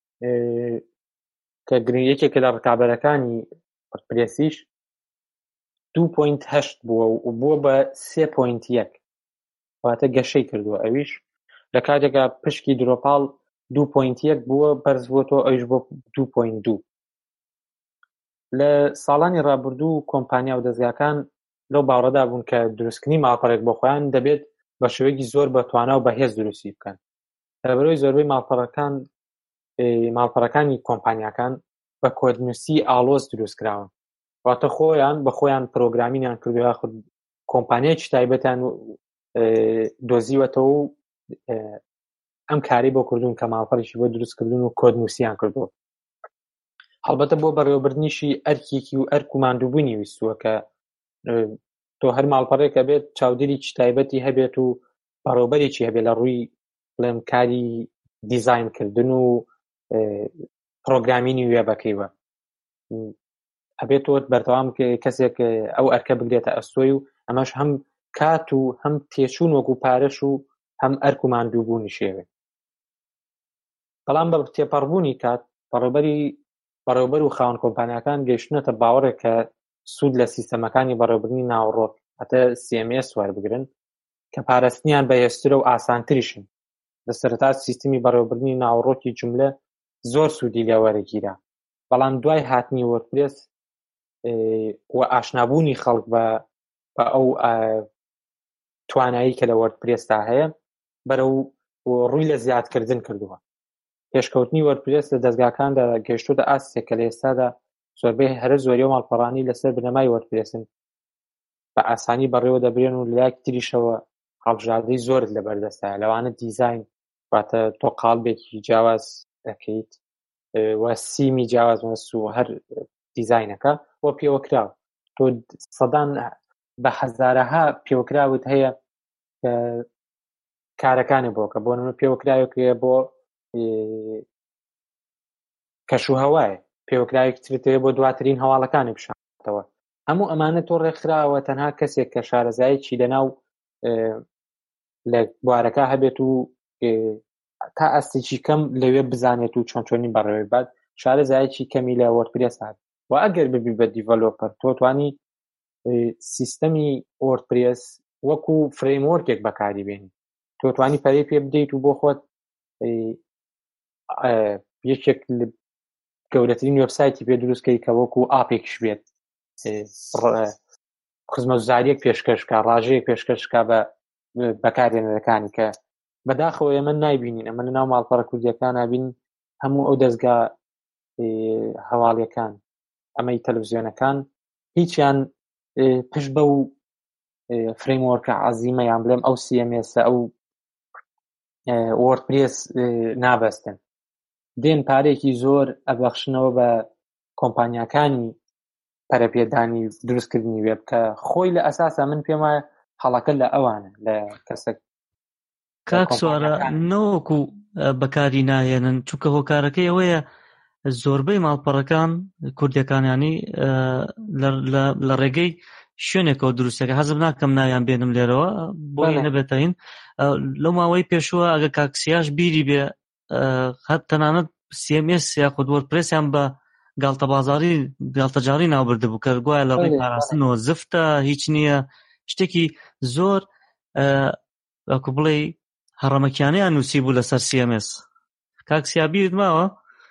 کە گرنگیەکێکە لە ڕکابەرەکانی وەردپرێسیش دوو پۆینت هەشت بووە و بووە بە سێ پۆینت یەک واتە گەشەی کردووە ئەویش لە کاتێکا پشکی درۆپاڵ دوو پۆینت یەک بووە بەرز بووەتەوە ئەویش بۆ دوو پۆینت دوو. لە ساڵانی ڕابردوو کۆمپانیا و دەستگاکان لەو باوەڕەدا بوون کە دروستکردنی ماڵپەڕێک بۆ خۆیان دەبێت بە شێوەیەکی زۆر بەتوانا و بەهێز دروستی بکەن. لەبەرەوەی زۆربەی ماڵپەڕەکان ماڵپەڕەکانی کۆمپانیاکان بە کۆدنووسی ئاڵۆز دروستکراون واتە خۆیان بە خۆیان پرۆگرامینیان کردو یاخود کۆمپانیایکی تایبەتیان دۆزیوەتەوە و ئەم کاری بۆ کردوون کە ماڵپەڕێکی بۆ دروستکردن و کۆدنووسیان کردووە. هەڵبەتە بۆ بەڕێوەبردنیشی ئەرکێکی و ئەرک و ماندووبوونی ویستووە کە تۆ هەر ماڵپەڕێکە بێت چاودێریی تایبەتی هەبێت و بەڕێوەبەرێکی هەبێت لە ڕووی بڵێم کاری دیزاینکردن و پرۆگرامینی وێبەکەیوە ئەبێت تۆ بەردەوام کەسێک ئەو ئەرکە بگرێتە ئەستۆی و ئەمەش هەم کات و هەم تێچوون وەکو پارەش و هەم ئەرک و ماندووبوونی شێوێ. بەڵام بە تێپەڕبوونی کات بەڕێوەبەری بەڕێوەبەر و خاوەن کۆمپانیاکان گەیشتنەتە باوەڕێک کە سوود لە سیستەمەکانی بەڕێوەبردنی ناوەڕۆک هەتە سی ئەم ئێس وەربگرن کە پاراستنیان بەهێزترە و ئاسانتریشن. لە سەرەتا سیستەمی بەڕێوەبردنی ناوەڕۆکی جوملە زۆر سوودی لێ وەرەگیرا بەڵام دوای هاتنی وەردپرێس و ئاشنابوونی خەڵک بە بە ئەو توانایی کە لە وەردپرێستا هەیە بەرەو ڕووی لە زیادکردن کردووە. پێشکەوتنی وەردپرێس لە دەستگاکاندا گەیشتوتە ئاستێک کە لە ئێستادا زۆربەی هەرە زۆریە و ماڵپەڕانی لەسەر بنەمای وەردپرێسن بە ئاسانی بەڕێوە دەبرێن و لایەک تریشەوە هەڵبژاردەی زۆرت لە بەردەستایە لەوانە دیزاین واتە تۆ قاڵبێکی جیاواز دەکەیت و سیمی جیاواز مەست و هەر دیزاینەکە بۆ پێوەکراوە تۆ سەدان بە هەزارەها پێوەکراوت هەیە کارەکانی بۆکە بۆ نمونە پێوەکراوێکە بۆ کەشوهەوایە پێوەکراوێکی ترێت بۆ دواترین هەواڵەکانی بشاتەوە هەموو ئەمانە تۆ ڕێکخراوە تەنها کەسێک کە شارەزایەکی لەناو لە بوارەکە هەبێت و تا ئەستێکی کەم لەوێ بزانێت و چۆن چۆنی بەڕێوەی بات شارەزایەکی کەمی لە وەردپرێس هات و ئەگەر ببی بە دیڤەلۆپەر تۆ توانی سیستەمی وەردپرێس وەکو فرێموەرکێک بەکاری بێنی تۆ توانی پەرەی پێ بدەیت و بۆ خۆت یەکێک گەورەترین وێبسایتی پێ دروستکەی کە وەکو ئاپێکش بێت خزمەتگوزاریەک پێشکەشکا ڕاژەیەک پێشکەشکا بە بەکارهێنەرەکانی کە بەداخەوە ئێمە نایبینین ئەمە لە ناو ماڵپەڕە کوردیەکان نابین هەموو ئەو دەستگا هەواڵیەکان ئەمەی تەلەڤیزیۆنەکان هیچیان پشت بە و فرێموەرکە عەزیمەیان بڵێم ئەو سی ئەم ئێسە ئەو وەردپرێس نابەستن دێن پارێکی زۆر ئەبەخشنەوە بە کۆمپانیاکانی پەرەپێدانی دروستکردنی وێب کە خۆی لە ئەساسا من پێم وایە هەڵەکە لە ئەوانە لە کەسێک کاک سوارە نەوەکو بەکاری ناهێنن چونکە هۆکارەکەی ئەوەیە زۆربەی ماڵپەڕەکان کوردیەکانیانی لە ڕێگەی شوێنێکەوە دروستەکە حەزم ناکەم ناویان بێنم لێرەوە بۆی نەبێتەین لەو ماوەی پێشووە ئەگە کاکسیاش بیری بێ هەر تەنانەت سی ئەم ئێس یا خود وەردپرێسیان بە گاڵتە بازاڕی گاڵتەجاڕی ناوبردە بوو کە گوایە لە ڕێی پاراستنەوە زفتە هیچ نییە شتێکی زۆر وەکو بڵێ هەڕەمەکیانەیان نووسی بوو لەسەر سی ئەم ئێس کاکسیا بیرت ماوە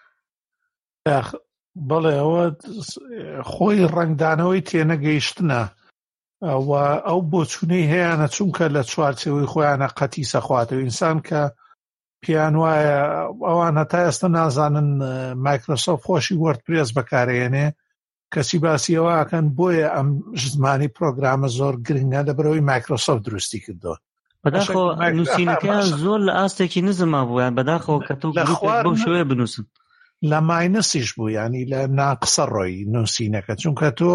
بەڵێ ئەوە خۆی ڕنگدانەوەی تێنەگەیشتنە و ئەو بۆچوونەی هەیەە چونکە لە چوارچێوەی خۆیانە قەتی سەخواتەوە ئینسان کە پیان وایە ئەوان هەتا ئێستا نازانن مایکرۆسۆفت خۆشی وەردپرێس بەکارهێنێ کەسی باسی ئەوەکەن بۆیە ئەم زمانی پرۆگرامە زۆر گرنگە لەبەرەوەی مایکرۆسۆفت دروستی کردووە بەداخەوە نووسینەکەیان زۆر لە ئاستێکی نزمما بوویان بەداخەوە کە تۆ بۆ شوێ بنووسن لە ماینەسیش بوو ینی لە ناقسە ڕۆی نووسینەکە چونکە تۆ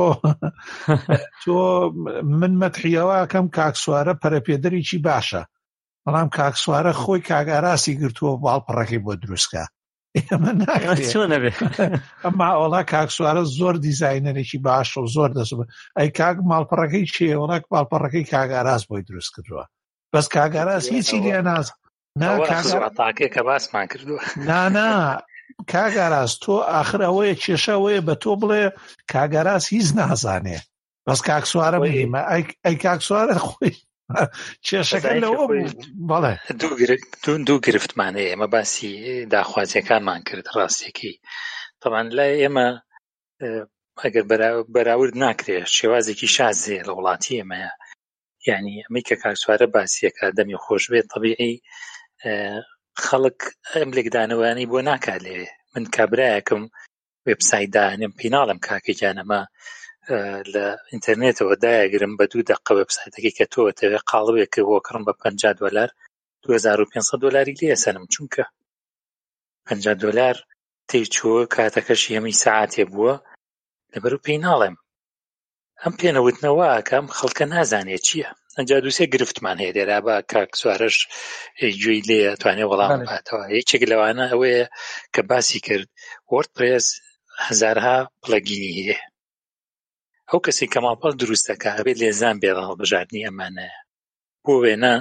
تۆ من مەتحیەوەکەم کاکسوارە پەرەپێدەرێکی باشە بەڵام کاکسوارە خۆی کاگاراسی گرتووە باڵپەڕەکەی بۆ دروستکە ئێمە ناکرێت ئەمما ئەوڵا کاکسوارە زۆر دیزاینەرێکی باشە و زۆر دەست ئەی کاک ماڵپەڕەکەی چیە وەڵک باڵپەڕەکەی کاگاراس بۆی دروست کردووە بەس کاگاراس هیچی لێ ناز تاکێکە باسمان کردووە نانا کاگاراس تۆ آخر ئەوەیە کێشەوەیە بە تۆ بڵێ کاگاراس هیچ نازانێ بەس کاکسوارە بگیمە ئەی کاکسوارە خۆی کێشەکە لەوە بەڵێ دوو گرفتمان هەیە ئێمە باسی داخوازیەکانمان کرد ڕاستێکی تەمان لای ئێمە ئەگەر بەراورد ناکرێت شێوازێکی شازێ لە وڵاتی ئێمەیە یعنی ئەمەی کە کاکسوارە باسیەکە دەمی خۆش بێت طبیعی خەڵک ئەم لێکدانەوەیانی بۆ ناکات لێ من کابرایەکەم وێبسایت داهێنم پێناڵم کاکەجانەمە لە ئینتەرنێتەوە دایەگرم بە دوو دەقە وێبسایتەکەی کە تۆ تەوێ قاڵبێک بۆ کڕم بە پەنجا دۆلار دوو هەزار و پێنج سەد دۆلاری لێسەنم چونکە پەنجا دۆلار تێیچووە کاتەکەشی هەمی سەعاتێ بووە لەبەر و پێناڵێم ئەم پێنەوتنەوە ئەکەم خەڵکە نازانێت چییە ئەنجا دووسێ گرفتمان هەیە لێرا بە کاک سوارەش گوێی لێ توانێ وەڵام باتەوە یەکێک لەوانە ئەوەیە کە باسی کرد وەردپرێس هەزارها پڵەگینی هەیە ئەو کەسی کە ماڵپەڕ دروستەکە ئەبێت لێزان بێ هەڵبژاردننی ئەمانەیە بۆ وێنە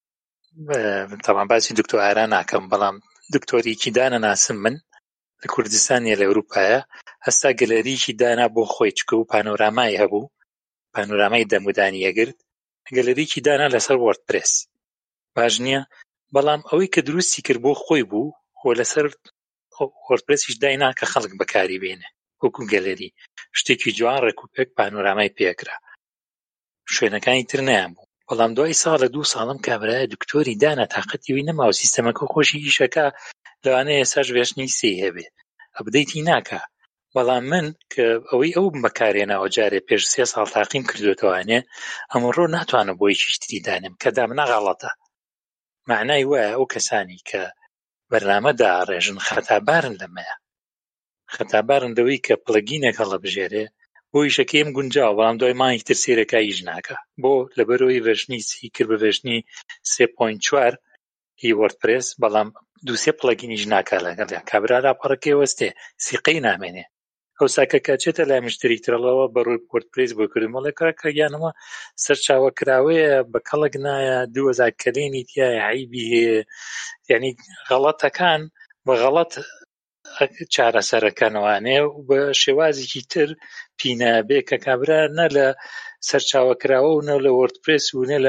تەمان باسی دکتۆر ئارا ناکەم بەڵام دکتۆریکی دانە ناسم من لە کوردستانیە لە ئەوروپایە هەستا گەلەریکی دانا بۆ خۆی چکە و پانۆرامای هەبوو پانۆرامای دەمودانی ئەگرت گەلەریکی دانا لەسەر وەردپرێس باش نییە بەڵام ئەوەی کە دروستی کرد بۆ خۆی بوو خۆ لەسەر وەردپرێسیش داینا کە خەڵک بەکاری بێنێ وەکو گەلەری شتێکی جوان ڕێکوپێک پانۆرامای پێکرا شوێنەکانی تر نەیان بوو بەڵام دوای ساڵە دوو ساڵم کابرایە دکتۆری دانا تااقەتیوی نەماوە سیستەمەکە خۆشی ئیشەکە لەوانەیە ئێساش وێشنی سێ هەبێ ئەبدەیتی ناکە بەڵام من کە ئەوەی ئەو بەکارێنەوە جارێ پێش سێ ساڵ تاقیم کردوێتەوانێ ئەمڕۆ ناتوانم بۆی چیشتری دانم کە دامنە غەڵەتە. معنای وایە ئەو کەسانی کە بەرنامەدا ڕێژن خەتابارن لەمەیە، خەتابارن دەوەی کە پڵەگینێک هەڵەبژێرێ بۆ ئیشەکەیم گونجاوە، بەڵام دوای مانگی تر سێرەکە ئیش ناکە بۆ لەبەرەوەی ڤێژنی سی کرد بە ڤێژنی سێ پۆینت چوار هی وەردپرێس، بەڵام دووسێ پڵەگینیش ناکا لەگەڵ کابرا لاپەڕەکەی وەستێ سیقەی نامێنێ. ئەو ساکە کاچێتە لای مشتری ترەڵەوە بەڕووی وەردپرێس بۆ کردمەڵێ کڕەکە گیانەوە سەرچاوە کراوەیە بە کەڵک نایە دوو هەزار کەلێنی تایە عیبی هەیە، یعنی غەڵەتەکان بە غەڵەت چارەسەرەکەنەوانێ و بە شێوازێکی تر پینابێ کە کابرا نە لە سەرچاوە کراوە و نە لە وەردپرێس و نە لە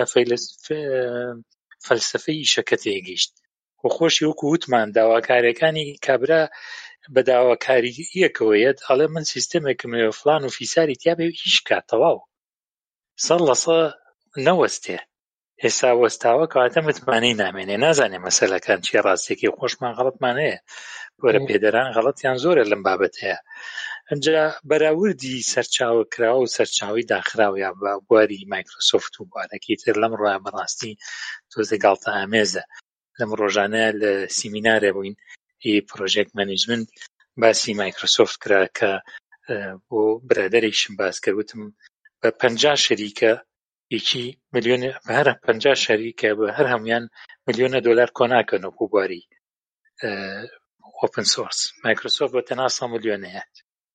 فەلسفەی ئیشەکە تێگەیشت. و خۆشی وەکو وتمان داواکاریەکانی کابرا بە داواکاریەکەوەیەت ئەڵێ من سیستەمێکم لێ فڵان و فیساری تیابێ هیچ کات تەواو سەد لە سەد نەوەستێ. ئێستا وەستاوە کەواتە متمانەی نامێنێ، نازانێ مەسەلەکان چیە ڕاستێکی خۆشمان غەڵەتمان هەیە، وەرە پێدەران غەڵەتیان زۆرە لەم بابەت هەیە. ئەمجا بەراوردی سەرچاوە کراوە و سەرچاوی داخراوە یا بە بواری مایکرۆسۆفت و بوارەکەی تر لەم ڕۆیە بەڕاستی تۆزە گاڵتە ئامێزە. لەم ڕۆژانە لە سیمینارە بووین هی پرۆژێک مەنیجمنت باسی مایکرۆسۆفت کرا کە بۆ برادەرێکشم باس کردوتم بە پەنجا شەریکە یەکی ملیۆن هەر پەنجا شەریکە بە هەر هەمویان ملیۆنە دۆلار کۆناکەن و بواری ئۆپن سۆرس. مایکرۆسۆفت بە تەنها سە ملیۆنەیە،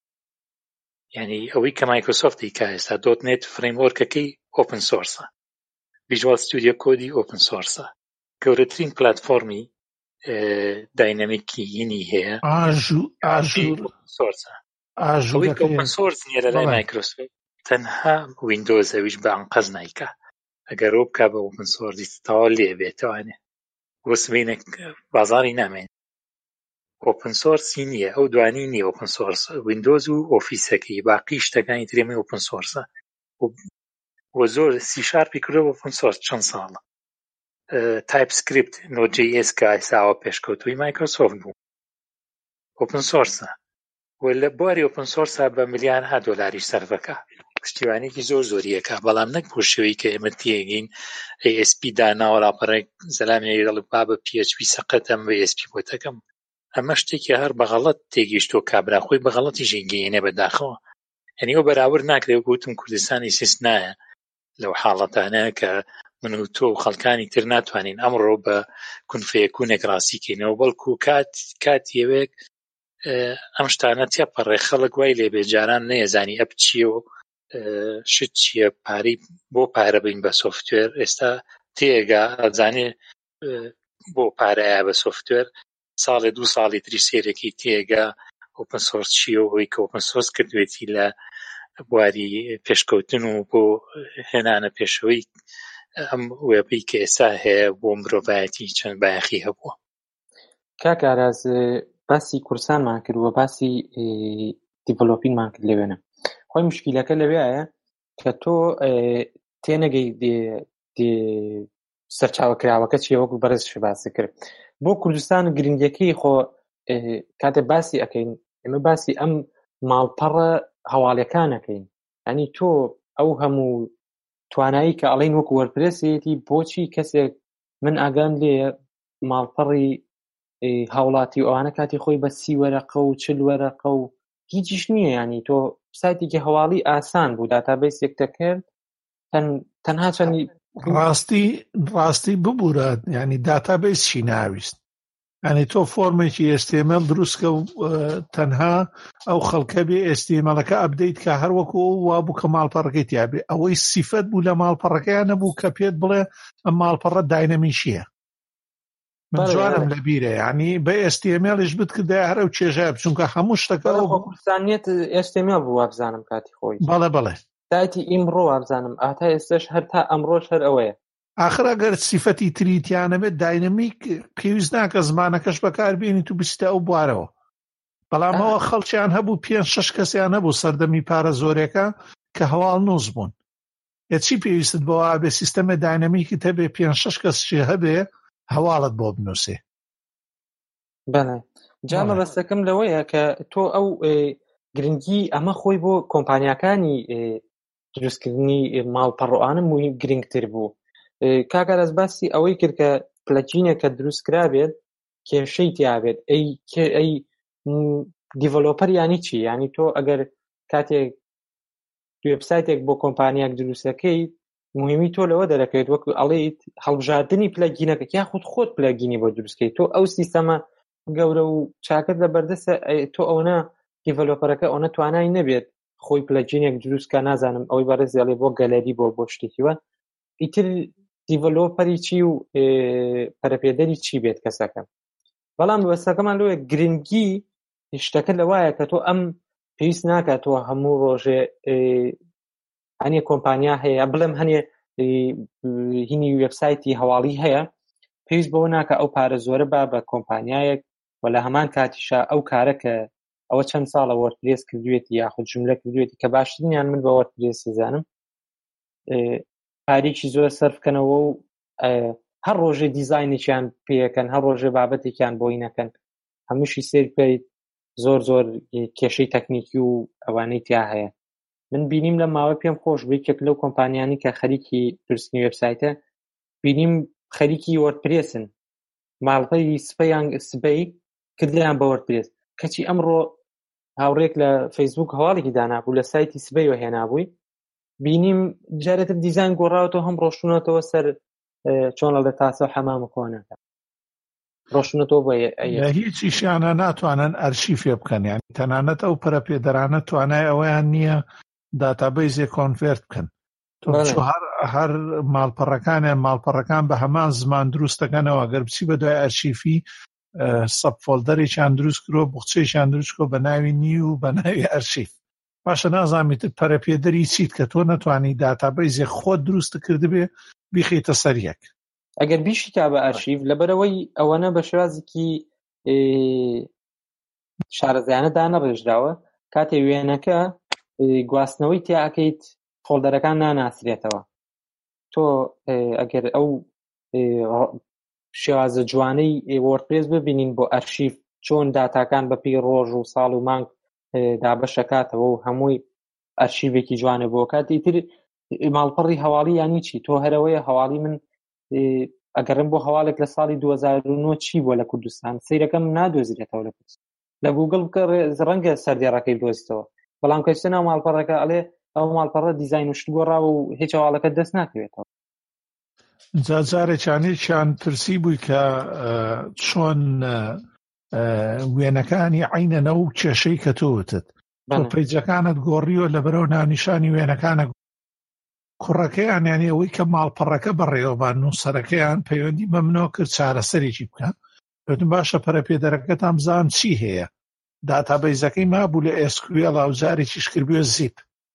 یعنی ئەوەی کە مایکرۆسۆفت دیکا ئێستا دۆت نێت فرێموەرکەکەی ئۆپن سۆرسە، ڤیژوال ستودیۆ کۆدی ئۆپن سۆرسە، گەورەترین پلاتفۆرمی داینامیکی هینی هەیە ئاژوور سۆرسە. ئەوەی کە ئۆپن سۆرس نیە لە لای مایکرۆسۆفت تەنها ویندۆز ئەویش بە ئەنقەز نایکا، ئەگەر ڕۆ بکا بە ئۆپن سۆرسی تەواو لێ بێتەوانێ بۆ سبەینێک بازاڕی نامێن. ئۆپن سۆرسی نییە، ئەو دوانی نییە ئۆپن سۆرس، ویندۆز و ئۆفیسەکەی باقی شتەکانی ترێمە ئۆپن سۆرسە و زۆر سی شارپی کردەوە ئۆپن سۆرس چەند ساڵە. تایپ سکریپت نۆت جی ئێس کە ئێستاوە پێشکەوتووی مایکرۆسۆفت بوو ئۆپن سۆرسە و لە بواری ئۆپن سۆرسە بە ملیارها دۆلاریش سەرفەکە، پشتیوانێکی زۆر زۆریەکە، بەڵام نەک بۆ شێوەی کە ئێمە تێگەین ئێ ئێس پی داناوە لاپەڕێک زەلامی دەڵێ با بە پی ئەچ پی سەقەتەم بە ئێس پی بۆتەکەم. ئەمە شتێکی هەر بەغەڵەت تێگەیشتۆ کابرا خۆی بەغەڵەتی ژێگەیەنێ بەداخەوە. یعنی ئەو بەراورد ناکرێت گوتم کوردستانی سیستنایە لەو حاڵەتانە کە من و تۆ و خەڵکانی تر ناتوانین ئەمڕۆ بە کونفەیەکوونێک ڕاستیکەینەوە، بەڵکو کات کاتیەوێک ئەم شتانە تێپەڕێ خەڵک وای لێ بێجاران نەیەزانی ئەپ چییە و شت چییە، پارەی بۆ پارە بین بە سۆفتوێر. ئێستا تێگا ئەزانێ بۆ پارەیە بە سۆفتوێر، ساڵێ دوو ساڵی تری سێرەکی تێگا ئۆپن سۆرس چییە و ئەوەی کە ئۆپن سۆرس کردوێتی لە بواری پێشکەوتن و بۆ هێنانە پێشەوەی ئەم وێبەی کە ئێستا هەیە بۆ مرۆڤایەتی چەند بایەخی هەبووە. کاک ئاراز باسی کورسانمان کردووە، باسی دیڤلۆپینگمان کرد لەوێنە. خۆی مشکیلەکە لەوێیە کە تۆ تێنەگەی سەرچاوەکراوەکە چیە، وەکو بەڕێزش باسی کرد. بۆ کوردستان گرنگیەکەی خۆ کاتێ باسی ئەەکەین ئێمە باسی ئەم ماڵپەڕە هەواڵەکانەکەین، ینی تۆ ئەو هەموو توانایی کە ئەڵێن وەکو وەرپرێسێتی بۆچی کەسێک من ئاگام لێ ماڵپەڕی هاوڵاتی ئەوانە کاتی خۆی بە سی وەرەقە و چل وەرەقە و هیچیش نییە، ینی تۆ سایتێکی هەواڵی ئاسان بوو داتابیس یەکتە کرد تەنها چەندی ڕاستی ڕاستی ببوورە، ینی داتابیس چی ناویست، ینی تۆ فۆرمێکی ئێس تی ئەم ئێل دروستکە و تەنها ئەو خەڵکە بێ ئێس تی ئەم ئێلەکە ئەپدەیت کە هەروەکو وا بوو کە ماڵپەڕەکەی تیابێ. ئەوەی سیفەت بوو لە ماڵپەڕەکەیان نەبوو کە پێت بڵێ ئەم ماڵپەڕە داینەمیشیە. من جوانم لەبیرە، ینی بە ئێس تی ئەم ئێلیش بتکردای هەرە و چێژای بچونکە هەموو شتەکە کوردستانیت ئێس تی ئەم ئێل بوو وابزانم کاتی خۆی. بەڵێ بەڵێ دایتی ئیمڕۆ وابزانم ئاتا ئێستش هەر تا ئەمڕۆش هەر ئەوەیە. ئاخر ئەگەر سیفەتی تریتیانە بێت داینەمیک پێویست ناکە زمانەکەش بەکاربێنیت و بستە ئەو بوارەوە. بەڵام ئەوە خەڵکیان هەبوو پێنج شەش کەسیان هەبوو سەردەمی پارە زۆرێکە کە هەواڵ نووس بوون. یە چی پێویستت بەوە بێ سیستەمە داینەمیکی هەبێ پێنج شەش کەسشی هەبێ هەواڵت بۆ بنووسێ. بەڵێ جا مەبەستەکەم لەوەیە کە تۆ ئەو گرنگی ئەمە خۆی بۆ کۆمپانیاکانی دروستکردنی ماڵپەڕۆانە مهم گرنگتر بوو. کاکەرەز باسی ئەوەی کرد کە پلەجینێک کە دروست کرابێت کێشەی تیابێت ئەی ئەی دیڤلۆپەر یانی چی؟ یانی تۆ ئەگەر کاتێک وێبسایتێک بۆ کۆمپانیاک دروستەکەی مهمی تۆ لەوە دەرەکەوێت وەکو ئەڵێیت هەڵبژاردننی پلەگینەکە یاخود خۆت پلەگینی بۆ دروستکەیت تۆ ئەو سیستەمە گەورە و چاکت لە بەردەستە تۆ ئەوە دیڤلۆپەرەکە ئەوە توانای نەبێت خۆی پلەجینێک دروستکە نازانم ئەوەی بەڕێزیڵێ بۆ گەلەری بۆ بۆ شتێکیوە ئیتر دیڤلۆپەری چی و پەرەپێدەری چی بێت کەسەکە. بەڵام وەستەکەمان لەوەیە گرنگی شتەکە لەوایە کە تۆ ئەم پێویست ناکات تۆ هەموو ڕۆژێ هەنێ کۆمپانیا هەیە بڵێم هەنێ هینی وێبسایتی هەواڵی هەیە پێویست بەوە ناکە ئەو پارە زۆرە با بە کۆمپانیایەک و لە هەمان کاتیشا ئەو کارەکە ئەوە چەند ساڵە وەردپرێس کردوێتی یاخود جملە کردوێتی کە باشترینیان من بە وەردپرێس دەزانم پارێکی زۆر سەرفکەنەوە و هەر ڕۆژێ دیزاینێکیان پێەکەن هەر ڕۆژێ بابەتێکیان بۆی نەکەن هەمووشی سێر بکەیت زۆر زۆر کێشەی تەکنیکی و ئەوانەی تیا هەیە. من بینیم لە ماوە پێم خۆش بووی کێک لەو کۆمپانیانی کە خەریکی دروستنی وێبسایتە بینیم خەریکی وەردپرێسن ماڵپەی سپەیان سبەی کردیان بە وەردپرێس کەچی ئەمڕۆ هاوڕێک لە فەیسبوک هەواڵێکی دانابوو لە سایتی سبەیەوە هێنابووی بینیم جارێتر دیزاین گۆڕاوەوە هەم ڕۆشتونەتەوە سەر چۆن لە تاسە حەمام کۆنەکە ڕۆشتونەتەوە بۆ هیچیشیانە ناتوانن ئەرشیفێ بکەن یان تەنانەت ئەو پەرەپێدەرانە توانای ئەوەیان نییە داتابەیزێ کۆنڤێرت بکەن هەر ماڵپەڕەکانیان ماڵپەڕەکان بە هەمان زمان دروستەکەنەوە گەر بچی بە دوای ئەرشیفی سەب فۆلدەرێکیان دروست کرۆ بوخچەیەکیان دروست کۆ بە ناوی نی و بە ناوی ئەرشیف باشە نازانیت پەرەپێدەری چیت کە تۆ نەتوانی داتابەیزێ خۆت دروست کردبێ بیخیتە سەریەک ئەگەر بیشی تا بە ئەرشیف لەبەرەوەی ئەوەنە بە شێوازێکی شارەزایانە دانەڕێژراوە کاتێ وێنەکە گواستنەوەی تیاکەیت فۆلدەرەکان ناناسرێتەوە تۆ ئەگەر ئەو شێوازە جوانەی وەردپرێس ببینین بۆ ئەرشیف چۆن داتاکان بەپی ڕۆژ و ساڵ و مانگ دابەشەکاتەوە و هەمووی ئەرشیڤێکی جوانە بۆ کاتی تر ماڵپەڕی هەواڵی یانی چی تۆ هەرەوەیە هەواڵی من ئەگەرم بۆ هەواڵێک لە ساڵی دوو هەزار و نۆ چی بۆ لە کوردستان سەیرەکەم نادۆزرێتەوە لە کوردستان لە گوگڵ بکە ڕەنگە سەردێڕەکەی دۆزیتەوە بەڵام کەچتە ناو ماڵپەڕەکە ئەڵێ ئەو ماڵپەڕە دیزاین وشت گۆڕاوە و هیچ هەواڵەکە دەست ناکەوێتەوە. جارێکیانێکیان پرسی بووی کە چۆن وێنەکانی عینەنە و کێشەی کە تۆوتت تۆ پەیجەکانت گۆڕیوە لە بەرەو ناونیشانی وێنەکانە کوڕەکەیان یانی ئەوەی کە ماڵپەڕەکە بەڕێوەبان نووسەرەکەیان پەیوەندی بە منەوە کرد چارەسەرێکی بکەن پێوتم باشە پەرەپێدەرەکەتان بزان چی هەیە داتابەیزەکەی مابوو لە ئێس کیو ئێل و جارێکیش کردبووە زیپ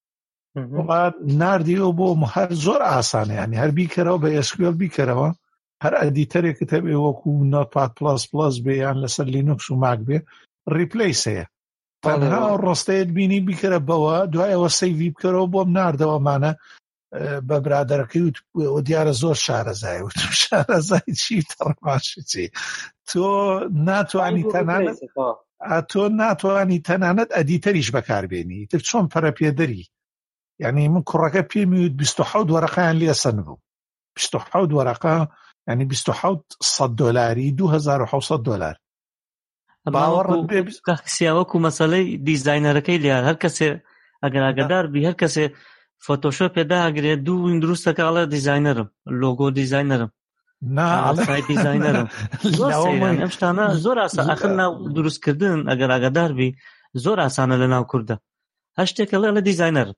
ناردیەوە بۆ هەر زۆر ئاسانە ینی هەر بیکەرەوە بە ئێس کیو ئێل بیکەرەوە هەر ئەدیتەرێکت هەبێ وەکو نۆتپاد پڵس پڵس بێ یان لەسەر لینوکس و ماک بێ ریپلیس هەیە تەنها ڕۆستەیەت بینی بیکەرە بەوە دوایەوە سەیڤی بکەرەوە بۆم ناردەوەمانە بە برادەرەکەی و دیارە زۆر شارەزای و تو شارەزای چی تەڕماشی چی تۆ ناتوانی تەنانەت تۆ ناتوانی تەنانەت ئەدیتەریش بەکاربێنی تر چۆن پەرەپێدەری یعنی من کوڕەکە پێمی وت بیست و حەوت وەرەقەیان لێسەن بوو بیست و حەوت وەرەقە ینی بیست و حەوت سەد دۆلاری دوو هەزار و حەوت سەد دۆلار باوەڕت بێ سیاوەکو مەسەلەی دیزاینەرەکەی لێ هەر کەسێ ئەگەر ئاگادار بی هەر کەسێ فۆتۆشۆپ پێدا ئەگرێت دوو وین دروستەکە ئەڵێ دیزاینەرم لۆگۆ دیزاینەرم سایت دیزاینەرم ئەم شتانە زۆر ئاسان ئەخر ناو دروستکردن ئەگەر ئاگادار بی زۆر ئاسانە لە ناو کووردە هەر شتێک ئەڵێ لە دیزاینەرم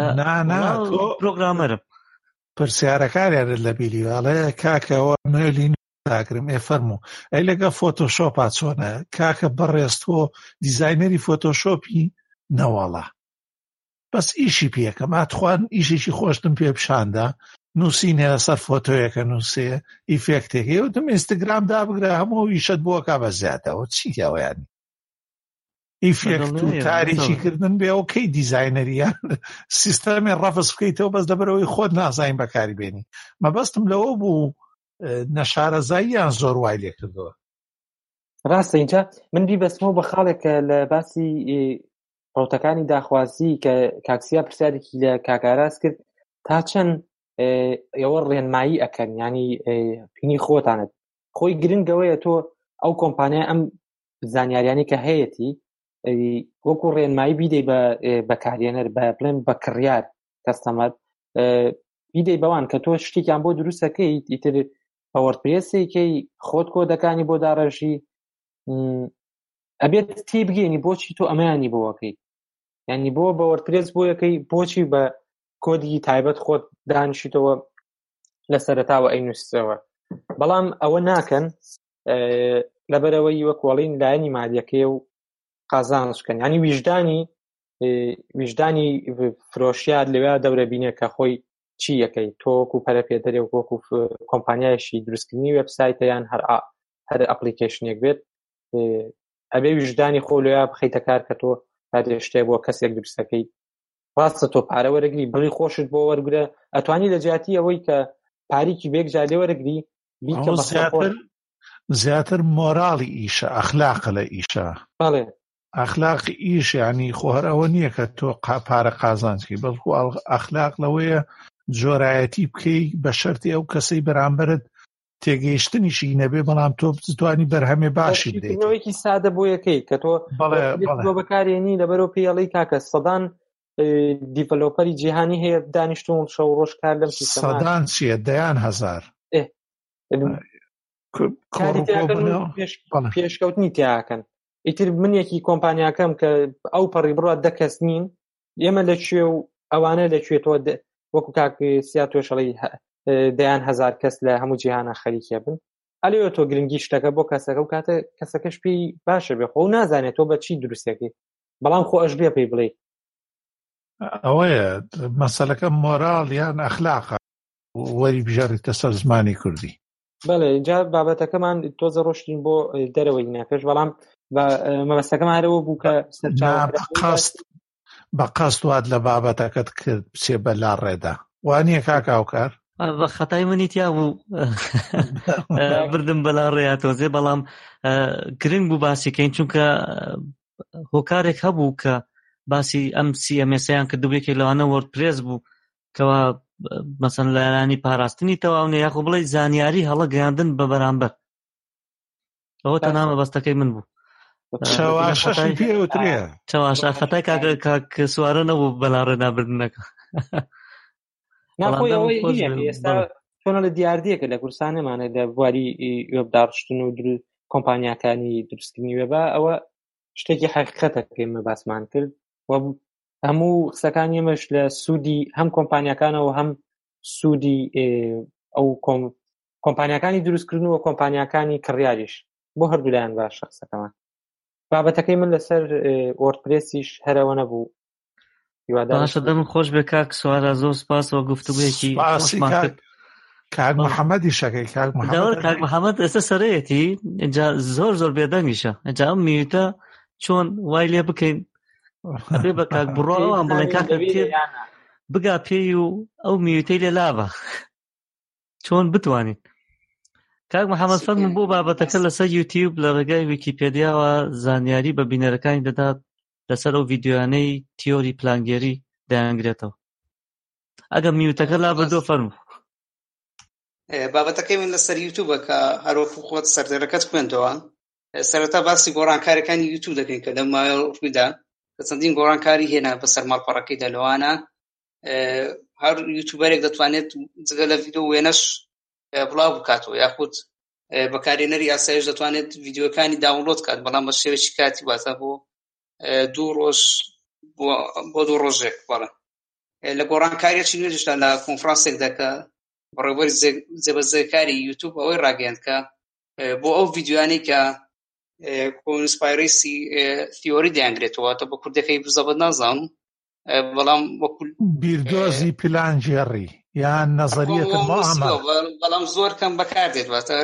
پرۆگرامەرم پرسیارەکاریانت لە بیریواڵێ کاکەوە مێلین تاکرم ئێ فەرموو ئەی لەگە فۆتۆشۆپا چۆنە کاکە بەڕێستۆ دیزاینەری فۆتۆشۆپی نەوەڵە بەس ئیشی پێکەم ئاتخوان ئیشێکی خۆشتم پێ پیشاندا نووسینێ لەسەر فۆتۆیەکە نووسێ ئیفێکتێکی وتم ئینستاگرام دابگرە هەموو ئیشت بۆ کا بە زیاتەوە چیکەوەیانی ئیفێکت و تاریکی کردن بێ ئەو کەی دیزاینەریان سیستەمی ڕەفز بکەیتەوە بەس لەبەرەوەی خۆت نازانین بەکاری بێنی مەبەستم لەوە بوو نەشارەزاییان زۆر وای لێ کردەوە. ڕاستە اینجا من بیبەستمەوە بە خاڵێکە لە باسی ڕوتەکانی داخوازی کە کاکسیا پرسیارێکی لە کاکاراس کرد تا چەند ئێوە ڕێنمایی ئەکەن ینی پینی خۆتانت خۆی گرنگەوەیە تۆ ئەو کۆمپانیا ئەم زانیاریانی کە هەیەی وەکو ڕێنمایی بیدەی بە بەکارێنەر بە بڵێن بە کڕیار کەستەمەر بیدەی بەوان کە تۆ شتێکیان بۆ دروستەکەی ئیتر پاوەرپرێسێکی خۆت کۆدەکانی بۆ داڕەژی ئەبێت تی بگەینی بۆچی تۆ ئەمەیانی بۆەکەی ینی بۆ بە وەرپرێس بۆ یەکەی بۆچی بە کۆدی تایبەت خۆت دانیشیتەوە لە سەرەتاوە ئەینووسەوە بەڵام ئەوە ناکەن لەبەرەوەی وەکوڵین لایەنی مادیەکەی و قازانشکەن ینی ویژدانی ویژدانی فرۆشیار لەوێ دەورە بینێ کە خۆی چی یەکەی تۆکو پەرە پێدەرێ و وەکو کۆمپانیایشی دروستکردنی وێبسایتەیان هەر هەر ئەپلیکیشنێک بێت ئەبێ ویژدانی خۆ لێیا بخەیتە کار کە تۆ شتێک بۆ کەسێک دروستەکەی ڕاستە تۆ پارە وەرەگری بڵی خۆشت بۆ وەرگرە ئەتوانی لە جیاتی ئەوەی کە پارێکی بێک جادێ وەرەگری زیاتر مۆراڵی ئیشە ئەخلاقە لە ئیشە بەڵێ ئەخلاقی ئیش ینی خۆ هەر ئەوە نییە کە تۆ پارە قازانکی بەڵکو ئەخلاق لەوەیە جۆرایەتی بکەی بە شەرتی ئەو کەسەی بەرامبەرت تێگەیشتنیشی نەبێ بەڵام تۆ بتوانی بەرهەمێ باشی بدەیتەوەیکی سادە بۆ یەکەی کە تۆ بۆ بەکارێنی لەبەرەوە پێڵی کاکە سەدان دیڤلۆپەری جیهانی هەیە دانیشتون شەو ڕۆژ کار لەم سەدان چییە دەیان هەزار پێشکەوتنی تیاکەن ئیتر منێکی کۆمپانیاکەم کە ئەو پەڕی بڕات دەکەس نین ئێمە لەکوێ و ئەوانە لەکوێتەوە وەکو کاک سیا تۆشەڵی دەیان هەزار کەس لە هەموو جیهانە خەریکە بن ئەلێوە تۆ گرنگی شتەکە بۆ کەسەکە و کاتە کەسەکەش پێی باشە بێ خۆ نازانێت تۆ بە چی دروستەکەی بەڵام خۆ ئەش بێ پێی بڵێ ئەوەیە مەسەلەکە مۆراڵ یان ئەخلاقە وەری بژێڕیتە سەر زمانی کوردی بەڵێ جا بابەتەکەمان تۆزە ڕۆشتین بۆ دەرەوەی ناپێش بەڵام مەبەستەکەم هەرەوە بوو کە بە قەست وات لە بابەتەکەت کرد بچێ بە لا ڕێدا وانییە کاکاوکار بە خەتای منی تیا بوو بردم بەلا ڕێیا تۆزێ بەڵام گرنگ بوو باسیکەین چونکە هۆکارێک هەبوو کە باسی ئەم سی ئەم ئێسیان کردووێکی لەوانە وەردپرێس بوو کەوا مەسەن لایەنانی پاراستنی تەواونە یاخۆ بڵێ زانیاری هەڵە گەیاندن بە بەرامبەر ئەوە تەنها مەبەستەکەی من بوو چاواشەشی پێوترێ چاواشە خەتای کاک سوارە نەبوو بەلا ڕێنابردنەکە ناخۆی ئەوەی ئێستا چۆنە لە دیاردیەکە لە کورسانەمانە لە بواری وێبداڕشتن و کۆمپانیاکانی دروستکردنی وێبە ئەوە شتێکی حقیقەتە کە ئێمە باسمان کرد و هەموو قسەکانی ئێمەش لە سوودی هەم کۆمپانیاکانەوە هەم سوودی ئەو کۆمپانیاکانی دروستکردن و کۆمپانیاکانی کڕیاریش بۆ هەردوولایان باشە قسەکەمان بابەتەکەی من لەسەر وەردپرێسیش هەرەوە نەبوو باشە دەم خۆش بێ کاک سوارە زۆر سپاسەوە گفتوگویەکی کاک محەممەدی شەکەی کاک محەممەد ئێستا سەرەیەتی اینجا زۆر زۆر بێدەنگیشە اینجا ئەم میوتە چۆن وای لێ بکەین ئەبێ بە کاک بڕۆەوەم بڵێن کاکە بگا پێی و ئەو میوتەی لێ لابە چۆن بتوانین کاک محەممەد فەرموو بۆ بابەتەکە لەسەر یوتیوب لە ڕێگای ویکیپێدیاوە زانیاری بە بینەرەکانی دەدات لەسەر ئەو ڤیدیۆیانەی تیۆری پلانگێری دەیانگرێتەوە ئەگەر میوتەکە لا بەدۆ فەرموو بابەتەکەی من لەسەر یوتیوبە کە هەروەکو خۆت سەردەرەکەت خوێندەوە سەرەتا باسی گۆڕانکاریەکانی یوتیوب دەکەین کە لەم ماوەیە ڕوویدا کە چەندین گۆڕانکاری هێنا بەسەر ماڵپەڕەکەیدا لەوانە هەر یوتیوبەرێک دەتوانێت جگە لە ڤیدیۆ وێنەش بڵاو بکاتەوە یاخود بەکارهێنەری ئاسایش دەتوانێت ڤیدیۆکانی داونلۆد کات بەڵام بە شێوەیەکی کاتی واتە بۆ دوو ڕۆژ بۆ دوو ڕۆژێک بەڵێ لە گۆڕانکاریەکی نوێژدا لە کۆنفرانسێکدا کە بەڕێوەبەری جێبەجێکاری یوتیوب ئەوەی ڕاگەیاند کە بۆ ئەو ڤیدیۆیانەی کە کۆنسپایرەسی تیۆری دەیانگرێتەوە تە بە کوردەکەی بزەبەت نازانم بەڵام وەکو بیردۆزی پلانژێڕی یان نەزەریەتە مۆعامەڵ بەڵام زۆر کەم بەکاردێت واتە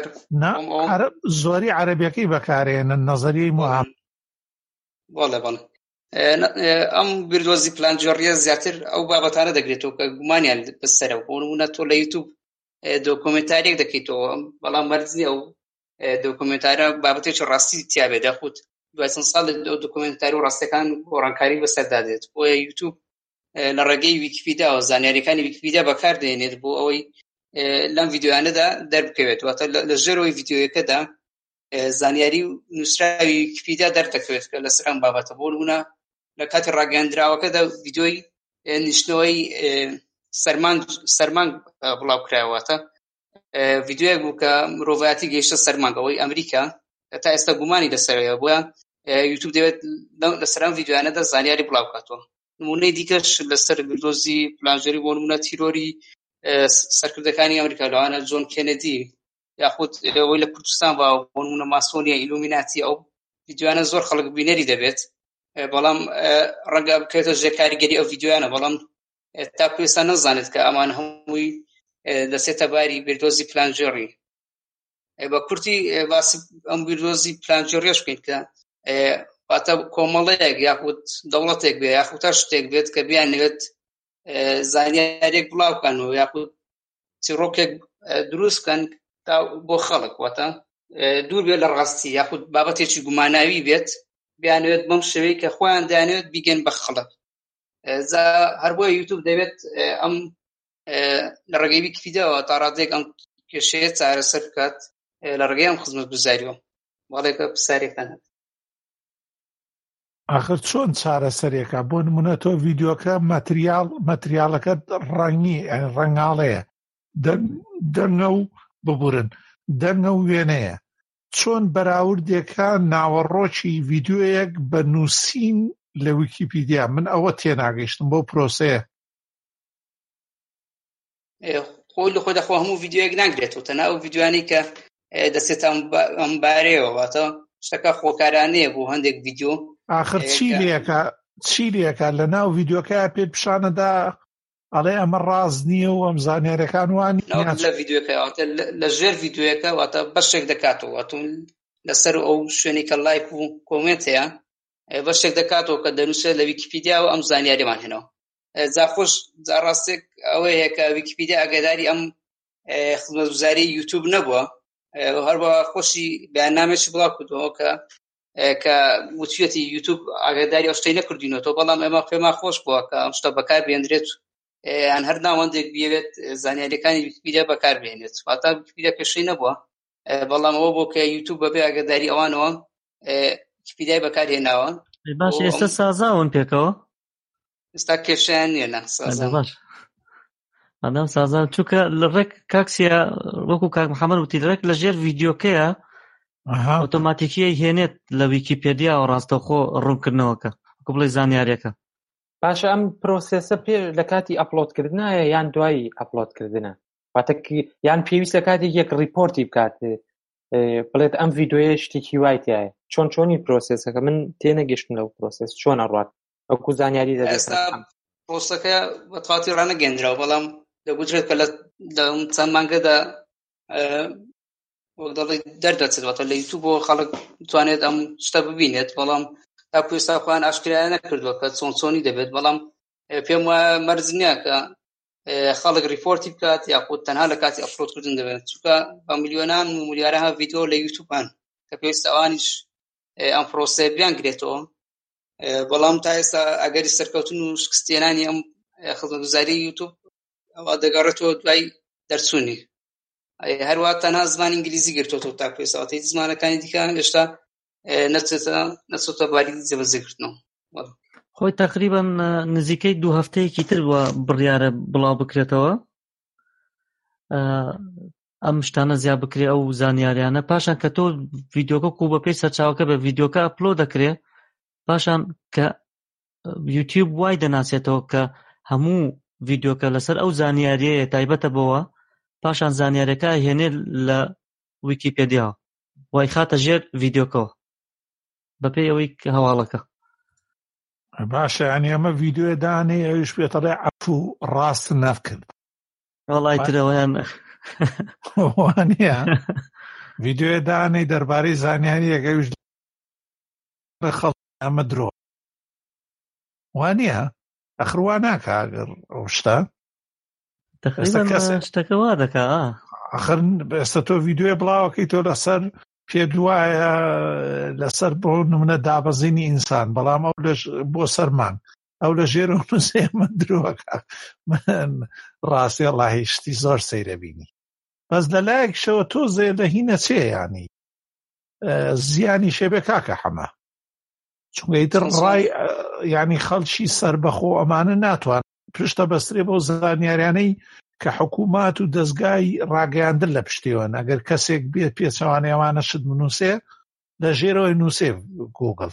زۆری عەرەبیەکەی بەکارهێنن نەزەریەی مۆعامەڵ بەڵێ بەڵێ ئەم بیردۆزی پلانژێڕیە زیاتر ئەو بابەتانە دەگرێتەوە کە گومانیان بەسەرەوە بۆ نمونە تۆ لە یوتیوب دۆکۆمنتارێک دەکەیتەوە بەڵام مەرج نییە ئەو دۆکۆمنتارە بابەتێکی ڕاستی تیا بێ دەخوت دوای چەند ساڵ دۆکومنتاری و ڕاستیەکان گۆڕانکاری بەسەردا دێت. بۆ یوتیوب لە ڕێگەی ویکیپیدیا و زانیاریەکانی ویکیپیدیا بەکاردێنێت بۆ ئەوەی لەم ڤیدیۆیانەدا دەربکەوێت، واتە لە ژێرەوەی ڤیدیۆیەکەدا زانیاری و نووسراوی ویکیپیدیا دەردەکەوێت کە لەسەر ئەم بابەتە. بۆ نمونە لە کاتی ڕاگەیاندراوەکەدا ڤیدیۆی نیشتنەوەی سەرمانگ سەرمانگ بڵاوکرایەوەتە ڤیدیۆیەک بوو کە مرۆڤایەتی گەیشتە سەرمانگەوەی ئەمریکا تا ئێستا گومانی لەسەرەوە، بۆیە یوتیوب دەوێت لەسەر ئەم ڤیدیۆیانەدا زانیاری بڵاو بکاتەوە. نمونەی دیکەش لەسەر بردۆزی پلانژێری بۆ نمونە تیرۆری سەرکردەکانی ئەمریکا لەوانە جۆن کێنەدی یاخود ئەوەی لە کوردستان بۆ نمونە ماسۆنیا ئیلومیناتی، ئەو ڤیدیۆیانە زۆر خەڵک بینەری دەبێت، بەڵام ڕەنگە بکرێتە ژێر کاریگەری ئەو ڤیدیۆیانە، بەڵام تاکو ئێستا نەزانێت کە ئەمان هەمووی دەسێتە باری بردۆزی پلانژێری. بە کورتی باسی ئەم بردۆزی پلانژێریەش بکەین کە واتە کۆمەڵەیەک یاخود دەوڵەتێک بێت یاخود تا شتێک بێت کە بیانوێت زانیارێک بڵاو بکەن و یاخود چیرۆکێک دروست بکەن بۆ خەڵک، واتە دوور بێت لە ڕاستی یاخود بابەتێکی گوماناوی بێت بیانوێت بەم شێوەیە کە خۆیان دەیانوێت بیگەن بە خەڵک. هەر بۆیە یوتیوب دەبێت ئەم لە ڕێگەی ویکیپیدیاوە تا ڕادێک ئەم کێشەیە چارەسەر بکات لە ڕێگەی ئەم خزمەتگوزاریەوە. بەڵێکە پرسیارێکتان هەبێت. ئاخر چۆن چارەسەرێکە؟ بۆ نمونە تۆ ڤیدیۆکە مەتریال مەتریالەکە ڕەنگی ڕەنگاڵەیە، دەنگە و ببورن دەنگە و وێنەیە، چۆن بەراوردێکە ناوەڕۆکی ڤیدیۆیەک بە نووسین لە ویکیپیدیا؟ من ئەوە تێناگەیشتم بۆ پرۆسەیە. خۆی لە خۆدا خۆ هەموو ڤیدیۆیەک ناگرێتەوە، تەنها ئەو ڤیدیۆیانەی کە دەستێت ئەم بارەیەوە، واتە شتەکە خۆکارانەیە بۆ هەندێک ڤیدیۆ. آخر چی لێکە چی لێکە لە ناو ڤیدیۆکە پێت پیشانەدا ئەڵێ ئەمە ڕاز نییە و ئەم زانیاریەکان وانی لە ڤیدیۆکە لە ژێر ڤیدیۆیەکە واتە بەشێک دەکاتەوە، واتە لەسەر ئەو شوێنی کە لایک و کۆمنت هەیە بەشێک دەکاتەوە کە دەنووسێت لە ویکیپیدیا و ئەم زانیاریمان هێنەوە. جاخۆش جاڕاستێک ئەوەیە هەیە کە ویکیپیدیا ئاگاداری ئەم خزمەتگوزاری یوتیوب نەبووە، هەروەها خۆشی بەیاننامێکی بڵاو کردەوە کە کە وتوێتی یوتیوب ئاگاداری ئەو شتەی نەکردوینەوە، بەڵام ئێمە پێمان خۆش بووە کە ئەم شتە بەکار بێنرێت، یان هەر ناوەندێک بێت زانیاریەکانی ویکیپیدیا بەکار بێنێت. واتە ویکیپیدیا پێشەی نەبووە، بەڵام ئەوە بۆ کە یوتیوب بەبێ ئاگاداری ئەوانەوە ویکیپیدیای بەکار هێناوە. باش ئێستا سازاون پێکەوە؟ ئێستا کێشەیان نییە. نا سازا باش ئەدەم سازا چووکە لە ڕێک کاکسیا وەکو کاک محەممەد وتی لەڕێک لە ژێر ڤیدیۆکەیە ئۆتۆماتیکیە هێنێت لە ویکیپیدیا و ڕاستەوخۆ ڕوونکردنەوەکە وەکو بڵێ زانیاریەکە. باشە ئەم پرۆسێسە پێ لە کاتی ئەپلۆدکردنایە یان دوایی ئەپلۆدکردنە؟ واتە یان پێویست لە کاتێک یەک ریپۆرتی بکات بڵێت ئەم ڤیدیۆیە شتێکی وای تایە؟ چۆن چۆنی پرۆسێسەکە؟ من تێنەگەشتم لەو پرۆسێس چۆن ئەڕوات وەکو زانیاری دەبێت؟ ئێستا پرۆسەکە بەتەواتی ڕانەگەیەندراوە، بەڵام دەگوترێت کە لە چەند مانگەدا وەک دەڵێ دەردەچێتەوە لە یوتیوب بۆ خەڵک بتوانێت ئەم شتە ببینێت، بەڵام تاکو ئێستا خۆیان ئاشکرا نەکردووە کە چۆن چۆنی دەبێت. بەڵام پێم وایە مەرج نییە کە خەڵک ریپۆرتی بکات یاخود تەنها لە کاتی ئەپلۆدکردن دەبێت، چونکە بە میلیۆنان و ملیارەها ڤیدیۆ لە یوتیوبان کە پێویستە ئەوانیش ئەم پرۆسەیە بیانگرێتەوە. بەڵام تا ئێستا ئەگەری سەرکەوتن و شکستێنانی ئەم خزمەتگوزاری یوتیوب ئەوە دەگەڕێتەوە دوای دەرچوونی. هەروە تەنها زمانی ئینگلیزی گرتووەوە تاکو ئێستا، واتە زمانەکانی دیکە هێشتا نەچێتە باری جێبەجێکردنەوە. خۆی تقریبان نزیکەی دوو هەفتەیەکی تر وە بڕیارە بڵاو بکرێتەوە ئەم شتانە زیاد بکرێ ئەو زانیاریانە، پاشان کە تۆ ڤیدیۆکە و بە پێی سەرچاوەکە بە ڤیدیۆکە ئەپلۆد دەکرێ، پاشان کە یوتیوب وای دەناسێتەوە کە هەموو ڤیدیۆکە لەسەر ئەو زانیاریەیە تایبەتە بەوە، پاشان زانیاریەکە هێنێ لە ویکیپیدیا وای خاتە ژێر ڤیدیۆکەوە بەپێی ئەوەی هەواڵەکە. باشە ینی ئەمە ڤیدیۆ دانێ ئەویش پێتەڵێ عەفو ڕاست نەفکرد وەڵای ترەوەیان وانە ڤیدیۆ دانەی دەربارەی زانیاریەکە ئەویش خەڵ ئەمە درۆ وانە ئەخڕوا ناکە ئەگەر ئەو شتە تقریبا شتەکە وا دەکا. ئەخر ئێستا تۆ ڤیدیۆ بڵاوەکەی تۆ لەسەر پێ دوایە لەسەر بۆ نمونە دابەزینی ئینسان بەڵام ئەو بۆ سەرمان ئەو لە ژێر و نووسێ من درۆکە من ڕاستی وەڵاهی شتی زۆر سەیرە بینی بەس لەلایەکشەوە تۆزێ لە هینە چێ ینی زیانی شێبێ کاکە حەمە چونکە ئیتر ڕای ینی خەڵکی سەربەخۆ ئەمانە ناتوان پشتە بەسترێ بۆ زانیاریانەی کە حکوومات و دەستگای ڕاگەیاندن لە پشتیوان ئەگەر کەسێک بێت پێچەوانەیەوانە شت بنووسێ لە ژێرەوەی نووسێ گوگڵ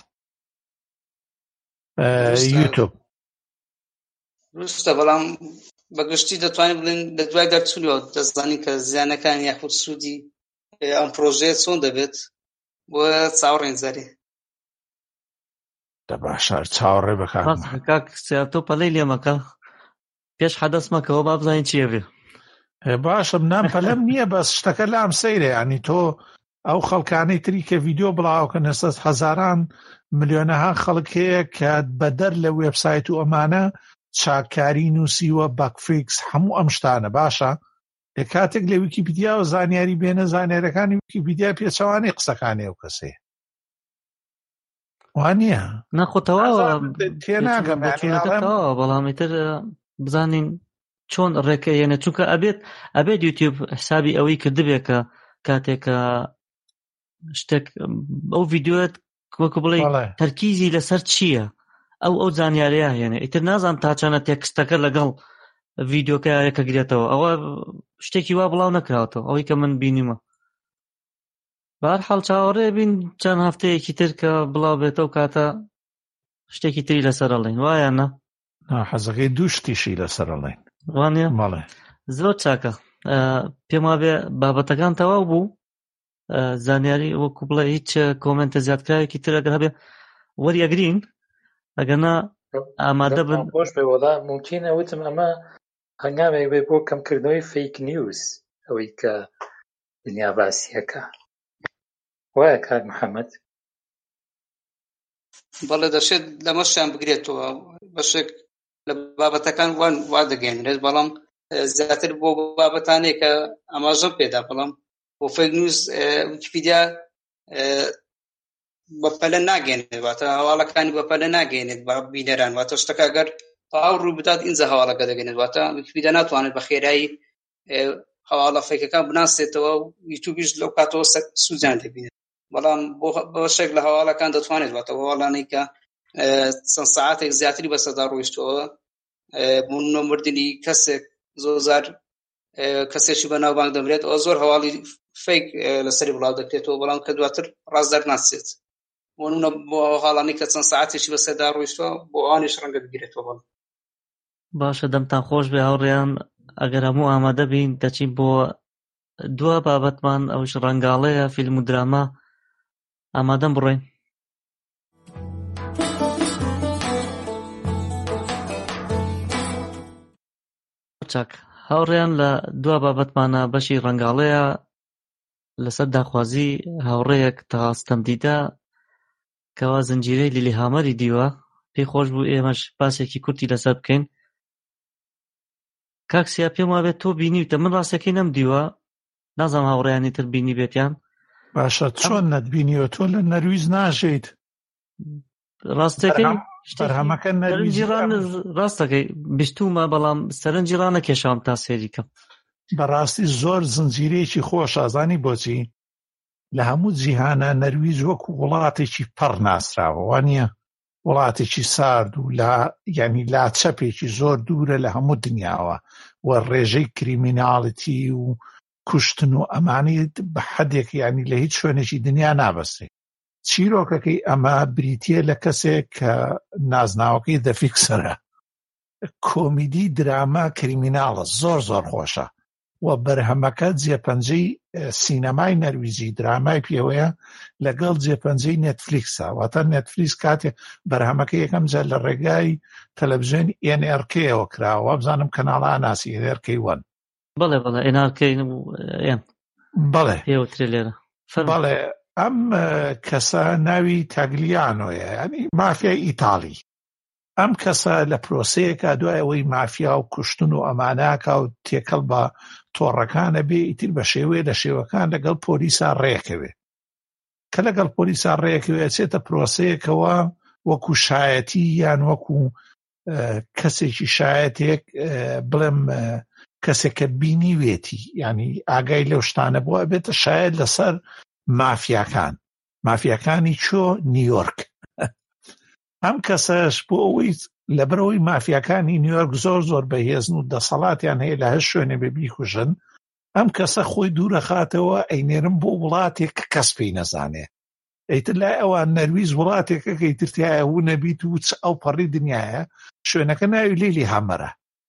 یوتیوب ڕستە بەڵام بەگشتی دەتوانین بڵێن لە دوای دەرچوونەوە دەزانین کە زیانەکان یاخود سوودی ئەم پرۆژەیە چۆن دەبێت بۆ چاوەڕێن زەری دە باشە چاوەڕێ بکات کاک تۆ پەلەی لێ مەکە پێش حەدەس مەکەوە با بزانین چیە بێ باشە منام پەلەم نییە بەس شتەکە لام سەیرە ینی تۆ ئەو خەڵکانەی تری کە ڤیدیۆ بڵاوکەن ئێستا هەزاران ملیۆنەها خەڵک هەیە کە بەدەر لە وێبسایت و ئەمانە چاکاری نووسیوە باکفیکس هەموو ئەم شتانە باشە لە کاتێک لە ویکیپیدیا و زانیاری بێنە زانیارەکانی ویکیپیدیا پێچەوانی قسەکانی ئەو کەسێ وانە نەخۆتەوە تێناگەم بەڵام ئیتر بزانین چۆن ڕێکەیەنە چونکە ئەبێت ئەبێت یوتیوب حسابی ئەوەی کردبێ کە کاتێکە شتێک ئەو ڤیدیۆت وەکو بڵێ تەرکیزی لەسەر چییە ئەو ئەو زانیاریە هێنێ ئیتر نازان تا چەنە تێکستەکە لەگەڵ ڤیدیۆکەیەکە گرێتەوە ئەوە شتێکی وا بڵاو نەکراوەتەوە ئەوەی کە من بینیمە بەهەرحاڵ چاوەڕێ بین چەند هەفتەیەکی تر کە بڵاو بێتەوە کاتە شتێکی تری لەسەر ئەڵێن وایە نە حەزەکەی دوو شتیشی لەسەر ئەڵێن وانە ماڵێ زۆر چاکە پێم وابێ بابەتەکان تەواو بوو زانیاری وەکو بڵێ هیچ کۆمنتە زیادکراوێکی تر ئەگەر هەبێ وەریەگرین ئەگەنا ئامادە بن خۆش بێ وەڵا ممکنە وتم ئەمە هەنگامێک بێ بۆ کەمکردنەوەی فەیک نیوز ئەوەی کە دنیا باسیەکە وایە کاک محەممەد بەڵێ دەشێت لەمەشیان بگرێتەوە بەشێک لە بابەتەکان وان وا دەگەێنرێت بەڵام زیاتر بۆ بابەتانێک کە ئاماژەم پێدا بەڵام بۆ فەیک نیوز ویکیپیدیا بەپەلە ناگەێنێت واتە هەواڵەکانی بەپەلە ناگەێنێت بە بینەران واتە شتەکە ئەگەر تەواو ڕوو بدات ئینجا هەواڵەکە دەگەێنێت واتە ویکیپیدیا ناتوانێت بە خێرایی هەواڵە فەیکەکان بناسێتەوە و یوتیوبیش لەو کاتەوە سوودیان دەبینێت بەڵام بۆ شێک لە هەواڵەکان دەتوانێت واتە هەواڵانەی کە چەند سەعاتێک زیاتری بەسەردا ڕۆیشتەوە بوونە مردنی کەسێک زۆرجار کەسێکی بەناوبانگ دەمرێت ئەوە زۆر هەواڵی فەیک لەسەری بڵاو دەکرێتەوە بەڵام کە دواتر ڕاست دەرناسێت بۆ بۆ هەواڵانەی کە چەند سەعاتێکی بەسەردا ڕۆیشتەوە بۆ ئەوانیش ڕەنگە بگرێتەوە. باشە دەمتان خۆش بێ هاوڕێیان ئەگەر هەموو ئامادە بین دەچین بۆ دووە بابەتمان ئەوش ڕەنگاڵەیە فیلم و دراما ئامادەم بڕۆین. چاک هاوڕێیان لە دووە بابەتمانە بەشی ڕەنگاڵەیە لەسەر داخوازی هاوڕێیەک تەغاستەم دیدە کەوا زنجیرەی لیلی هامەری دیوە پێی خۆش بوو ئێمەش باسێکی کورتی لەسەر بکەین. کاکسیا پێم وابێت تۆ بینیوتە من ڕاستەکەی نەم دیوە نازانم هاوڕێیانی تر بینی بێتیان. باشە چۆن نەتبینیوە تۆ لە نەرویز ناژیت ڕاستەکەی بەرهەمەکە ڕاستەکەی بیستومە بەڵام سەرنجی ڕانەکێشام تا سێریکەم. بەڕاستی زۆر زنجیرەیەکی خۆش ئازانی بۆچی لە هەموو جیهانە نەرویز وەکو وڵاتێکی پەڕ ناسراوە وانە وڵاتێکی سارد و ینی لاچەپێکی زۆر دوورە لە هەموو دنیاوە و ڕێژەی کریمیناڵەتی و کوشتن و ئەمانی بە حەدێک ینی لە هیچ شوێنێکی دنیا نابەستێ. چیرۆکەکەی ئەمە بریتیە لە کەسێک کە نازناوەکەی دەفیکسەرە کۆمیدی دراما کریمیناڵە زۆر زۆر خۆشە و بەرهەمەکە جێپەنجەی سینەمای نەرویزی درامای پێوەیە لەگەڵ جێپەنجەی نێتفلیکسە واتە نێتفلیکس کاتێک بەرهەمەکە یەکەم جار لە ڕێگای تەلەڤیزیۆنی ئێن ئێر کێەوە کراوە بزانم کەناڵە ناسی ئێن ئێر کێ وان بەڵێ بەڵێ ئێن ئێر کێ بەڵێ پێوترێ لێرە بەڵێ ئەم کەسە ناوی تاگلیانۆیە ینی مافیای ئیتاڵی. ئەم کەسە لە پرۆسەیەکە دوای ئەوەی مافیا و کوشتن و ئەماناکە و تێکەڵ بە تۆڕەکانە بێ ئیتر بە شێوەیە لە شێوەکان لەگەڵ پۆلیسا ڕێکەوێ کە لەگەڵ پۆلیسا ڕێیەکەوە چێتە پرۆسەیەکەوە وەکو شایەتی یان وەکو کەسێکی شایەتێک بڵێم کەسێکە بینیوێتی ینی ئاگای لەو شتانە بووە بێتە شاید لەسەر مافیاکان مافیاکانی چۆ نیویۆرک ئەم کەسەش بۆ ئەوەی لەبەرەوەی مافیاکانی نیویۆرک زۆر زۆر بەهێزن و دەسەڵاتیان هەیە لە هەر شوێنێ بێ بیکوژن ئەم کەسە خۆی دوورەخاتەوە ئەینێرم بۆ وڵاتێک کە کەس پێی نەزانێ ئەیتر لای ئەوان نەرویز وڵاتێکە کە ئیترتیایە هوو نەبیت و ئەو پەڕی دنیاە شوێنەکە ناوی لیلی هامەرە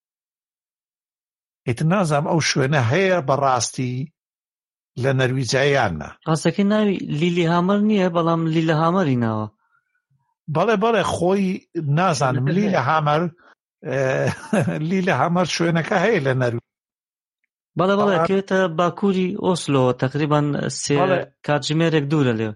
ئیتر نازام ئەو شوێنە هەیە بەڕاستی لە نەرویجایانە ڕاستەکەی ناوی لیلی هامەر نییە بەڵام لیلە هامەری ناوە بەڵێ بەڵێ خۆی نازانم لیلە هامەر لیلە هامەر شوێنەکە هەیە لە نەرویج بەڵێ بەڵێ کێتە باکووری ئۆسلۆ تقریبان سێ کاتژمێرێک دوورە لێ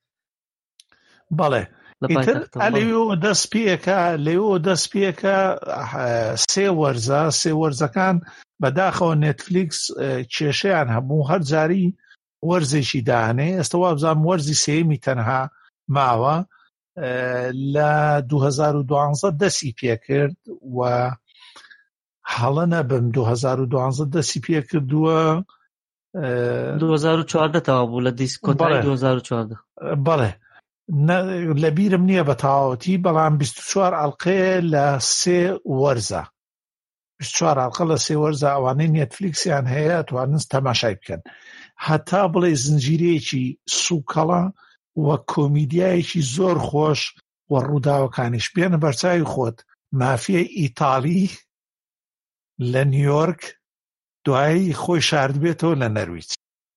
بەڵێ ئیتر ئەلێوە دەست پێکە لێوە دەست پێکە سێ وەرزە سێ وەرزەکان بەداخەوە نێتفلیکس کێشەیان هەبوو هەر جاری وەرزێکی دانێ ئێستا وابزانم وەرزی سێمی تەنها ماوە لە دوو هەزار و دوانزە دەستی پێکرد و هەڵە نەبم دوو هەزار و دوانزە دەستی پێکردووە دوو هەزار و چواردە تەوا بوو لە دیسکۆتای دوو هەزار و چواردە بەڵێ لەبیرم نییە بە تەواوەتی بەڵام بیست و چوار ئەڵقەیە لە سێ وەرزە بیست و چوار ئەڵقە لە سێ وەرزە ئەوانەی نێتفلیکسیان هەیە توانن تەماشای بکەن هەتا بڵێ زنجیرەیەکی سووکەڵە وە کۆمیدیایەکی زۆر خۆش و ڕووداوەکانیش بێنە بەرچاوی خۆت مافیای ئیتاڵی لە نیویۆرک دوایی خۆی شاردبێتەوە لە نەرویج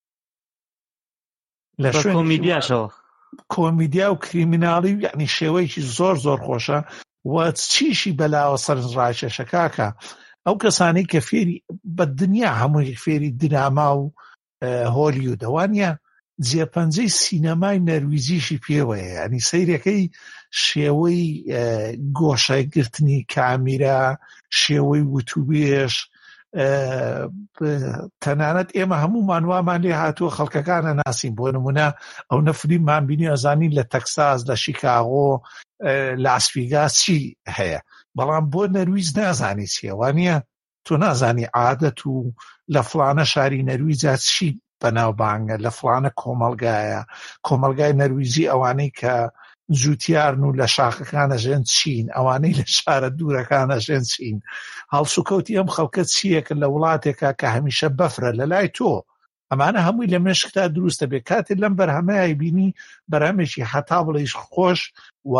لە کۆمیدیاشەوە کۆمیدیا و کریمیناڵی یعنی شێوەیەکی زۆر زۆر خۆشە و چیشی بەلاوە سەرنجڕاکێشە کاکە ئەو کەسانی کە فێری بە دنیا هەمووی فێری دراما و هۆلیوودەوانە جێپەنجەی سینەمای نەرویجیشی پێوەیە ینی سەیرەکەی شێوەی گۆشەگرتنی کامیرا شێوەی وتوبێش تەنانەت ئێمە هەمومان وامان لێ هاتووە خەڵکەکانە ناسین بۆ نمونە ئەو نەفریمان بینی ئەزانی لە تەکساس لە شیکاغۆ لاسڤیگاس چی هەیە بەڵام بۆ نەرویج نازانی چیە وانە تۆ نازانی عادەت و لە فڵانە شاری نەرویجا چی بەناوبانگە لە فڵانە کۆمەڵگایە کۆمەڵگای نەرویجی ئەوانەی کە جوتیارن و لە شاخەکانە ژێن چین ئەوانەی لە شارە دوورەکانە ژێن چین هەڵسوکەوتی ئەم خەڵکە چیەکە لە وڵاتێکە کە هەمیشە بەفرە لە لای تۆ ئەمانە هەمووی لە مێشکتا دروستە بێ کاتێک لەم بەرهەمەیە بینی بەرهەمێکی هەتا بڵێش خۆش و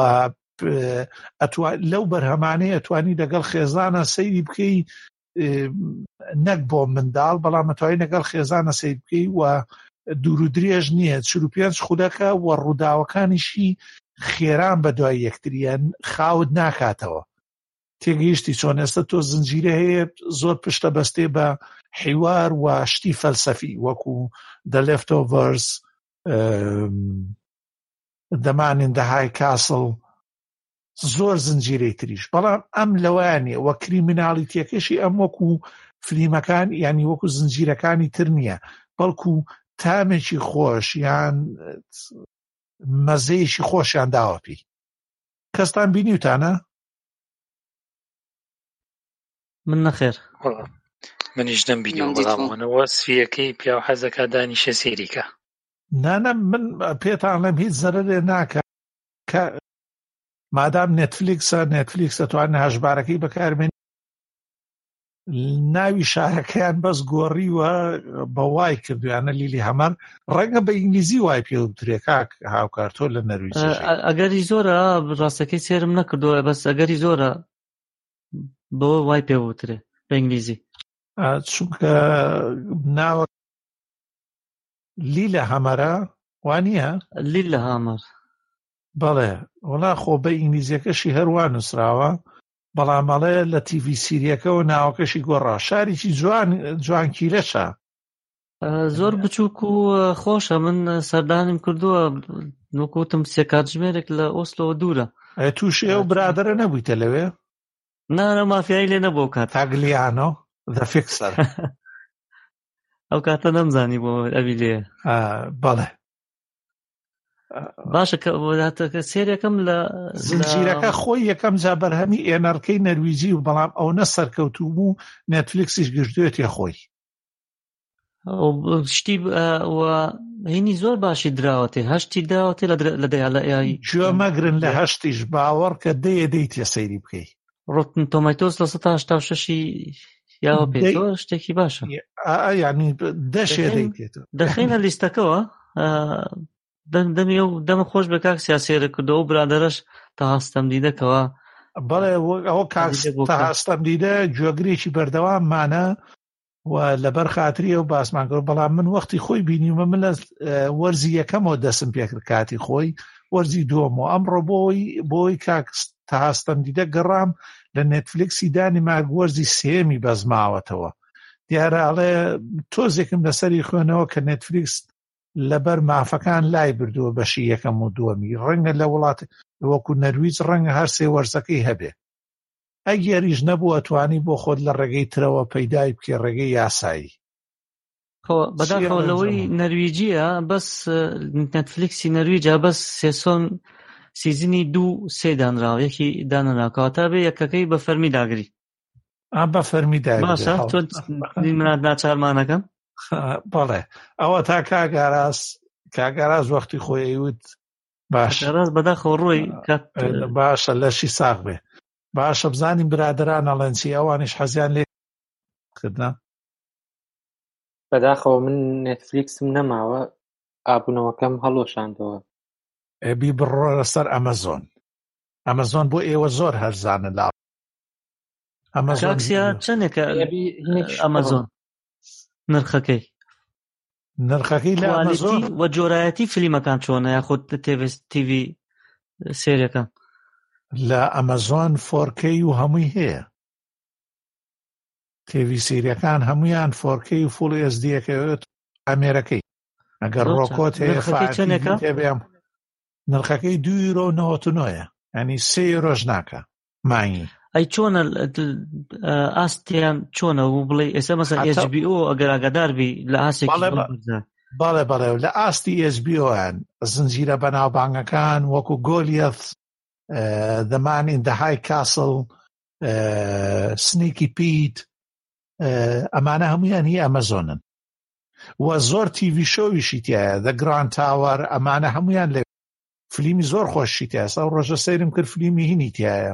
لەو بەرهەمانەیە ئەتوانی لەگەڵ خێزانە سەیری بکەی نەک بۆ منداڵ بەڵام ئەتوانی لەگەڵ خێزانە سەیر بکەی و دوور و درێژ نییە چل و پێنج خولەکە و ڕووداوەکانیشی خێران بە دوای یەکتریان خاوت ناکاتەوە تێگەیشتی چۆن ئێستا تۆ زنجیرە هەیە زۆر پشتە بەستێ بە حیوار و شتی فەلسەفی وەکو The Leftovers The Man in the High Castle زۆر زنجیرەی تریش بەڵام ئەم لەوانێ وە کریمیناڵیتیەکەشی ئەم وەکو فلیمەکان ینی وەکو زنجیرەکانی تر نییە بەڵکو تامێکی خۆش یان مەزەیەکی خۆشیان داوەپی کەستان بینیوتانە؟ من نەخێر منیش دەمبینیەوە بەڵامەوە سویەکەی پیا و حەزەکە دانیشە سێریکە نانە من پێتان لەم هیچ زەرەرێ ناکە کە مادام نێتفلیکسە نێتفلیکسە توانێت هەژبارەکەی بەکاربێنێت ناوی شارەکەیان بەس گۆڕیوە بە وای کردویانە لیلی هەمەر ڕەنگە بە ئینگلیزی وای پێ وترێ کاک هاوکارتۆ لە نەرویج ئەگەری زۆرە ڕاستەکەی سێرم نەکردووە بەس ئەگەری زۆرە بۆ وای پێ وترێ بە ئینگلیزی چونکە ناوە لیلە هەمەرە وانییە لیلە هەمەر بەڵێ وڵا خۆ بە ئینگلیزیەکەشی هەروە نووسراوە بەڵام بەڵێ لە تیڤی سیریەکەەوە ناوەکەشی گۆڕا شارێکی جوان جوانکیرەشە زۆر بچووک و خۆشە من سەردانیم کردووە وەکوتم سێ کاتژمێرێک لە ئۆسلۆ دوورە تووشی ئەو برادرە نەبوویتە لەوێ نانە مافیایی لێ نەبوو کات تاگلیانۆ the fixer ئەو کاتە نەمزانی بۆ ئەوی لێ بەڵێ باشە کە سێریەکەم لە زنجیرەکە خۆی یەکەم جا بەرهەمی ئێنەرکەی نەرویجی و بەڵام ئەو نە سەرکەوتوو بوو نێتفلیکسیش گرتوێتە خۆی شتی هینی زۆر باشی دراوەتێ هەشتی دراوەتێ لە دەیاڵی گوێ مەگرن لە هەشتیش باوەڕ کە دەیە دەیت تێ سەیری بکەی ڕۆتن تۆمەتۆس لە سەد تا هەشتا و شەشی یاوە پێ زۆر شتێکی باشە ینی دەشێ دەیتێت دەخینە لیستەکەەوە دەمی و دەمە خۆش بە کاک سیاسێرە کردەوە و برادەرەش تا هەستەم دیدەکەوە بەڵێ ئەوە تا هەستەم دیدە گوێگرێکی بەردەواممانە و لەبەر خاتری ئەو باسمان کرد بەڵام من وەختی خۆی بینیمە من لە وەرزی یەکەمەوە دەسم پێکرد کاتی خۆی وەرزی دووەمەوە ئەمڕۆ بۆی بۆی کاک تا هەستەم دیدە گەڕام لە نێتفلیکسی دانی ماگ وەرزی سێمی بەزماوەتەوە دیارە ئەڵێ تۆزێکم لەسەری خوێنەوە کە نێتفلیکس لەبەر مافەکان لای بردووە بەشی یەکەم و دووەمی ڕەنگە لە وڵات وەکو نەرویج ڕەنگە هەر سێ وەرزەکەی هەبێ ئەگەریش نەبوو ئەتوانی بۆ خۆت لە ڕێگەی ترەوە پەیدای بکێ ڕێگەی یاسایی بەداخەوە لەوەی نەرویجیە بەس نێتفلیکسی نەرویجە بەس سێسۆن سیزنی دوو سێ دانراوە یەکی دانراوە تا بێ یەکەکەی بە فەرمی داگری بە فەرمی داگری باشە تۆ منات ناچارمانەکەم بەڵێ ئەوە تا کاگاراز کاگاراز وەختی خۆی ئەیوت باش بەداخەوە ڕۆی باشە لەشی ساغ بێ باشە بزانین برادران ئەڵەنچی ئەوانش حەزیان لێ کردنا بەداخەوە من نێتفلیکسم نەماوە ئابوونەوەکەم هەڵۆشاندەوە ئەبی بڕۆ لەسەر ئەمەزۆن ئەمەزۆن بۆ ئێوە زۆر هەرزانە لا ئەمەزۆنسیا چەندێکە ئەمەزۆن نرخەکەی نرخەکەی لە ئەمەزۆن وە جۆرایەتی فیلمەکان چۆنە یاخود تیڤی سێریەکان لە ئەمەزۆن فۆر کەی و هەمووی هەیە تیڤی سێریەکان هەمویان فۆر کەی و فوڵ ئێس دیەکەوێت ئەمێرەکەی ئەگەر ڕۆکۆت هەیە فاتێبێم نرخەکەی دوو یورۆ و نەوەت و نۆیە ینی سێ ڕۆژ ناکە مانگی ئەی چۆنە ئاستیان چۆنە و بڵێ ئێستا مەسەن ئێچ بی ئۆ ئەگەر ئاگاداربی لە ئاسێکی بەڵێ بەڵێ لە ئاستی ئێچ بی ئۆیان زنجیرە بەناوبانگەکان وەکو گۆلیەت The Man in the High Castle سنیکی پیت ئەمانە هەمویان هی ئەمەزۆنن و زۆر تیڤی شۆویشی تایە The Grand Tower ئەمانە هەمویان لێ فلیمی زۆر خۆشی تایە ئەو ڕۆژە سەیرم کرد فلیمی هینی تایە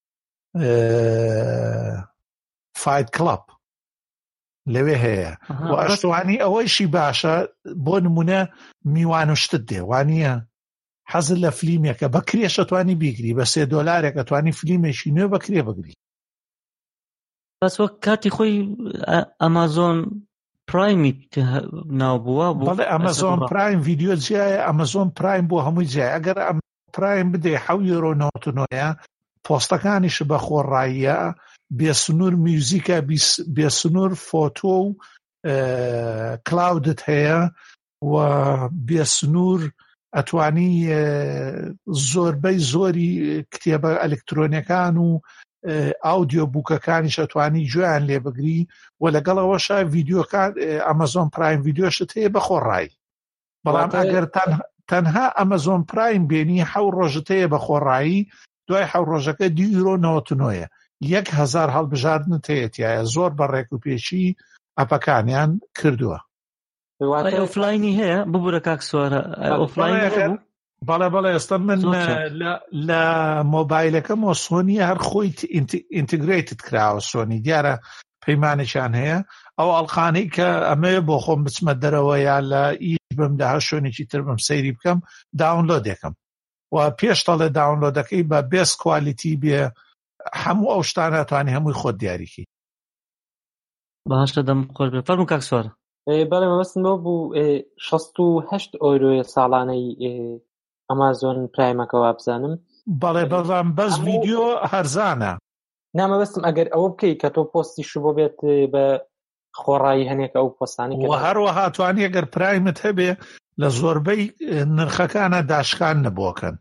فایت کڵەب لەوێ هەیە و ئەشتوانی ئەوەیشی باشە بۆ نمونە میوان و شتت دێ وانییە حەزت لە فلیمێکە بە کرێشە توانی بیگری بە سێ دۆلارێکە توانی فلیمێکی نوێ بە کرێ بگری بەس وەک کاتی خۆی ئەمازۆن پرایمی ناوبووە بوو بەڵێ ئەمەزۆن پرایم ڤیدیۆ جیایە ئەمەزۆن پرایم بۆ هەمووی جیای ئەگەر ئەم پرایم بدەی حەوت یۆرۆ نەوەت و نۆیە پۆستەکانیش بە خۆڕاییە بێسنوور میوزیکە بێسنوور فۆتۆ و کلاودت هەیە و بێسنوور ئەتوانی زۆربەی زۆری کتێبە ئەلکترۆنیەکان و ئاودیۆ بووکەکانیش ئەتوانی گوێیان لێ بگری و لەگەڵەوەشە ڤیدیۆکان ئەمەزۆن پرایم ڤیدیۆشت هەیە بە خۆڕایی بەڵام ئەگەر تەنها ئەمەزۆن پرایم بێنی حەو ڕۆژت هەیە بە خۆڕایی دوای حەو ڕۆژەکە دی یورۆ نەوەت و نۆیە یەک هەزار هەڵبژاردنت هەیەتیایە زۆر بە ڕێک و پێچی ئەپەکانیان کردووە ئۆفلاینی هەیە ببوورە کاک سوارە ئۆفلاین بەڵێ بەڵێ ئێستا من لە مۆبایلەکەمەوە سۆنی هەر خۆی ئینتیگرێتت کراوە سۆنی دیارە پەیمانێکیان هەیە ئەو ئەڵقانەی کە ئەمەیە بۆ خۆم بچمە دەرەوە یا لە ئیش بمدا هەر شوێنێکی تر بم سەیری بکەم داونلۆدێکم و پێشتەڵێ داونلۆدەکەی بە بێست کوالیتی بێ هەموو ئەو شتانە توانی هەمووی خۆت دیاریکی باشە دەم خۆش بێ فەرموو کاک سوارە بەڵێ مەبەستم بۆ بوو شەست و هەشت ئۆیرۆیە ساڵانەی ئەمازۆن پرایمەکەەوە بزانم بەڵێ بەڵام بەس ڤیدیۆ هەرزانە نامەبەستم ئەگەر ئەوە بکەی کە تۆ پۆستی شو بۆ بێت بە خۆڕایی هەنێکە ئەو پۆستانی و هەروەها توانی ئەگەر پرایمت هەبێ لە زۆربەی نرخەکانە داشکان نەبووەکەن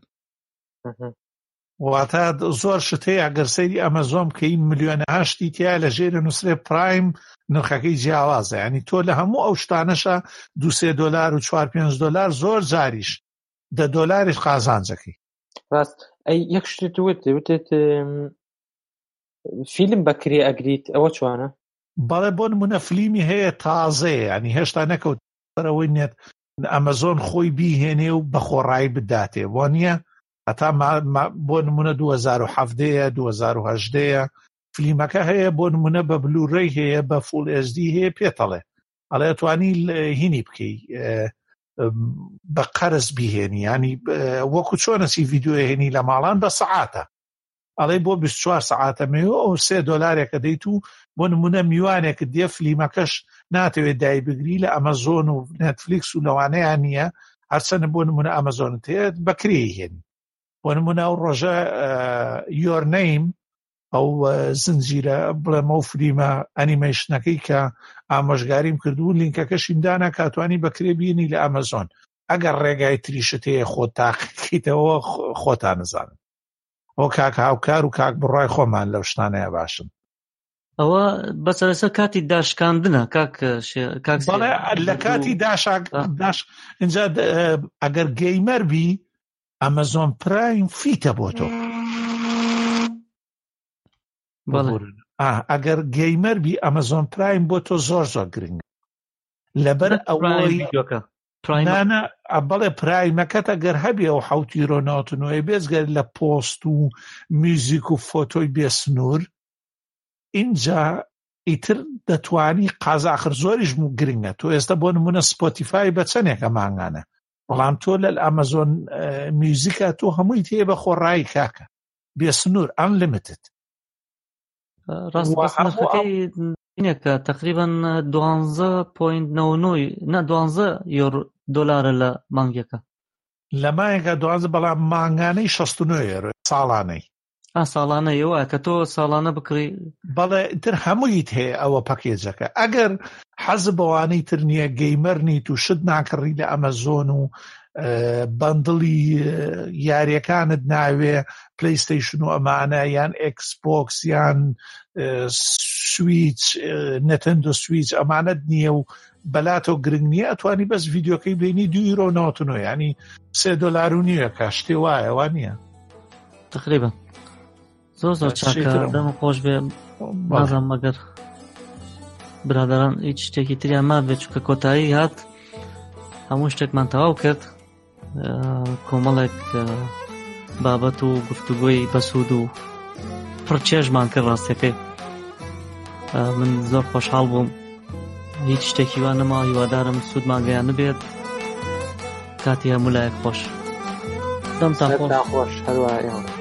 واتە زۆر شتەیە ئەگەر سەیری ئەمەزۆن بکەی ملیۆنە هەشتی تیا لە ژێرە نووسێ پرایم نرخەکەی جیاوازە ینی تۆ لە هەموو ئەو شتانەشە دو سێ دۆلار و چوار پێنج دۆلار زۆر جاریش دە دۆلاریش قازانجەکەی. ڕاست ئەی یەک شتت وت وتت فیلم بەکرێ ئەگریت ئەوە چوانە؟ بەڵێ بۆ نمونە فلیمی هەیە تازەیە، ینی هێشتا نەکەوت بەرەوەی نێت ئەمەزۆن خۆی بیهێنێ و بە خۆڕایی بداتێ، بۆ نییە هەتا بۆ نمونە دوو هەزار و هەفتەیە دوو هەزار و هەژدەیە فلیمەکە هەیە، بۆ نمونە بە بلوڕەی هەیە، بە فول ئێچ دی هەیە، پێتەڵێ ئەڵێ توانی هینی بکەی بە قەرز بیهێنی، ینی وەکو چۆنەسی ڤیدیۆ هێنی لە ماڵان بە سەعاتە، ئەڵێ بۆ بیست و چوار سەعاتەمەوە ئەو سێ دۆلارێکە دەیت و بۆ نمونە میوانێکت دێ فلیمەکەش ناتەوێت دای بگری لە ئەمەزۆن و نێتفلیکس و لەوانەیە نییە، هەرچەنە بۆ نمونە ئەمەزۆنت هەیە بەکرێی هێنی. بۆ نمونە ئەو ڕۆژە یۆر نەیم ئەو زنجیرە بڵێمە و فلیمە ئەنیمەیشنەکەی کە ئامۆژگاریم کردو لینکەکەشیم دانا کاتوانی بەکرێ بینی لە ئەمەزۆن، ئەگەر ڕێگای تریشت هەیە خۆت تاقیکەیتەوە خۆتان نزانن. ئەو کاک هاوکار و کاک بڕای خۆمان لەو شتانەیە باشن. ئەوە بەسەرەسەر کاتی داشکاندنە کاک بەڵێ لە کاتی داش اینجا ئەگەر گەیمەر بی ئەمەزۆن پرایم فیتە بۆ تۆ، ئەگەر گەیمەر بی ئەمەزۆن پرایم بۆ تۆ زۆر زۆر گرنگە لەبەر ئەوەی نانە بەڵێ پرایمەکەت ئەگەر هەبێ ئەو حوتی ڕۆناوتنەوەی بێزگەر لە پۆست و میوزیک و فۆتۆی بێسنوور اینجا ئیتر دەتوانی قازاخر زۆریش گرنگە. تۆ ئێستا بۆ نمونە سپۆتیفای بە چەندێکە مانگانە، بەڵام تۆ لە ئەمەزۆن میوزیکە تۆ هەمووی تێ بە خۆڕایی کاکە بێسنوور ئەنلیمیتد. ڕاست بەسنەکەی اینێکە تقریبا دوانزە پۆینت نەوەنۆی نا دوانزە یۆرۆ دۆلارە لە مانگێکە، لە مانگێکە دوانزە، بەڵام مانگانەی شەست و نۆ یۆرۆ ساڵانەی. ئا ساڵانەیەوە کە تۆ ساڵانە بکڕی. بەڵێ تر هەموویت هەیە ئەوە پەکێجەکە. ئەگەر حەز بەوانەی تر نییە گەیمەر نیت و شت ناکڕی لە ئەمەزۆن و بەندڵی یاریەکانت ناوێ پلەیستەیشن و ئەمانە یان ئێکسبۆکس یان سویچ نەتەندۆ سویچ ئەمانەت نییە و بەلاتۆ گرنگ نییە، ئەتوانی بەس ڤیدیۆکەی بینی دوو یۆرۆ نەوەت و نۆ، ینی سێ دۆلار و نییە کە شتێ وایە وا نییە تقریبا. زۆر زۆر چاکە، دەم خۆش بێ. بازم مەگەر برادران هیچ شتێکی تریان مابێت چونکە کۆتایی هات هەموو شتێکمان تەواو کرد، کۆمەڵێک بابەت و گفتوگۆی بەسوود و پڕچێژمان کرد. ڕاستەکەی من زۆر خۆشحاڵ بووم، هیچ شتێکی وان نەما، هیوادارم سوودمان گەیان نبێت. کاتی هەموو لایەک خۆش. دەمتان خۆش. هەروە